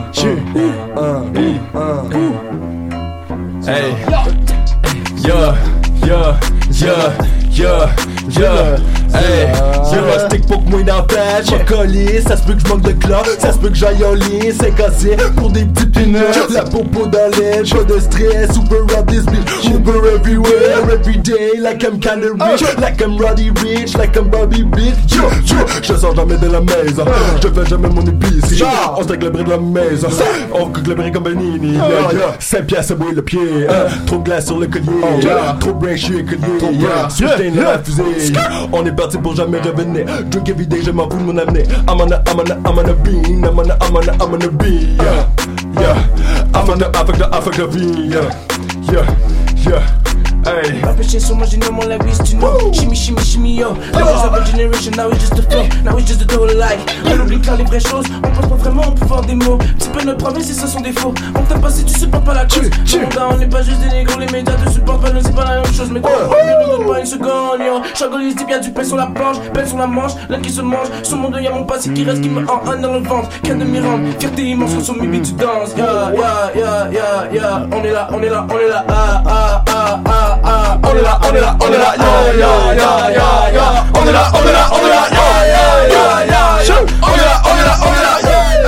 D: hey, yeah, yeah, yeah, yeah, yeah. Hey, j'ai un stick pour que moi dans la tête, j'm'en coller, ça se peut que j'manque de clope, ça se peut que j'aille en ligne, c'est cassé pour des petites peanuts. La popo dans l'aile, pas de stress, Uber up this bitch, Uber everywhere, everyday, like I'm kinda rich, like I'm Roddy Rich, like I'm Bobby Bitch. Yo, yo, je sors jamais de la maison, je fais jamais mon épice, on se le bris de la maison, on cook le bris comme Benini, cinq piastres à bouiller le pied, trop de glace sur le collier, trop de brain, je suis écolier, soudain dans la fusée, on est parti pour jamais revenir. Drink every day, je m'en fous de mon avenir. I'm on a, I'm on a, I'm on a bean. I'm on a, I'm on a, I'm on a bean. Yeah, yeah. I'm on a, Africa, Africa bean. Yeah, yeah, yeah. Hey.
X: Rapping shit so much, you know more like we used to know. Shimmy, shimmy, shimmy, yo. Levels of a generation, now it's just a flow. Now it's just a whole life. On oublie clair les vraies choses. On pense pas vraiment au pouvoir des mots. Petit peu notre province et ça sont défauts. On t'aime pas si tu supportes pas la cause. On n'est pas juste des négros, les médias te supportent pas, non, c'est pas la même chose. Mais toi, on ne donne pas une seconde, yo. Chagolise dit bien du pain sur la planche, peine sur la manche, l'un qui se mange. Sur mon dos, y'a mon passé qui reste, qui me en un dans le ventre. Qu'un de mes rangs, fierté immense, sur mes beats, tu danses. Yeah, yeah, yeah, yeah, yeah. On est là, on est là, on est là, ah, ah, ah, ah, ah. On est là, on est là, on est là, yeah, yeah, yeah, yeah, yeah. On est là, on est là, on est là, yeah, yeah, yeah, yeah, yeah. On est là, on est là, on est là, yeah,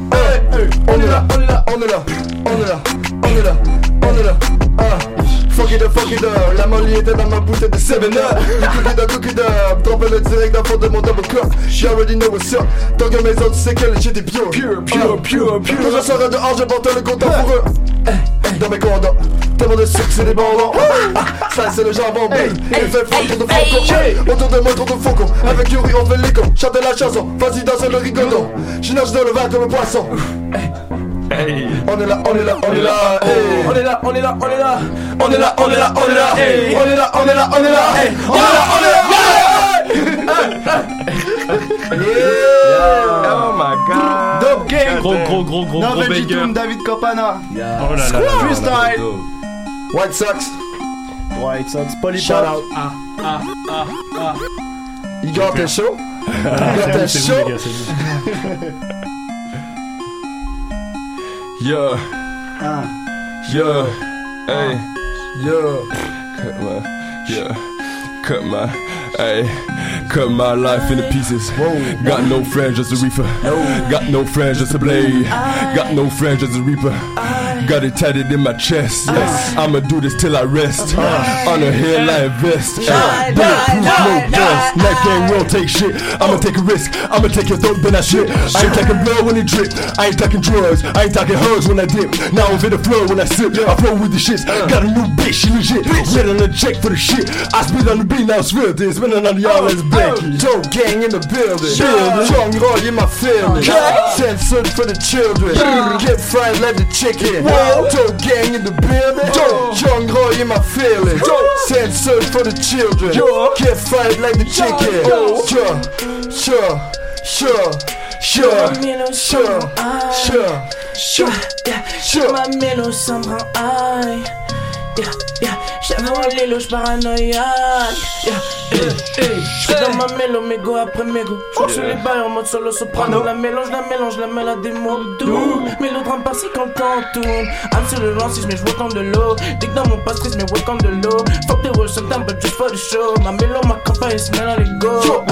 X: yeah.
G: On est là, on est là, on est là, on est là, on est là, on est là, ah. Fuck fuck it up, fuck it up. La molly était dans ma bouteille de seven up. You cook it up, cook it up. Trempé le direct dans le fond de mon double cup. You already know what's up. Tant que mes autres, tu sais que le shit est pure. Pure, pure, pure, pure. Quand je serai dehors, je porte le compteur pour eux. Dans mes condoms, tellement de sucre, c'est des bonbons. Ah, ça c'est le jambon, babe. Il fait froid, trop de faucons. Autour de moi, trop de faucons. Avec Yuri, on fait l'écho. Chante la chanson, vas-y, danse le rigolo. Je nage dans le vin comme un poisson. Hey. On est là, on est là, on est là, hey. On est là, on est là, on est là. On est là, on est là, on est là, hey. On est là, on est là, on est là, hey. On est là, on est là,
D: yeah. Oh my god.
S: Dope Gang.
H: Gros, gros, gros, gros, gros banger.
S: David Copana.
H: Yeah. Oh là là.
S: Freestyle.
G: White Sox.
S: White Sox. Polypop.
G: Shout out.
H: Ah, ah, ah, ah.
G: Igor, t'es chaud? Igor, t'es chaud?
D: Yeah.
S: Ah.
D: Yeah. Hey.
G: Yeah.
D: Cut my. Yeah. Cut my. Hey. Cut my life into pieces. Whoa. Got no friends, just a reefer. No. Got no friends, just a blade. I, Got no friends, just a reaper. I, Got it tatted in my chest. Yes. I'ma do this till I rest. Uh, On a hairline vest. Hey. Bulletproof, no vest. Neck gang won't take shit. I'ma take a risk. I'ma take your throat, then I shit. I ain't talking blood when it drip. I ain't talking drugs. I ain't talking hugs when I dip. Now I'm in the flow when I sip. I flow with the shits. Got a new bitch, she legit. Wait on the check for the shit. I spit on the beat, now it's real. This spinning on y'all is Becky. Dope Gang in the building. Young Roy in my feelings. Censored for the children. Get fried like the chicken. Dope Gang in the building. Young Roy in my feelings. Censored for the children. Get fried like the chicken. Sure, sure, sure. Sure, sure, sure, sure, sure.
X: Ma mélo, ça me rend high. Yeah, yeah. J'avais un lélo, j'paranoïaque. Yeah, yeah, yeah. J'suis dans ma mélo, mégo après mégo. J'suis sur les bails en mode solo soprano. La mélange, la mélange, la mêle à des mots doux. Mélo drame par-ci quand le temps tourne. I'm sur le lancis, mais j'vois comme de l'eau. Dick dans mon pastis, mais ouais comme de l'eau. Fuck the world sometimes, but just for the show. Ma mélo, ma campagne, c'est maintenant les go.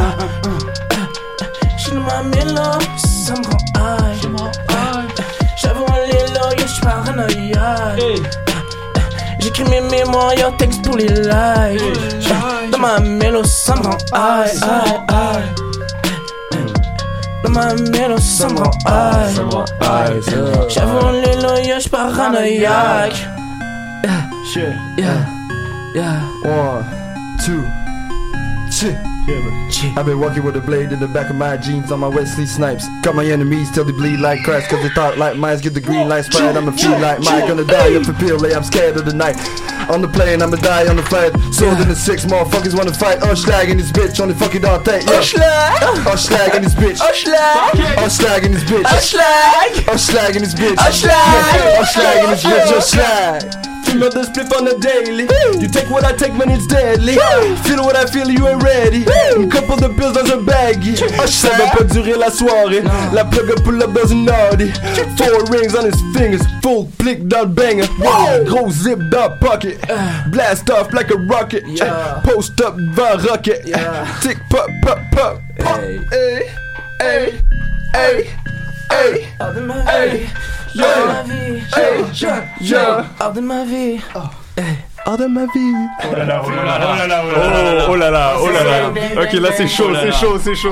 X: J'suis dans ma mélo, ça me rend high. J'avoue un lélo, yo, j'paranoïaque. J'écris mes mémoires, yo, texte pour les lives. Dans ma mélo, ça me rend high, high, high. Dans ma mélo, ça me rend high. J'avoue un lélo, yo, j'paranoïaque.
G: Yeah, yeah, yeah. One, two, three. I've been walking with a blade in the back of my jeans on my Wesley Snipes. Got my enemies till they bleed like Christ, cause they thought like mines get the green light sprite. I'ma feel like Mike, gonna die up for pill, I'm scared of the night. On the plane, I'ma die on the flight. Sword in the six, motherfuckers wanna fight. Unschlag in this bitch, on the fucking all day. Unschlag! Unschlag in this bitch. Unschlag! Unschlag in this bitch. Unschlag! Unschlag in this bitch. Unschlag! Unschlag in this bitch. Unschlag! Fumeur de spliff on the daily. You take what I take, man, it's deadly. Feel what I feel, you ain't ready. Une couple de pills dans un baggy. Ça va pas durer la soirée. La plug up pull up dans une Audi. Four rings on his fingers. Full blick dans le banger. Gros zip dans le pocket. Blast off like a rocket. Post up devant rocket. Tick pop pop pop. Hey, hey, hey, hey, hey, hey.
X: Hors de ma vie,
G: yeah, yeah.
X: Hors de ma vie,
G: hors de ma vie.
F: Oh là là, oh là là, oh là là, oh là là, oh là là. Ok, là c'est chaud, c'est chaud, c'est chaud.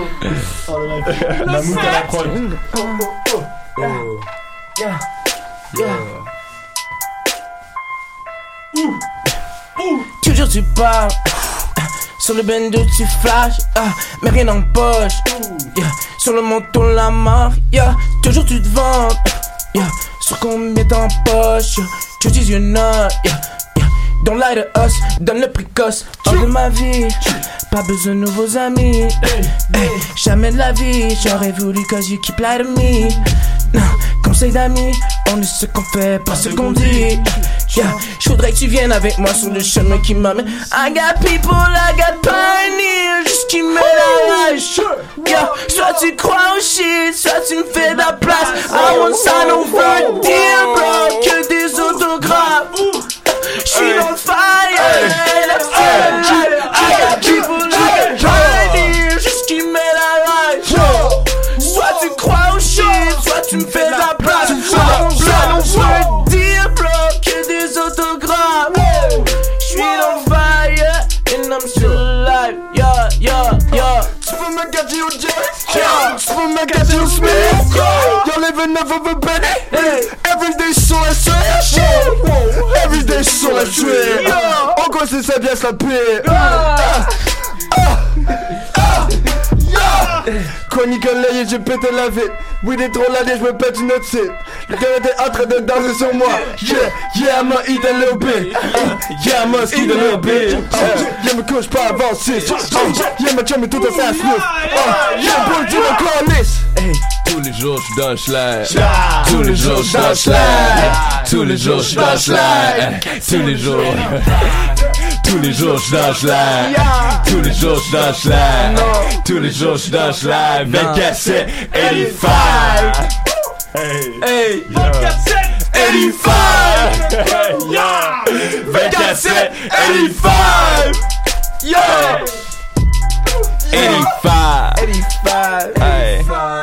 S: La moute à la prod.
X: Yeah, yeah. Toujours tu parles. Sur le bendo tu flashes, ah, mais rien en poche. Yeah. Sur le manteau la marque, yeah. Toujours tu te vends. Yeah, sur combien t'en poche, tu dis you not, yeah, yeah. Don't lie to us, donne le précoce. Hors de ma vie, pas besoin de nouveaux amis. Hey, jamais de la vie, j'aurais voulu cause you keep lie to me. Non, conseil d'amis, on est ce qu'on fait, pas ce qu'on dit. Yeah, j'voudrais que tu viennes avec moi sur le chemin qui m'amène. I got people, I got pioneers, juste qui me la rage. Yeah, soit tu crois au shit, soit tu me fais de la place. I want sign over a deal, bro, que des autographes. J'suis dans le fire, let's get it. I got people, I got pioneers, juste qui me la rage. Soit tu crois au shit, soit tu me fais de la place. I want sign over a deal, bro, que des autographes.
A: Mackenzie ou James. Spun Mackenzie ou Smith. Y'all living never a Benny. Everyday sur la street. Everyday sur la street. En quoi c'est ça bien se la paix. Quand Nicolas et j'ai pété la vie. Oui des trop là je me pète une autre site. Le gars était en train de danser sur moi. Yeah, yeah, I'ma eat a little bit. Yeah, I'ma eat a little bit. Yeah, me couche pas avant six. Yeah, ma chum est tout à sa sniff. Yeah, pour le dire encore lisse.
D: Tous les jours j'suis dans le schlag. Tous les jours j'suis dans le schlag. Tous les jours j'suis dans le schlag. Tous les jours. Tous les jours j'suis dans le schlag. Tous les jours j'suis dans le schlag. Tous les jours j'suis dans le schlag. vingt-quatre sept eighty-five. Hey, hey, vingt-quatre sept eighty-five. Yeah, vingt-quatre sept eighty-five. Yeah, eighty-five. eighty-five. Hey,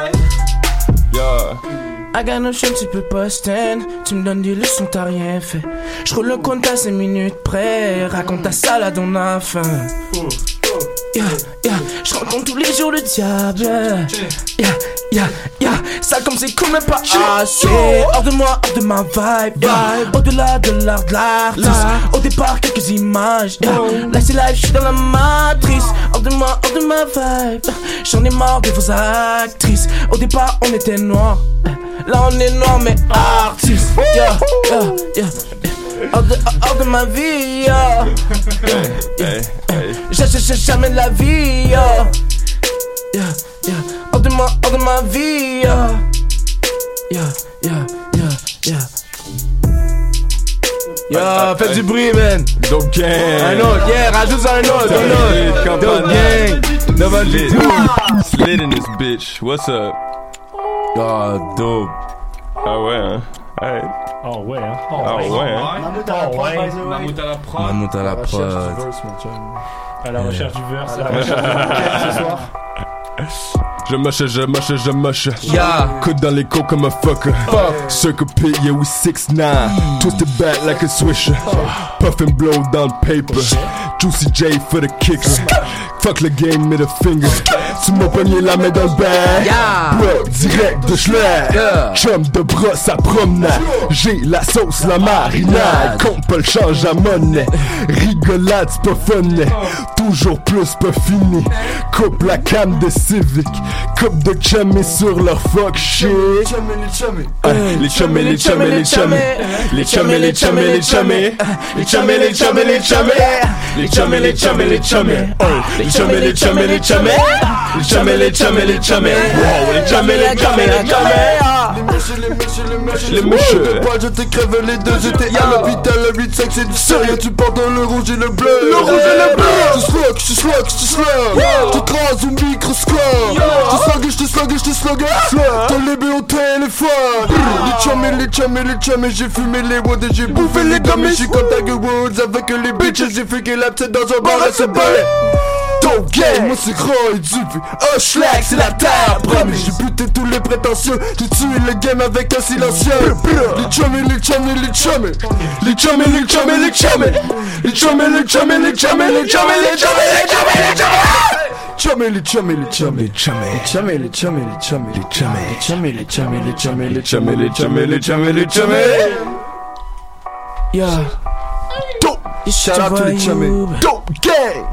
D: yeah.
W: I got no shame, tu peux pas stand. Tu me donnes des leçons, t'as rien fait. J'roule le compte à cinq minutes près. Raconte ta salade, on a faim. Yeah, yeah, j'rencontre tous les jours le diable. Yeah, yeah, yeah, ça comme c'est cool mais pas assez. Hors de moi, hors de ma vibe, yeah. Au-delà de l'art de l'artiste. Au départ quelques images, yeah. Là c'est live, j'suis dans la matrice. Hors de moi, hors de ma vibe. J'en ai marre de vos actrices. Au départ on était noirs. Là on est noir mais artiste. Yeah, yeah, yeah. Hors de, hors de ma vie, yeah. Yeah, yeah. J'ai jamais de la vie, yeah. Yeah, yeah. Hors de moi, hors de ma vie, yeah. Yeah, yeah, yeah, yeah. Yeah, faites du bruit, man.
D: Dope gang.
W: Un autre, yeah, rajoute un autre, un autre. Dope gang. Devant le tout.
D: Slid in this bitch, what's up? Ah, dope. Ah ouais, hein. Hey.
R: Oh ouais, hein.
D: Ah ouais, hein.
S: Mammouth à la prod, by the way.
H: Mammouth à la prod.
J: Mammouth à la prod.
R: À la recherche du verse, à la recherche du verse ce soir.
D: Je moche, je moche, je moche.
W: Yeah.
D: Coude dans les côtes comme un fucker. Fuck. Circle pit, yeah, we six nine. Mm. Twisted back like a swisher. Oh. Puff and blow down paper. Juicy J for the kicks. Fuck le game, middle finger. Tu m'as pogné la main dans le bag.
W: Yeah.
D: Bloc direct de schlag. Yeah. Chum de brosse à promenade. J'ai la sauce, la marinade. Compte pas le change à monnaie. Rigolade, c'est pas fun. Toujours plus, pas fini. Coupe la cam de Civic. Coupe de chummy sur leur fuck shit. Les chummy, les chummy. Les chummy, les chummy, les chummy. Les chummy, les chummy, les chummy. Les chummy, les chummy, les chummy. Les chummy, les chummy, les chummy. Les chummy, les chummy, les chummy. Les chummy, les chummy, les chummy. Les chummy, les chummy, les chummy.
A: Les mèches, les mèches, les mèches, les mèches. Pas, je t'ai crevé les deux. J'étais à l'hôpital, le huit cinq, c'est du sérieux. Tu portes le rouge et le bleu. Le rouge et le bleu. Je slug, je slug, je slug. Je t'écrase au microscope. Je slug, je te slug, je te slug. T'as les B au téléphone. Les chummy, les chummy, les chummy. J'ai fumé les woods et j'ai bouffé les gummies. J'suis comme Tiger Woods avec les bitches. J'ai fait la petite dans un bar à se balai. Dope gang, moi c'est gros et dupe. Oh schlag, c'est la terre, promis. J'ai buté tous les prétentieux. J'ai tué le game avec un silencieux. Les chummy, les chummy, les chummy. Les chummy, les chummy, les chummy. Les chummy, les chummy, les chummy. Les chummy, les chummy, les chummy, les chummy. Chummy, les chummy, les chummy. Les chummy, les chummy, les chummy. Les chummy, les chummy, les chummy. Les chummy, les chummy, les chummy. Les chummy, les chummy, les chummy.
W: Yeah.
A: Dope. Shout out to the chummy. Dope gang.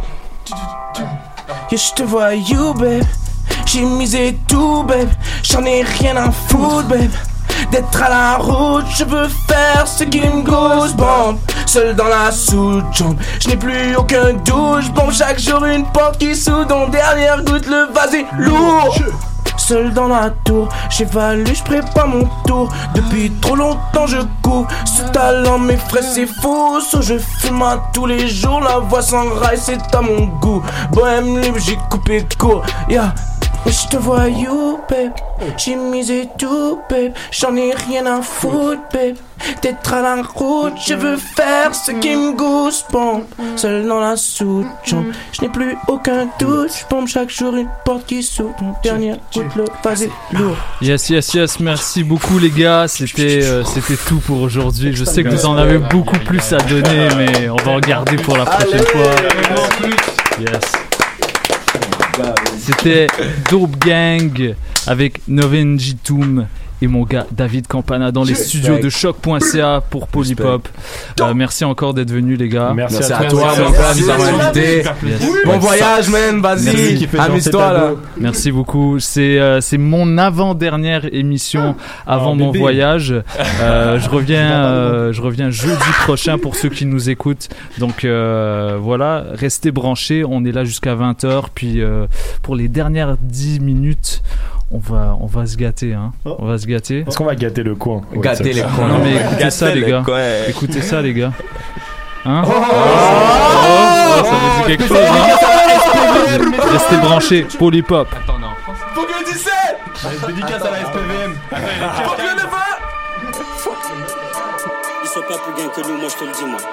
W: Yeah, j'te vois you, babe. J'ai misé tout, babe. J'en ai rien à foutre, babe. D'être à la route, je veux faire ce qui me goosebump. Seul dans la sous-jambe, je n'ai plus aucun douche. Bon, chaque jour une porte qui s'ouvre. Dans dernière goutte, le vase est lourd. Seul dans la tour, j'évalue, je prépare mon tour. Depuis trop longtemps je cours. Ce talent m'effraie, c'est fou. So je fume à tous les jours. La voix sans rail, c'est à mon goût. Bohème libre, j'ai coupé court. Yeah. Je te vois you, babe. J'ai misé tout, babe. J'en ai rien à foutre, babe. D'être à la route, je veux faire ce qui me goosebump. Seul dans la sous-chambre, je n'ai plus aucun doute. Je pompe chaque jour une porte qui s'ouvre. Mon dernier goutte, le vase est lourd.
Q: Yes, yes, yes. Merci beaucoup, les gars. C'était, euh, c'était tout pour aujourd'hui. Je sais que vous en avez beaucoup plus à donner, mais on va en garder pour la prochaine fois. Yes. C'était Dope Gang avec Novin Jitoum et mon gars David Campana dans les
K: Respect.
Q: studios de choc point c a pour Polypop. Euh, merci encore d'être venus les gars.
R: Merci,
J: Merci
R: à
J: à
R: toi.
J: toi, mon gars, nous avons invité.
Q: Yes.
J: Bon voyage, man, vas-y, amuse-toi là.
Q: Merci beaucoup. C'est euh, c'est mon avant-dernière émission avant
R: Oh,
Q: mon
R: bébé.
Q: voyage. Euh, je reviens euh, je reviens jeudi prochain pour ceux qui nous écoutent. Donc euh, voilà, restez branchés. On est là jusqu'à vingt heures. Puis euh, pour les dernières dix minutes, on va on va se gâter. Hein.
R: Oh.
Q: On va se gâter.
R: Est-ce qu'on va gâter le coin? Ouais,
J: Gâter
R: ça-
J: les coins.
Q: Non mais écoutez
F: Gâter
Q: ça les
F: le
Q: gars.
F: coin.
Q: Écoutez ça les gars. Hein?
J: Oh,
Q: Oh, ça vous dit quelque chose hein? Restez branchés. Polypop.
O: Faut que le dix-sept.
R: Dédicace à la S P V M.
O: Faut que le neuf.
C: Ils sont pas plus gains que nous, moi je te le dis, moi.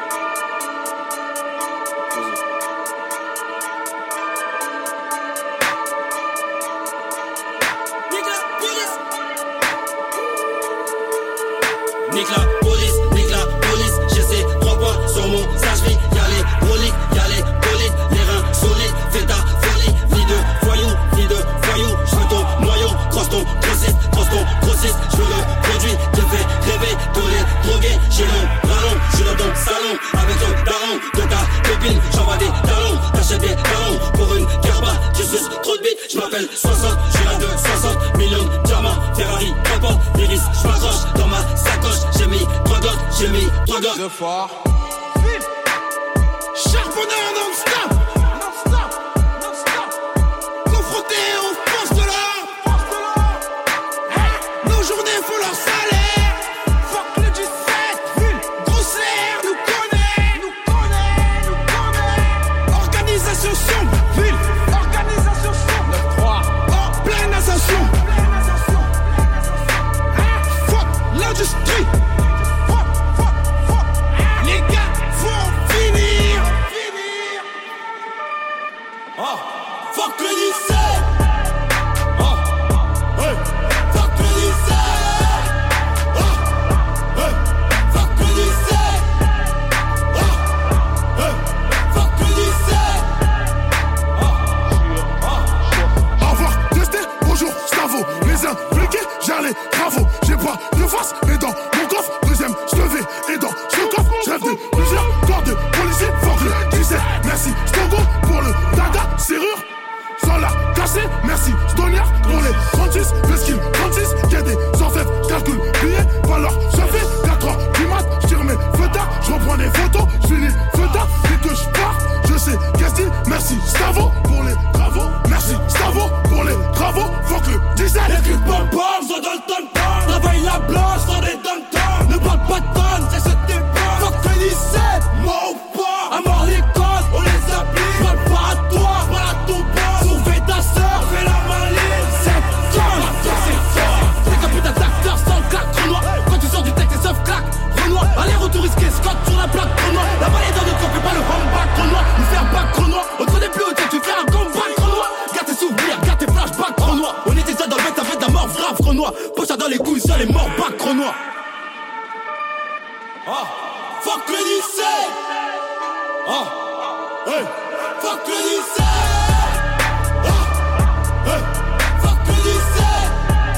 C: Nique la police, nique la police, je sais, trois points sur mon sage-vie. Y'a les broliques, y'a les bolides, les reins solides, fais ta folie. Vie de voyou, vie de voyou, je veux ton noyau, crosse ton grossiste, crosse ton grossiste. Je veux le produit, te fait rêver, tous les drogués. J'ai le ballon, je suis dans ton salon, avec ton daron, de ta copine, j'envoie des talons, t'achètes des talons, pour une garba, tu suces trop de bite. Je m'appelle soixante, je suis là de soixante millions de diamants, Ferrari, n'importe, l'iris, je m'accroche dans ma sacoche. J'ai mis trois gosses, j'ai mis trois gosses.
O: Le fort. Charbonneur non-stop. Non-stop. Non-stop. Confronté aux forces de l'ordre. Nos journées font leur salaire. Fuck le dix-sept. Grossière nous connaît. Nous connaît. Nous connaît. Organisation sombre. Ville. Organisation sombre. neuf trois. En pleine ascension. Fuck l'industrie. Les gars vont finir. Finir. Oh, fuck le dix-sept. Oh, hey. Fuck le dix-sept. Oh, hey. Fuck le dix-sept. Oh, hey. Fuck le dix-sept. Oh, avoir testé, bonjour, Stavo. Les impliqués, gère les travaux. J'ai pas de face, mais dans mon coffre, deuxième, je te vais. Et dans ce coffre, je rêve de plusieurs corps de policiers. Fuck le dix-sept. Merci, Stogo, pour le dada, serrure. Sans la casser, merci, Stoniard, pour les trente-six. Vesquille, trente-six, y'a des orfèvres, calcul, billets, valeur, ça fait quatre heures du mat. J'tire mes feuillards, j'reprends des photos, j'finis feuillard, dès que j'pars, je sais qu'est-ce qu'il. Merci, Stavo, pour les travaux. Merci, Stavo, pour les travaux. Fuck le dix-sept. Les clips pom pom, sont dans le ton-ton. Travaille la blanche, dans des don-ton. Ne parle pas de tonnes, c'est ce type. Fuck le dix-sept, mort ou pas. À mort les codes, on les applique. Parle pas à toi, parle à ton boss. Sauver ta sœur, fais la maline. C'est tonne, c'est fort. Les capitaines d'acteurs sans claque, Renoir. Quand tu sors du texte, c'est sauf claque, Renoir. Aller-retour risqué, Scott sur la plaque, Renoir. La balle est dans notre corps, fais pas le comeback, Renoir. Nous faire back, Renoir. On te connaît plus au tu fais un comeback, Renoir. Garde tes souvenirs, garde tes flashbacks, Renoir. On était ça dans le mec, t'as fait de la mort, grave, Renoir. Poche dans les couilles, seul et mort, back, Renoir. Oh, fuck le dix-sept. Oh, hey, fuck le dix-sept. Oh, hey, fuck le dix-sept.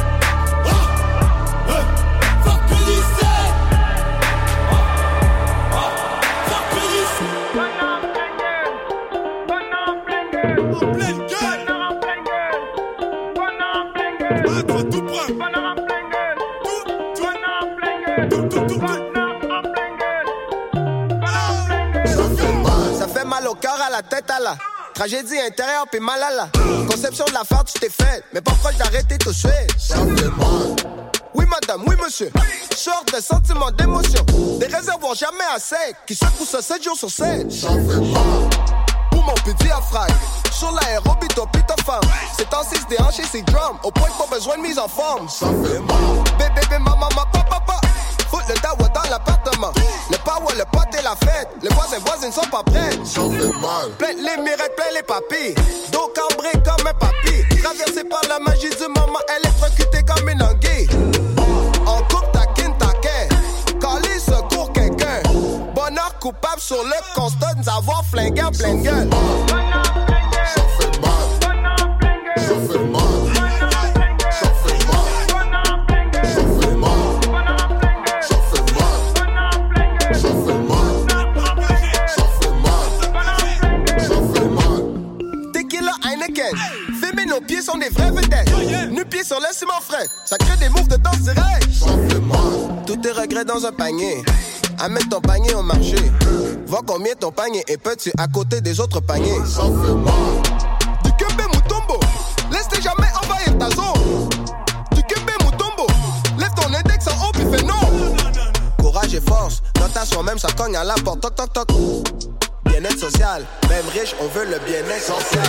O: Oh, hey, fuck le dix-sept. Oh, oh, fuck le dix-sept. En pleine gueule. Ah, toi, tout près. Tout, tout, tout, tout, tout.
P: Ça fait mal au cœur, à la tête, à la tragédie intérieure, puis mal à la conception de la farce, tu t'es faite. Mais pas proche d'arrêter tout de suite. Ça fait mal. Oui, madame, oui, monsieur. Sorte de sentiments, d'émotions. Des réservoirs jamais à sec. Qui secouent ça sept jours sur sept. Ça fait mal. Pour mon petit diaphragme. Sur l'aérobie, toi, pis ta femme. C'est en six déhanché, c'est drum. Au point que pas besoin de mise en forme. Ça fait mal. Bébé, bébé, maman, papa, papa. Fout le dawa dans l'appartement. Le power, le pote et la fête. Les voisins, voisines sont pas prêts. Ça fait mal. Plein les mirettes, plein les papilles. Dos cambré comme un papy. Traversé par la magie du moment, électrocutée comme une anguille. En coupe, taquine, taquin. Calé, secours quelqu'un. Bonheur coupable sur le constat de nous avoir flingué en pleine gueule. Ça fait mal. scène. Filmer nos pieds sont des vrais vedettes. Nu pieds sur le ciment frais. Ça crée des moves de danse direct. Tous tes regrets dans un panier. Amène ton panier au marché. Vois combien ton panier est petit à côté des autres paniers. Du Kembe Mutombo. Laisse-les jamais envahir ta zone. Du Kembe Mutombo. Lève ton index en haut puis fais non. Courage et force. Dans ta même ça cogne à la porte. Toc toc toc. Bien-être social. Même riche, on veut le bien-être social.